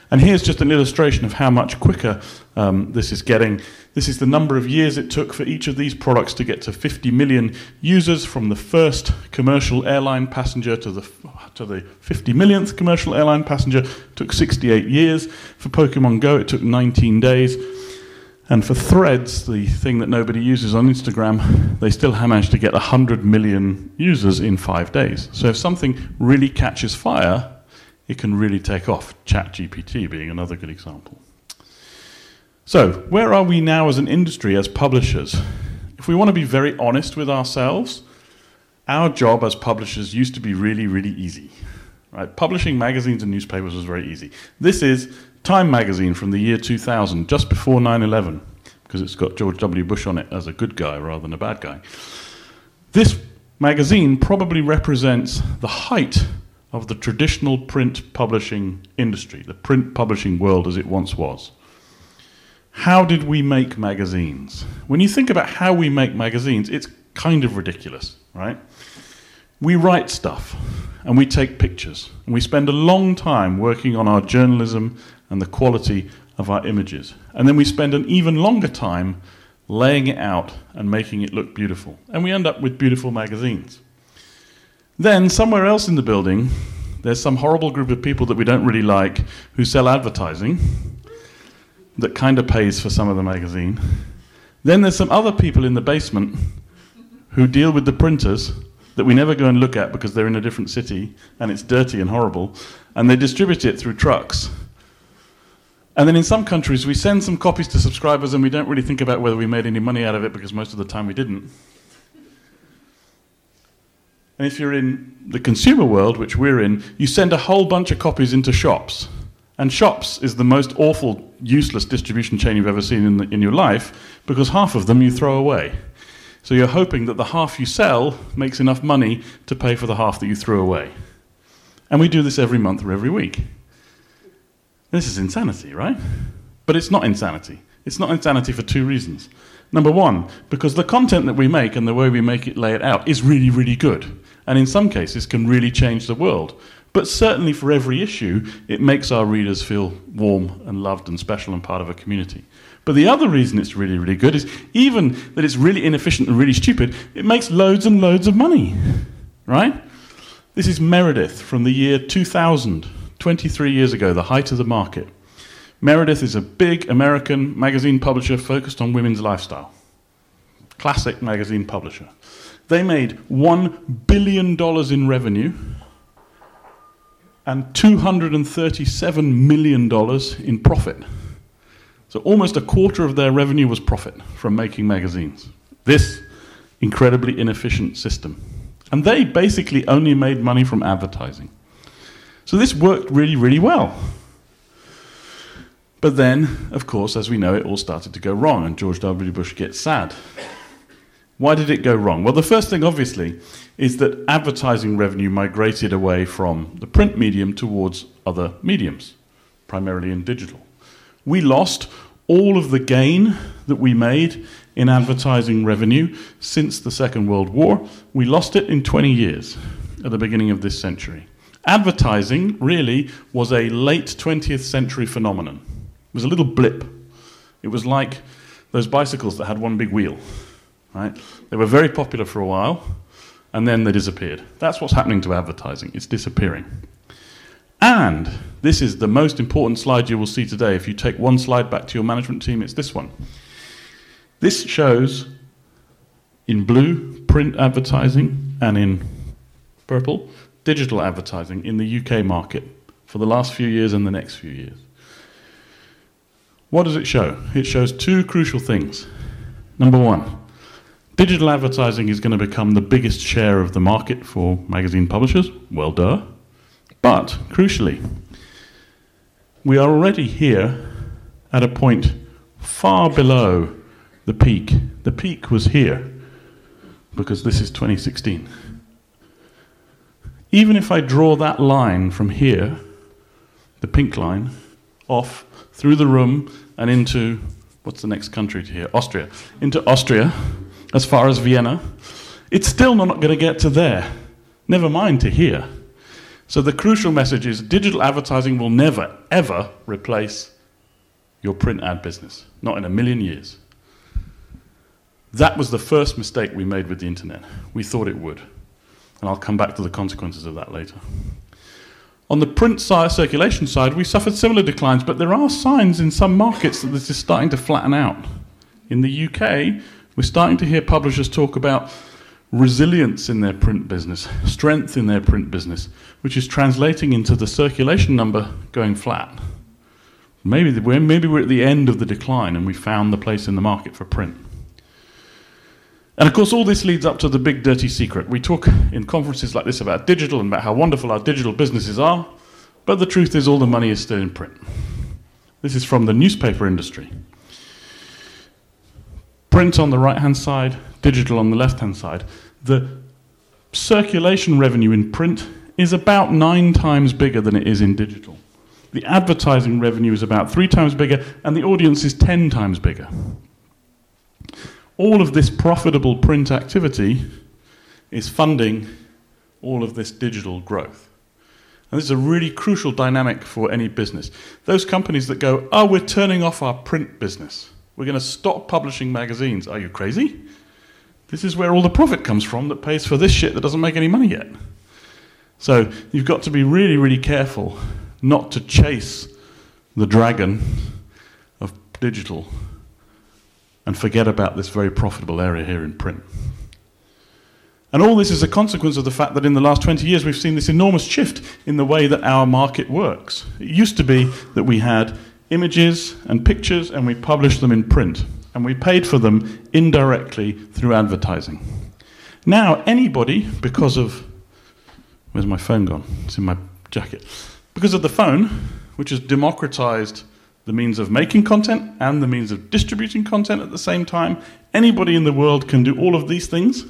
Speaker 5: And here's just an illustration of how much quicker um, this is getting. This is the number of years it took for each of these products to get to fifty million users, from the first commercial airline passenger to the to the fifty millionth commercial airline passenger. It took sixty-eight years. For Pokemon Go, it took nineteen days. And for Threads, the thing that nobody uses on Instagram, they still managed to get one hundred million users in five days. So if something really catches fire, it can really take off. ChatGPT being another good example. So, where are we now as an industry, as publishers? If we want to be very honest with ourselves, our job as publishers used to be really, really easy. Right? Publishing magazines and newspapers was very easy. This is Time magazine from the year two thousand, just before nine eleven, because it's got George W. Bush on it as a good guy rather than a bad guy. This magazine probably represents the height of the traditional print publishing industry, the print publishing world as it once was. How did we make magazines? When you think about how we make magazines, it's kind of ridiculous, right? We write stuff, and we take pictures, and we spend a long time working on our journalism and the quality of our images. And then we spend an even longer time laying it out and making it look beautiful. And we end up with beautiful magazines. Then, somewhere else in the building, there's some horrible group of people that we don't really like who sell advertising that kind of pays for some of the magazine. Then there's some other people in the basement who deal with the printers that we never go and look at because they're in a different city and it's dirty and horrible, and they distribute it through trucks. And then in some countries we send some copies to subscribers and we don't really think about whether we made any money out of it, because most of the time we didn't. And if you're in the consumer world, which we're in, you send a whole bunch of copies into shops. And shops is the most awful, useless distribution chain you've ever seen in, the, in your life, because half of them you throw away. So you're hoping that the half you sell makes enough money to pay for the half that you threw away. And we do this every month or every week. This is insanity, right? But it's not insanity. It's not insanity for two reasons. Number one, because the content that we make and the way we make it, lay it out, is really, really good. And in some cases can really change the world. But certainly for every issue, it makes our readers feel warm and loved and special and part of a community. But the other reason it's really, really good is, even that it's really inefficient and really stupid, it makes loads and loads of money, right? This is Meredith from the year two thousand, twenty-three years ago, the height of the market. Meredith is a big American magazine publisher focused on women's lifestyle. Classic magazine publisher. They made one billion dollars in revenue and two hundred thirty-seven million dollars in profit. So almost a quarter of their revenue was profit from making magazines. This incredibly inefficient system. And they basically only made money from advertising. So this worked really, really well. But then, of course, as we know, it all started to go wrong, and George W. Bush gets sad. Why did it go wrong? Well, the first thing, obviously, is that advertising revenue migrated away from the print medium towards other mediums, primarily in digital. We lost all of the gain that we made in advertising revenue since the Second World War. We lost it in twenty years at the beginning of this century. Advertising really was a late twentieth century phenomenon. It was a little blip. It was like those bicycles that had one big wheel. Right? They were very popular for a while, and then they disappeared. That's what's happening to advertising. It's disappearing. And this is the most important slide you will see today. If you take one slide back to your management team, it's this one. This shows, in blue, print advertising, and in purple, digital advertising in the U K market for the last few years and the next few years. What does it show? It shows two crucial things. Number one, digital advertising is going to become the biggest share of the market for magazine publishers. Well, duh. But, crucially, we are already here at a point far below the peak. The peak was here, because this is twenty sixteen. Even if I draw that line from here, the pink line, off through the room and into, what's the next country to here? Austria. Into Austria, as far as Vienna, it's still not going to get to there. Never mind to here. So the crucial message is digital advertising will never, ever replace your print ad business. Not in a million years. That was the first mistake we made with the internet. We thought it would. And I'll come back to the consequences of that later. On the print side, circulation side, we suffered similar declines, but there are signs in some markets that this is starting to flatten out. In the U K, we're starting to hear publishers talk about resilience in their print business, strength in their print business, which is translating into the circulation number going flat. Maybe we're, maybe we're at the end of the decline and we found the place in the market for print. And of course, all this leads up to the big dirty secret. We talk in conferences like this about digital and about how wonderful our digital businesses are, but the truth is all the money is still in print. This is from the newspaper industry. Print on the right-hand side, digital on the left-hand side. The circulation revenue in print is about nine times bigger than it is in digital. The advertising revenue is about three times bigger, and the audience is ten times bigger. All of this profitable print activity is funding all of this digital growth. And this is a really crucial dynamic for any business. Those companies that go, oh, we're turning off our print business. We're going to stop publishing magazines. Are you crazy? This is where all the profit comes from that pays for this shit that doesn't make any money yet. So you've got to be really, really careful not to chase the dragon of digital and forget about this very profitable area here in print. And all this is a consequence of the fact that in the last twenty years we've seen this enormous shift in the way that our market works. It used to be that we had images and pictures and we published them in print, and we paid for them indirectly through advertising. Now anybody, because of... Where's my phone gone? It's in my jacket. Because of the phone, which has democratized the means of making content and the means of distributing content at the same time. Anybody in the world can do all of these things.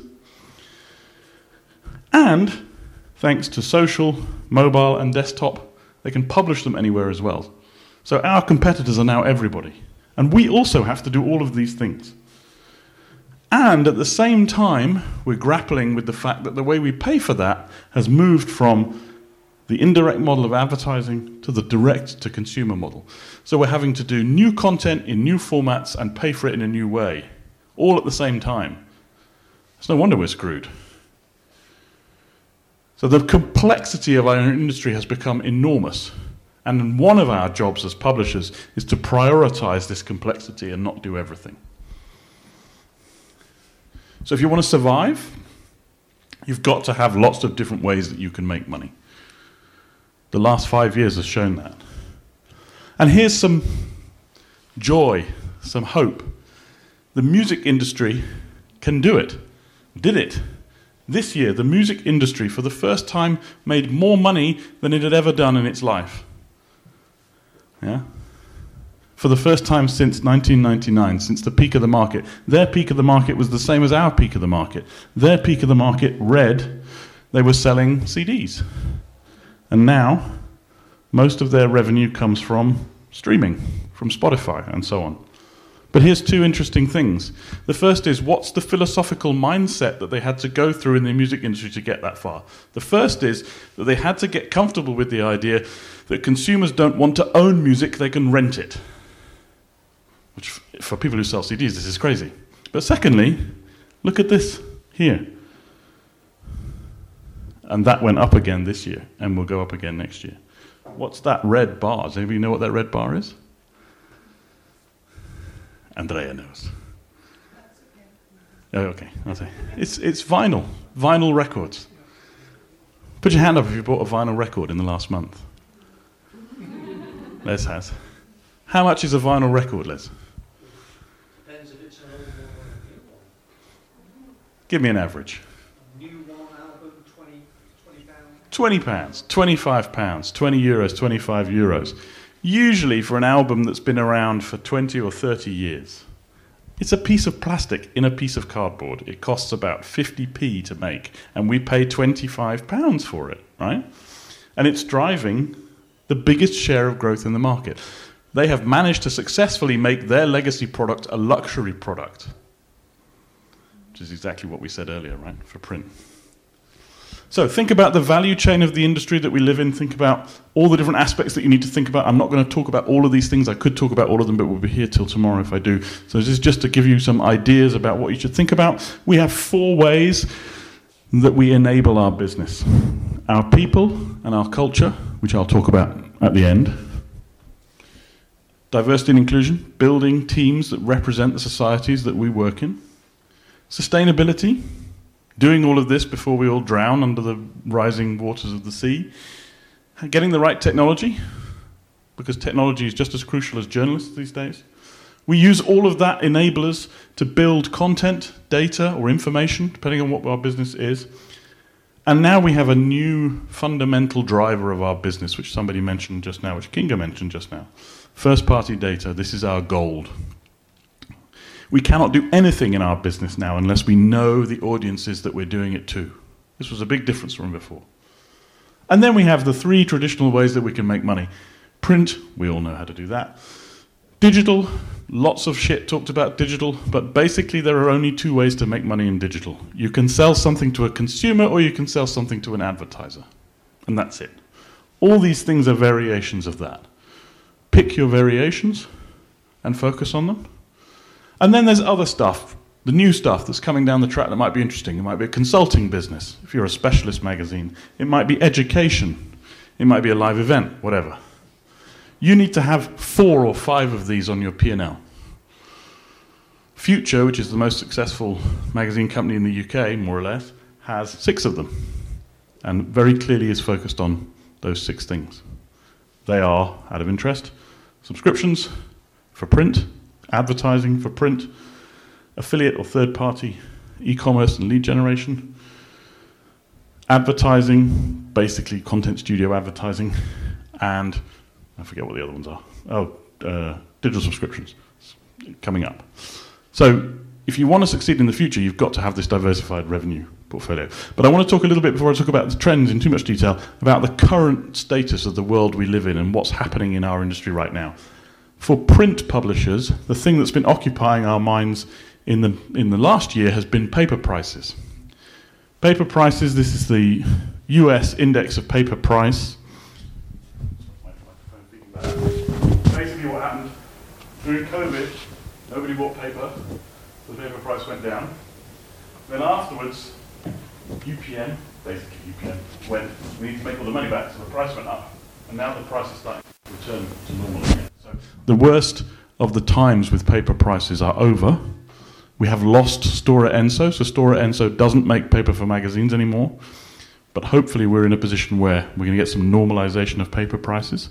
Speaker 5: And, thanks to social, mobile, and desktop, they can publish them anywhere as well. So our competitors are now everybody. And we also have to do all of these things. And at the same time, we're grappling with the fact that the way we pay for that has moved from the indirect model of advertising to the direct-to-consumer model. So we're having to do new content in new formats and pay for it in a new way, all at the same time. It's no wonder we're screwed. So the complexity of our industry has become enormous. And one of our jobs as publishers is to prioritize this complexity and not do everything. So if you want to survive, you've got to have lots of different ways that you can make money. The last five years has shown that. And here's some joy, some hope. The music industry can do it, did it. This year, the music industry, for the first time, made more money than it had ever done in its life. Yeah? For the first time since nineteen ninety-nine, since the peak of the market. Their peak of the market was the same as our peak of the market. Their peak of the market, Red, they were selling C Ds. And now, most of their revenue comes from streaming, from Spotify, and so on. But here's two interesting things. The first is, what's the philosophical mindset that they had to go through in the music industry to get that far? The first is that they had to get comfortable with the idea that consumers don't want to own music, they can rent it. Which, for people who sell C Ds, this is crazy. But secondly, look at this here. And that went up again this year, and will go up again next year. What's that red bar? Does anybody know what that red bar is? Andrea knows. Oh, okay, I'll say. It's, it's vinyl, vinyl records. Put your hand up if you bought a vinyl record in the last month. Les has. How much is a vinyl record, Les?
Speaker 10: Depends if it's an old one or a new one.
Speaker 5: Give me an average.
Speaker 10: twenty
Speaker 5: pounds, twenty-five pounds, twenty euros, twenty-five euros. Usually for an album that's been around for twenty or thirty years. It's a piece of plastic in a piece of cardboard. It costs about fifty p to make, and we pay twenty-five pounds for it, right? And it's driving the biggest share of growth in the market. They have managed to successfully make their legacy product a luxury product, which is exactly what we said earlier, right, for print. So think about the value chain of the industry that we live in. Think about all the different aspects that you need to think about. I'm not going to talk about all of these things. I could talk about all of them, but we'll be here till tomorrow if I do. So this is just to give you some ideas about what you should think about. We have four ways that we enable our business. Our people and our culture, which I'll talk about at the end. Diversity and inclusion, building teams that represent the societies that we work in. Sustainability, doing all of this before we all drown under the rising waters of the sea. Getting the right technology, because technology is just as crucial as journalists these days. We use all of that enablers to build content, data, or information, depending on what our business is. And now we have a new fundamental driver of our business, which somebody mentioned just now, which Kinga mentioned just now. First-party data, this is our gold. We cannot do anything in our business now unless we know the audiences that we're doing it to. This was a big difference from before. And then we have the three traditional ways that we can make money. Print, we all know how to do that. Digital, lots of shit talked about digital, but basically there are only two ways to make money in digital. You can sell something to a consumer or you can sell something to an advertiser. And that's it. All these things are variations of that. Pick your variations and focus on them. And then there's other stuff, the new stuff that's coming down the track that might be interesting. It might be a consulting business, if you're a specialist magazine. It might be education. It might be a live event, whatever. You need to have four or five of these on your P and L. Future, which is the most successful magazine company in the U K, more or less, has six of them. And very clearly is focused on those six things. They are, out of interest, subscriptions for print, advertising for print, affiliate or third-party e-commerce and lead generation, advertising, basically content studio advertising, and I forget what the other ones are. Oh, uh, digital subscriptions coming up. So if you want to succeed in the future, you've got to have this diversified revenue portfolio. But I want to talk a little bit, before I talk about the trends in too much detail, about the current status of the world we live in and what's happening in our industry right now. For print publishers, the thing that's been occupying our minds in the in the last year has been paper prices. Paper prices, this is the U S index of paper price. Basically what happened during COVID, nobody bought paper, so the paper price went down. Then afterwards, U P N, basically U P N, went, we need to make all the money back, so the price went up. And now the price is starting to return to normal again. So the worst of the times with paper prices are over. We have lost Stora Enso, so Stora Enso doesn't make paper for magazines anymore. But hopefully we're in a position where we're going to get some normalization of paper prices.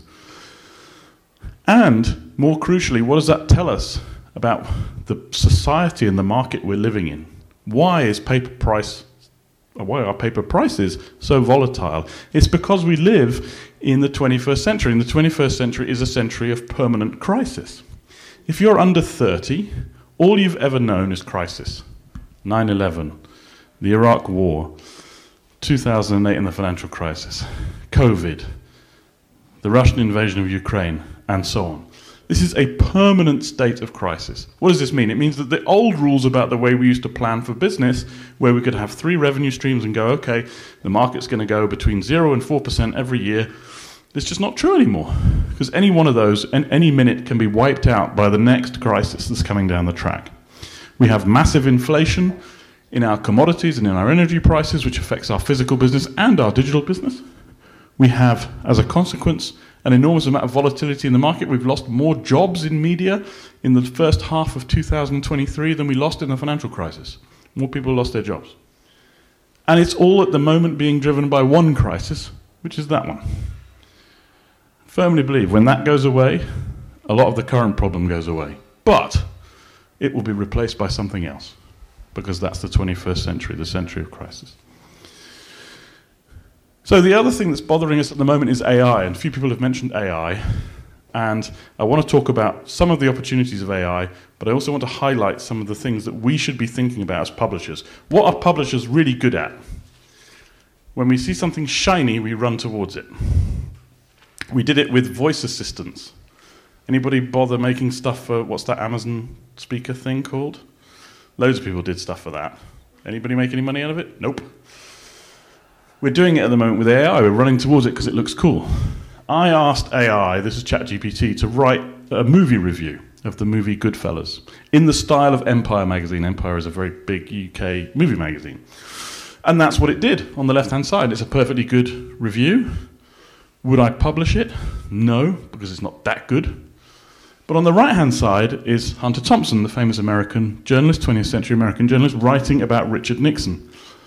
Speaker 5: And, more crucially, what does that tell us about the society and the market we're living in? Why is paper price, why are paper prices so volatile? It's because we live in the twenty-first century. And the twenty-first century is a century of permanent crisis. If you're under thirty, all you've ever known is crisis. nine eleven, the Iraq War, two thousand eight and the financial crisis, COVID, the Russian invasion of Ukraine, and so on. This is a permanent state of crisis. What does this mean? It means that the old rules about the way we used to plan for business, where we could have three revenue streams and go, okay, the market's going to go between zero and four percent every year, it's just not true anymore. Because any one of those, and any minute, can be wiped out by the next crisis that's coming down the track. We have massive inflation in our commodities and in our energy prices, which affects our physical business and our digital business. We have, as a consequence, an enormous amount of volatility in the market. We've lost more jobs in media in the first half of two thousand twenty-three than we lost in the financial crisis. More people lost their jobs. And it's all at the moment being driven by one crisis, which is that one. I firmly believe when that goes away, a lot of the current problem goes away. But it will be replaced by something else, because that's the twenty-first century, the century of crisis. So the other thing that's bothering us at the moment is A I, and a few people have mentioned A I, and I want to talk about some of the opportunities of A I, but I also want to highlight some of the things that we should be thinking about as publishers. What are publishers really good at? When we see something shiny, we run towards it. We did it with voice assistants. Anybody bother making stuff for, what's that Amazon speaker thing called? Loads of people did stuff for that. Anybody make any money out of it? Nope. We're doing it at the moment with A I. We're running towards it because it looks cool. I asked A I, this is ChatGPT, to write a movie review of the movie Goodfellas in the style of Empire magazine. Empire is a very big U K movie magazine. And that's what it did on the left-hand side. It's a perfectly good review. Would I publish it? No, because it's not that good. But on the right-hand side is Hunter Thompson, the famous American journalist, twentieth century American journalist, writing about Richard Nixon.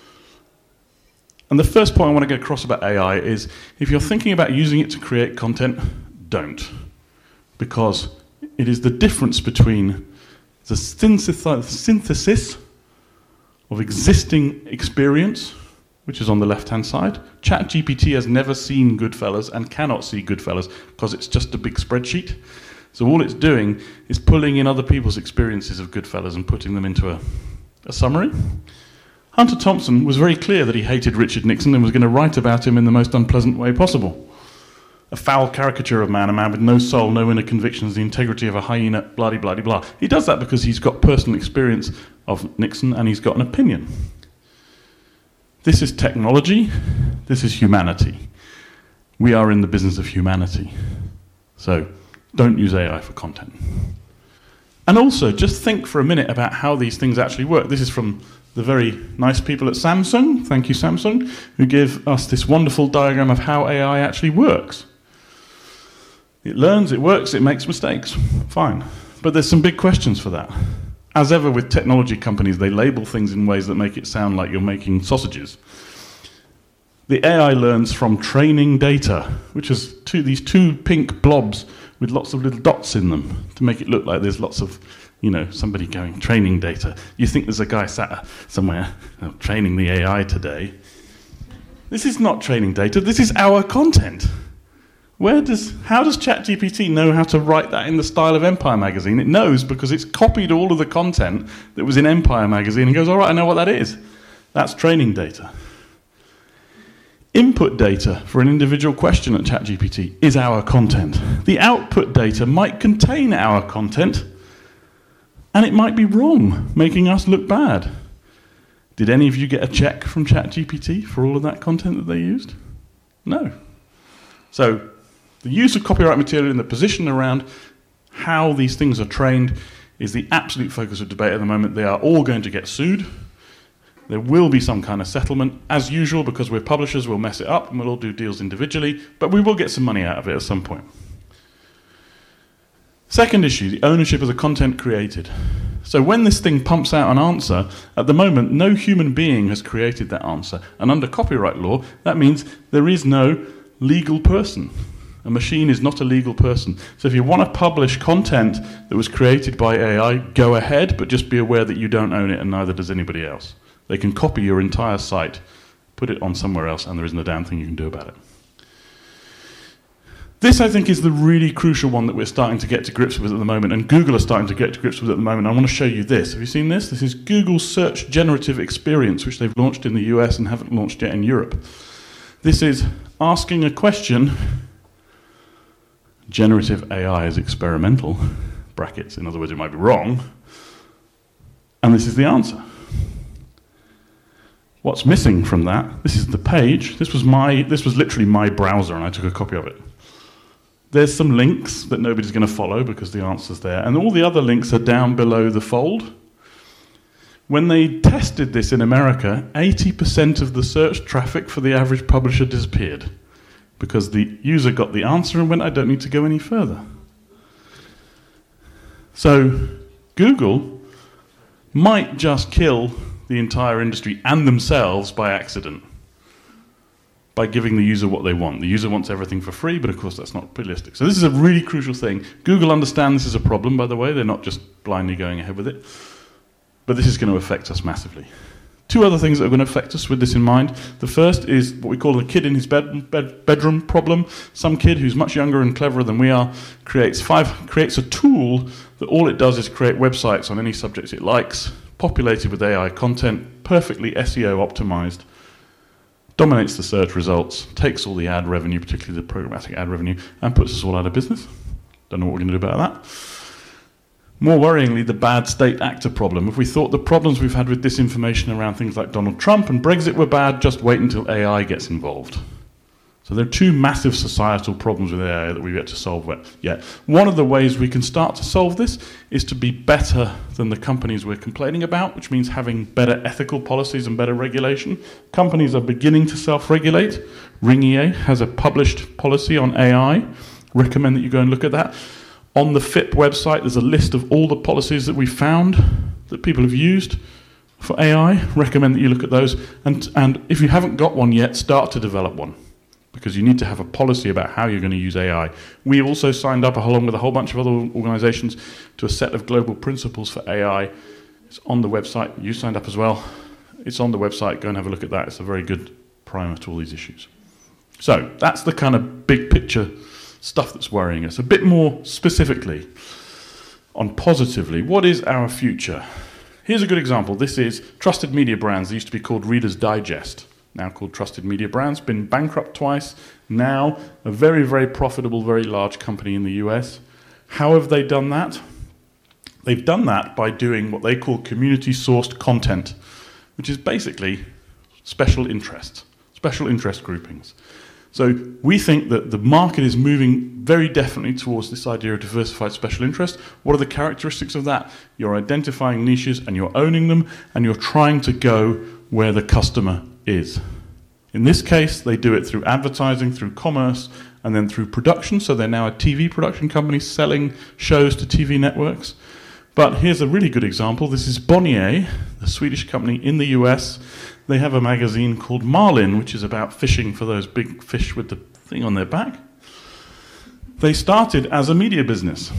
Speaker 5: And the first point I want to get across about A I is, if you're thinking about using it to create content, don't. Because it is the difference between the synthesis of existing experience, which is on the left-hand side. ChatGPT has never seen Goodfellas and cannot see Goodfellas because it's just a big spreadsheet. So all it's doing is pulling in other people's experiences of Goodfellas and putting them into a, a summary. Hunter Thompson was very clear that he hated Richard Nixon and was going to write about him in the most unpleasant way possible. A foul caricature of man, a man with no soul, no inner convictions, the integrity of a hyena, blah, blah, blah, blah. He does that because he's got personal experience of Nixon and he's got an opinion. This is technology, this is humanity. We are in the business of humanity. So don't use A I for content. And also, just think for a minute about how these things actually work. This is from the very nice people at Samsung, thank you Samsung, who give us this wonderful diagram of how A I actually works. It learns, it works, it makes mistakes. Fine. But there's some big questions for that. As ever with technology companies, they label things in ways that make it sound like you're making sausages. The A I learns from training data, which is two, these two pink blobs with lots of little dots in them to make it look like there's lots of, you know, somebody going, training data. You think there's a guy sat somewhere you know, training the A I today. This is not training data, this is our content. Where does, how does ChatGPT know how to write that in the style of Empire magazine? It knows because it's copied all of the content that was in Empire magazine and goes, all right, I know what that is. That's training data. Input data for an individual question at ChatGPT is our content. The output data might contain our content, and it might be wrong, making us look bad. Did any of you get a check from ChatGPT for all of that content that they used? No. So, the use of copyright material and the position around how these things are trained is the absolute focus of debate at the moment. They are all going to get sued. There will be some kind of settlement. As usual, because we're publishers, we'll mess it up and we'll all do deals individually, but we will get some money out of it at some point. Second issue, the ownership of the content created. So when this thing pumps out an answer, at the moment, no human being has created that answer. And under copyright law, that means there is no legal person. A machine is not a legal person. So if you want to publish content that was created by A I, go ahead, but just be aware that you don't own it and neither does anybody else. They can copy your entire site, put it on somewhere else, and there isn't a damn thing you can do about it. This, I think, is the really crucial one that we're starting to get to grips with at the moment, and Google are starting to get to grips with at the moment. I want to show you this. Have you seen this? This is Google's Search Generative Experience, which they've launched in the U S and haven't launched yet in Europe. This is asking a question. Generative A I is experimental, brackets, in other words, it might be wrong, and this is the answer. What's missing from that? This is the page. This was my, this was literally my browser, and I took a copy of it. There's some links that nobody's going to follow because the answer's there, and all the other links are down below the fold. When they tested this in America, eighty percent of the search traffic for the average publisher disappeared because the user got the answer and went, I don't need to go any further. So Google might just kill the entire industry and themselves by accident, by giving the user what they want. The user wants everything for free, but of course that's not realistic. So this is a really crucial thing. Google understand this is a problem, by the way. They're not just blindly going ahead with it. But this is going to affect us massively. Two other things that are going to affect us with this in mind. The first is what we call the kid in his bed, bed, bedroom problem. Some kid who's much younger and cleverer than we are creates, five, creates a tool that all it does is create websites on any subject it likes, populated with A I content, perfectly S E O optimized, dominates the search results, takes all the ad revenue, particularly the programmatic ad revenue, and puts us all out of business. Don't know what we're going to do about that. More worryingly, the bad state actor problem. If we thought the problems we've had with disinformation around things like Donald Trump and Brexit were bad, just wait until A I gets involved. So there are two massive societal problems with A I that we've yet to solve yet. One of the ways we can start to solve this is to be better than the companies we're complaining about, which means having better ethical policies and better regulation. Companies are beginning to self-regulate. Ringier has a published policy on A I. Recommend that you go and look at that. On the F I P website, there's a list of all the policies that we've found that people have used for A I. Recommend that you look at those. And, and if you haven't got one yet, start to develop one, because you need to have a policy about how you're going to use A I. We also signed up, along with a whole bunch of other organizations, to a set of global principles for A I. It's on the website. You signed up as well. It's on the website. Go and have a look at that. It's a very good primer to all these issues. So that's the kind of big picture stuff that's worrying us. A bit more specifically, on positively, what is our future? Here's a good example. This is Trusted Media Brands. They used to be called Reader's Digest, now called Trusted Media Brands. Been bankrupt twice. Now a very, very profitable, very large company in the U S. How have they done that? They've done that by doing what they call community-sourced content, which is basically special interests, special interest groupings. So we think that the market is moving very definitely towards this idea of diversified special interest. What are the characteristics of that? You're identifying niches and you're owning them, and you're trying to go where the customer is. In this case, they do it through advertising, through commerce, and then through production. So they're now a T V production company selling shows to T V networks. But here's a really good example. This is Bonnier, the Swedish company in the U S. They have a magazine called Marlin, which is about fishing for those big fish with the thing on their back. They started as a media business.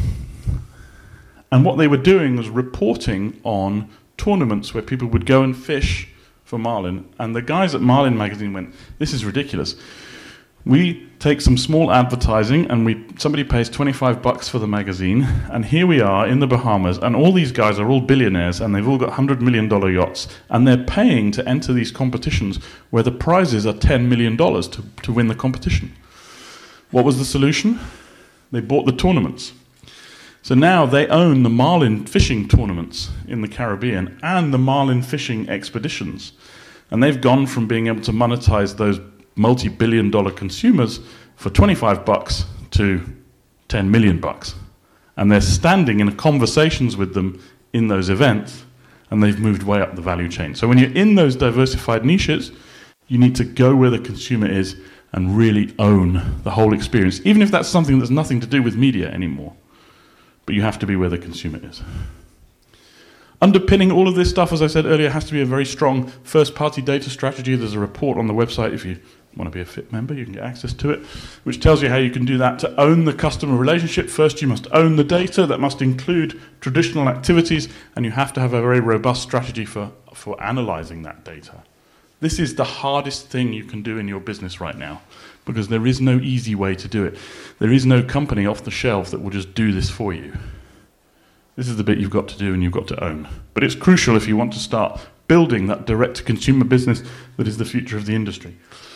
Speaker 5: And what they were doing was reporting on tournaments where people would go and fish for marlin. And the guys at Marlin magazine went, this is ridiculous. We take some small advertising and we somebody pays twenty-five bucks for the magazine, and here we are in the Bahamas, and all these guys are all billionaires and they've all got one hundred million dollars yachts, and they're paying to enter these competitions where the prizes are ten million dollars to, to win the competition. What was the solution? They bought the tournaments. So now they own the marlin fishing tournaments in the Caribbean and the marlin fishing expeditions. And they've gone from being able to monetize those multi-billion dollar consumers for twenty-five bucks to ten million bucks. And they're standing in conversations with them in those events, and they've moved way up the value chain. So when you're in those diversified niches, you need to go where the consumer is and really own the whole experience, even if that's something that's nothing to do with media anymore. But you have to be where the consumer is. Underpinning all of this stuff, as I said earlier, has to be a very strong first-party data strategy. There's a report on the website. If you want to be a F I P member, you can get access to it, which tells you how you can do that. To own the customer relationship, first you must own the data. That must include traditional activities, and you have to have a very robust strategy for, for analyzing that data. This is the hardest thing you can do in your business right now, because there is no easy way to do it. There is no company off the shelf that will just do this for you. This is the bit you've got to do and you've got to own. But it's crucial if you want to start building that direct-to-consumer business that is the future of the industry.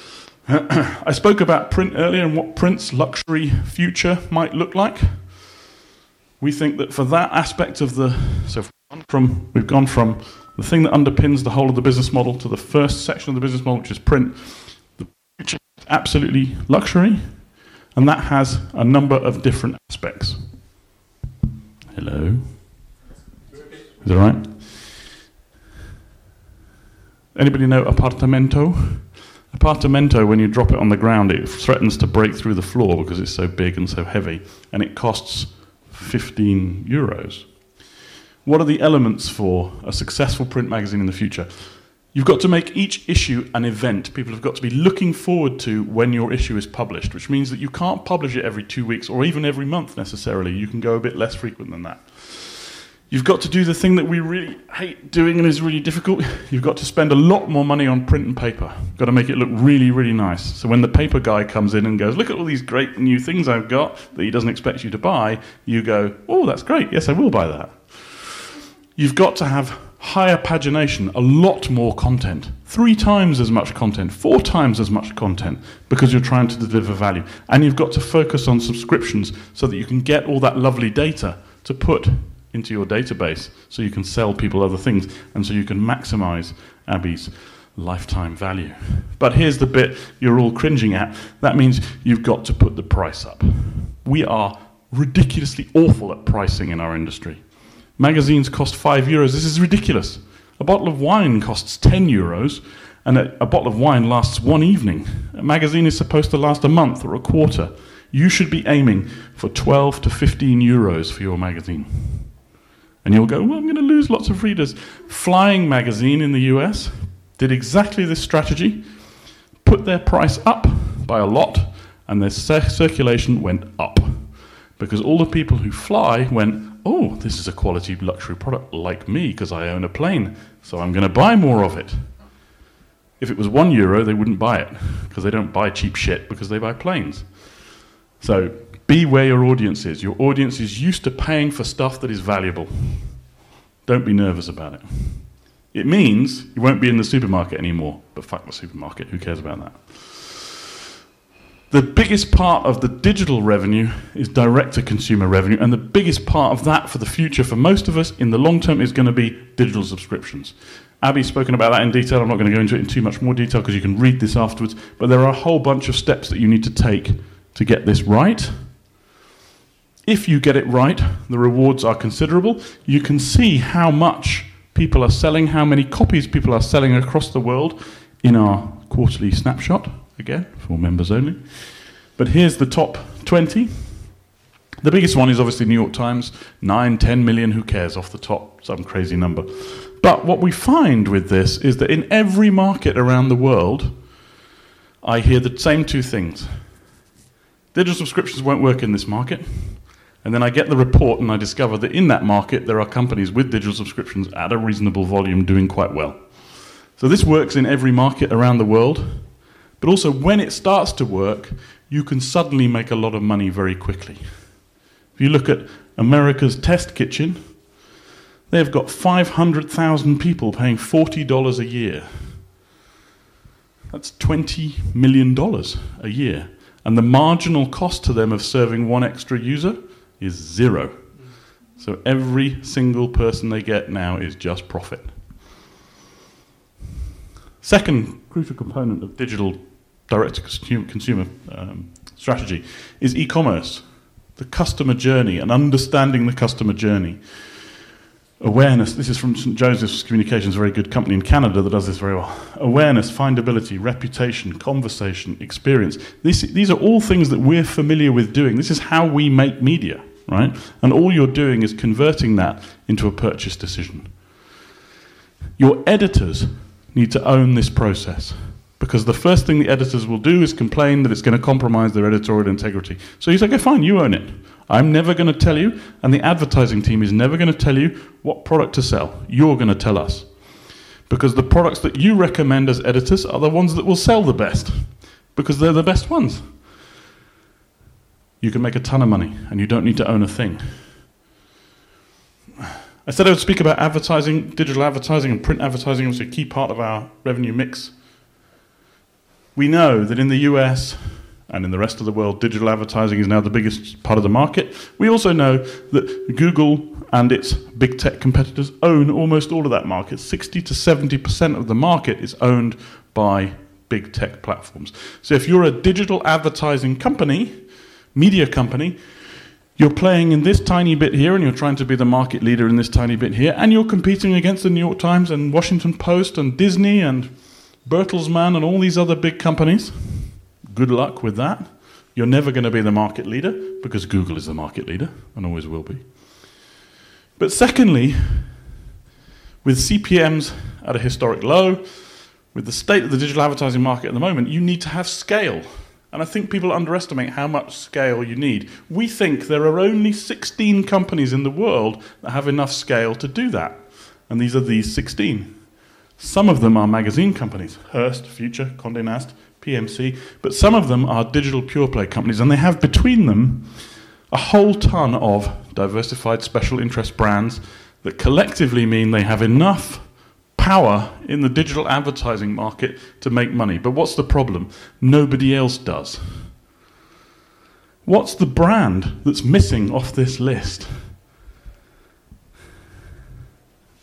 Speaker 5: I spoke about print earlier and what print's luxury future might look like. We think that for that aspect of the... So we've gone from, we've gone from the thing that underpins the whole of the business model to the first section of the business model, which is print. The future is absolutely luxury, and that has a number of different aspects. Hello? Is that all right? Anybody know apartamento? Apartamento, when you drop it on the ground, it threatens to break through the floor because it's so big and so heavy, and it costs fifteen euros. What are the elements for a successful print magazine in the future? You've got to make each issue an event. People have got to be looking forward to when your issue is published, which means that you can't publish it every two weeks or even every month necessarily. You can go a bit less frequent than that. You've got to do the thing that we really hate doing and is really difficult. You've got to spend a lot more money on print and paper. You've got to make it look really, really nice. So when the paper guy comes in and goes, look at all these great new things I've got that he doesn't expect you to buy, you go, oh, that's great. Yes, I will buy that. You've got to have higher pagination, a lot more content, three times as much content, four times as much content, because you're trying to deliver value. And you've got to focus on subscriptions so that you can get all that lovely data to put into your database so you can sell people other things and so you can maximize Abby's lifetime value. But here's the bit you're all cringing at. That means you've got to put the price up. We are ridiculously awful at pricing in our industry. Magazines cost five euros. This is ridiculous. A bottle of wine costs ten euros, and a, a bottle of wine lasts one evening. A magazine is supposed to last a month or a quarter. You should be aiming for twelve to fifteen euros for your magazine. And you'll go, well, I'm going to lose lots of readers. Flying Magazine in the U S did exactly this strategy, put their price up by a lot, and their cir- circulation went up. Because all the people who fly went, oh, this is a quality luxury product like me because I own a plane, so I'm going to buy more of it. If it was one euro, they wouldn't buy it because they don't buy cheap shit because they buy planes. So be where your audience is. Your audience is used to paying for stuff that is valuable. Don't be nervous about it. It means you won't be in the supermarket anymore, but fuck the supermarket, who cares about that? The biggest part of the digital revenue is direct-to-consumer revenue, and the biggest part of that for the future, for most of us, in the long term, is going to be digital subscriptions. Abby's spoken about that in detail. I'm not going to go into it in too much more detail because you can read this afterwards, but there are a whole bunch of steps that you need to take to get this right. If you get it right, the rewards are considerable. You can see how much people are selling, how many copies people are selling across the world in our quarterly snapshot. Again, for members only. But here's the top twenty. The biggest one is obviously New York Times, nine, ten million, who cares, off the top, some crazy number. But what we find with this is that in every market around the world, I hear the same two things. Digital subscriptions won't work in this market. And then I get the report and I discover that in that market, there are companies with digital subscriptions at a reasonable volume doing quite well. So this works in every market around the world. But also, when it starts to work, you can suddenly make a lot of money very quickly. If you look at America's Test Kitchen, they've got five hundred thousand people paying forty dollars a year. That's twenty million dollars a year. And the marginal cost to them of serving one extra user is zero. So every single person they get now is just profit. Second crucial component of digital direct-to-consumer um, strategy is e-commerce, the customer journey, and understanding the customer journey. Awareness, this is from Saint Joseph's Communications, a very good company in Canada that does this very well. Awareness, findability, reputation, conversation, experience. This, these are all things that we're familiar with doing. This is how we make media, right? And all you're doing is converting that into a purchase decision. Your editors need to own this process, because the first thing the editors will do is complain that it's going to compromise their editorial integrity. So you say, okay, fine, you own it. I'm never going to tell you, and the advertising team is never going to tell you what product to sell. You're going to tell us. Because the products that you recommend as editors are the ones that will sell the best, because they're the best ones. You can make a ton of money, and you don't need to own a thing. I said I would speak about advertising, digital advertising and print advertising, which is a key part of our revenue mix. We know that in the U S and in the rest of the world, digital advertising is now the biggest part of the market. We also know that Google and its big tech competitors own almost all of that market. sixty to seventy percent of the market is owned by big tech platforms. So if you're a digital advertising company, media company, you're playing in this tiny bit here, and you're trying to be the market leader in this tiny bit here, and you're competing against the New York Times and Washington Post and Disney and Bertelsmann and all these other big companies. Good luck with that. You're never going to be the market leader, because Google is the market leader and always will be. But secondly, with C P Ms at a historic low, with the state of the digital advertising market at the moment, you need to have scale. And I think people underestimate how much scale you need. We think there are only sixteen companies in the world that have enough scale to do that. And these are these sixteen. Some of them are magazine companies, Hearst, Future, Condé Nast, P M C, but some of them are digital pure play companies, and they have between them a whole ton of diversified special interest brands that collectively mean they have enough power in the digital advertising market to make money. But what's the problem? Nobody else does. What's the brand that's missing off this list?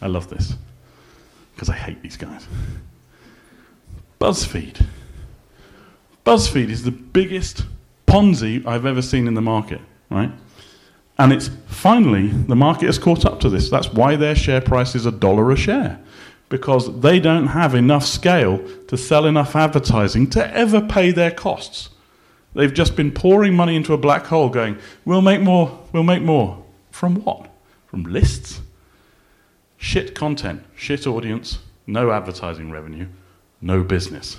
Speaker 5: I love this, because I hate these guys. BuzzFeed. BuzzFeed is the biggest Ponzi I've ever seen in the market, right? And it's finally, the market has caught up to this. That's why their share price is a dollar a share, because they don't have enough scale to sell enough advertising to ever pay their costs. They've just been pouring money into a black hole going, we'll make more, we'll make more. From what? From lists? Shit content, shit audience, no advertising revenue, no business.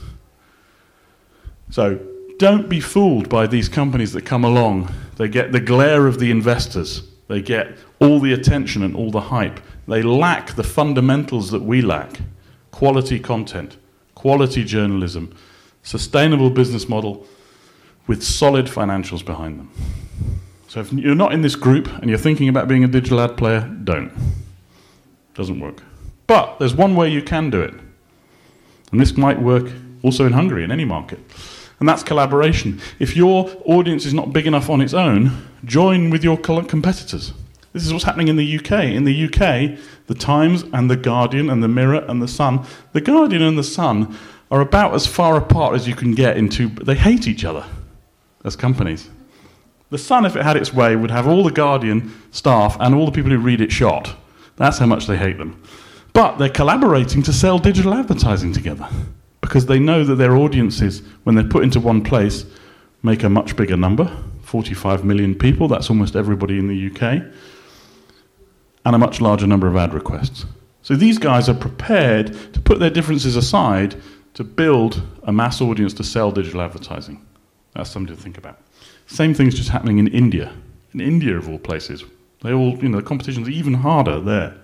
Speaker 5: So don't be fooled by these companies that come along. They get the glare of the investors. They get all the attention and all the hype. They lack the fundamentals that we lack. Quality content, quality journalism, sustainable business model with solid financials behind them. So if you're not in this group and you're thinking about being a digital ad player, don't. Doesn't work. But there's one way you can do it. And this might work also in Hungary, in any market. And that's collaboration. If your audience is not big enough on its own, join with your competitors. This is what's happening in the U K. In the U K, the Times and the Guardian and the Mirror and the Sun, the Guardian and the Sun are about as far apart as you can get into, they hate each other as companies. The Sun, if it had its way, would have all the Guardian staff and all the people who read it shot. That's how much they hate them. But they're collaborating to sell digital advertising together, because they know that their audiences, when they're put into one place, make a much bigger number, forty-five million people, that's almost everybody in the U K, and a much larger number of ad requests. So these guys are prepared to put their differences aside to build a mass audience to sell digital advertising. That's something to think about. Same thing's just happening in India. In India, of all places. They all, you know, the competition's even harder there.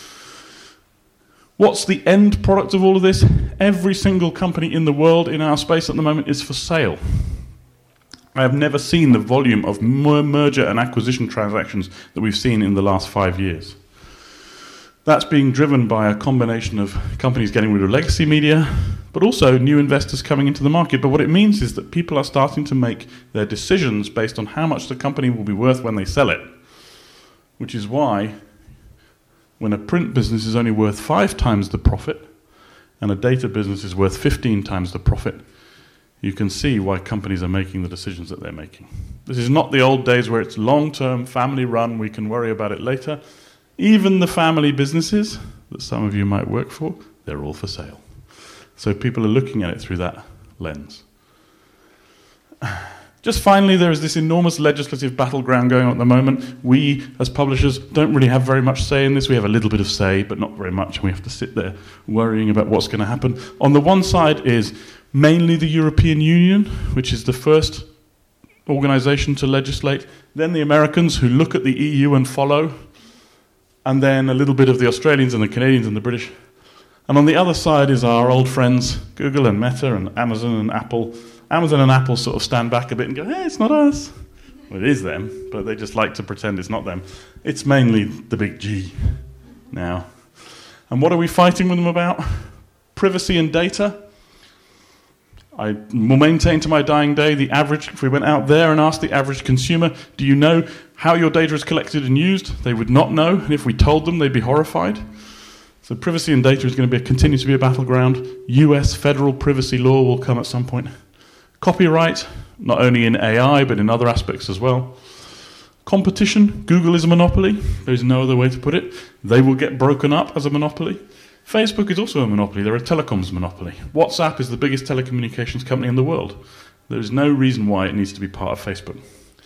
Speaker 5: What's the end product of all of this? Every single company in the world in our space at the moment is for sale. I have never seen the volume of merger and acquisition transactions that we've seen in the last five years. That's being driven by a combination of companies getting rid of legacy media, but also new investors coming into the market. But what it means is that people are starting to make their decisions based on how much the company will be worth when they sell it, which is why when a print business is only worth five times the profit and a data business is worth fifteen times the profit, you can see why companies are making the decisions that they're making. This is not the old days where it's long-term, family-run, we can worry about it later. Even the family businesses that some of you might work for, they're all for sale. So people are looking at it through that lens. Just finally, there is this enormous legislative battleground going on at the moment. We, as publishers, don't really have very much say in this. We have a little bit of say, but not very much, and we have to sit there worrying about what's going to happen. On the one side is mainly the European Union, which is the first organization to legislate, then the Americans, who look at the E U and follow, and then a little bit of the Australians and the Canadians and the British. And on the other side is our old friends, Google and Meta and Amazon and Apple. Amazon and Apple sort of stand back a bit and go, hey, it's not us. Well, it is them, but they just like to pretend it's not them. It's mainly the big G now. And what are we fighting with them about? Privacy and data. I will maintain to my dying day the average, if we went out there and asked the average consumer, do you know how your data is collected and used? They would not know, and if we told them, they'd be horrified. So privacy and data is going to be, continue to be a battleground. U S federal privacy law will come at some point. Copyright, not only in A I, but in other aspects as well. Competition, Google is a monopoly. There's no other way to put it. They will get broken up as a monopoly. Facebook is also a monopoly. They're a telecoms monopoly. WhatsApp is the biggest telecommunications company in the world. There is no reason why it needs to be part of Facebook.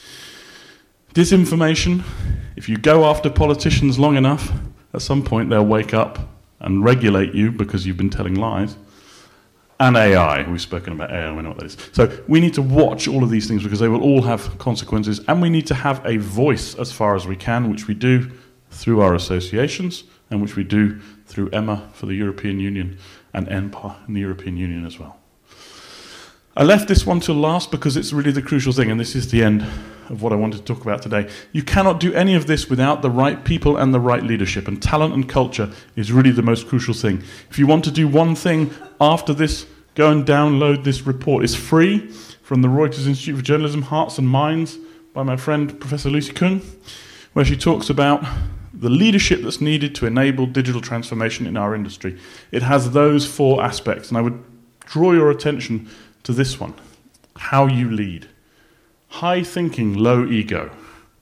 Speaker 5: Disinformation, if you go after politicians long enough, at some point they'll wake up and regulate you because you've been telling lies. And A I, we've spoken about A I, we know what that is. So we need to watch all of these things because they will all have consequences, and we need to have a voice as far as we can, which we do through our associations, and which we do through E M A for the European Union, and E N P A in the European Union as well. I left this one till last because it's really the crucial thing, and this is the end of what I wanted to talk about today. You cannot do any of this without the right people and the right leadership, and talent and culture is really the most crucial thing. If you want to do one thing after this, go and download this report. It's free from the Reuters Institute for Journalism, Hearts and Minds, by my friend Professor Lucy Kung, where she talks about the leadership that's needed to enable digital transformation in our industry. It has those four aspects, and I would draw your attention to this one. How you lead. High thinking, low ego.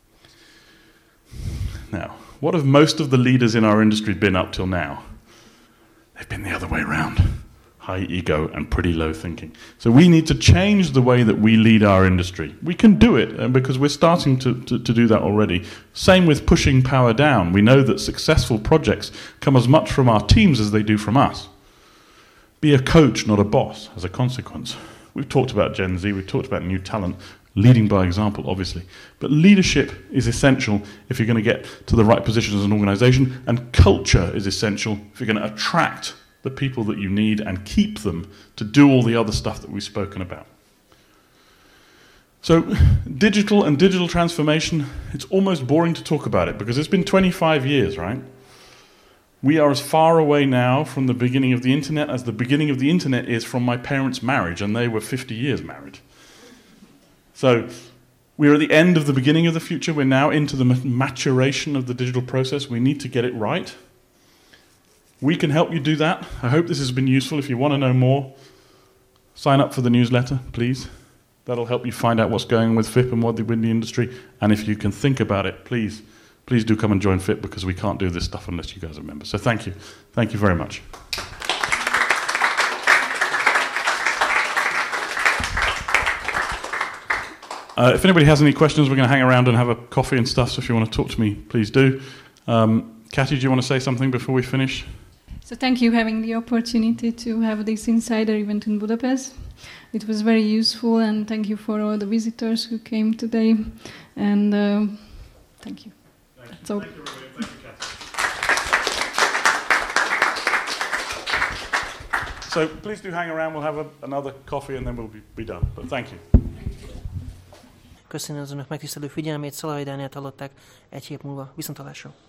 Speaker 5: Now, what have most of the leaders in our industry been up till now? They've been the other way around. High ego and pretty low thinking. So we need to change the way that we lead our industry. We can do it, and because we're starting to, to, to do that already. Same with pushing power down. We know that successful projects come as much from our teams as they do from us. Be a coach, not a boss, as a consequence. We've talked about Gen Z, we've talked about new talent, leading by example, obviously. But leadership is essential if you're going to get to the right position as an organization, and culture is essential if you're going to attract the people that you need and keep them to do all the other stuff that we've spoken about. So, digital and digital transformation, it's almost boring to talk about it because it's been twenty-five years, right? We are as far away now from the beginning of the internet as the beginning of the internet is from my parents' marriage, and they were fifty years married. So, we're at the end of the beginning of the future. We're now into the maturation of the digital process. We need to get it right. We can help you do that. I hope this has been useful. If you want to know more, sign up for the newsletter, please. That'll help you find out what's going on with F I P and what they do in the industry. And if you can think about it, please, please do come and join F I P, because we can't do this stuff unless you guys are members. So thank you. Thank you very much. Uh, if anybody has any questions, we're going to hang around and have a coffee and stuff. So if you want to talk to me, please do. Um, Kathy, do you want to say something before we finish?
Speaker 11: So thank you for having the opportunity to have this insider event in Budapest. It was very useful, and thank you for all the visitors who came today. And uh, thank you. Thank That's you. all. Thank you, thank you, Kathy.
Speaker 5: So please do hang around. We'll have a, another coffee and then we'll be, be done. But thank you.
Speaker 2: Köszönöm az önök megtisztelő figyelmét, Szalai Dánielt hallották, egy hét múlva. Viszontlátásra!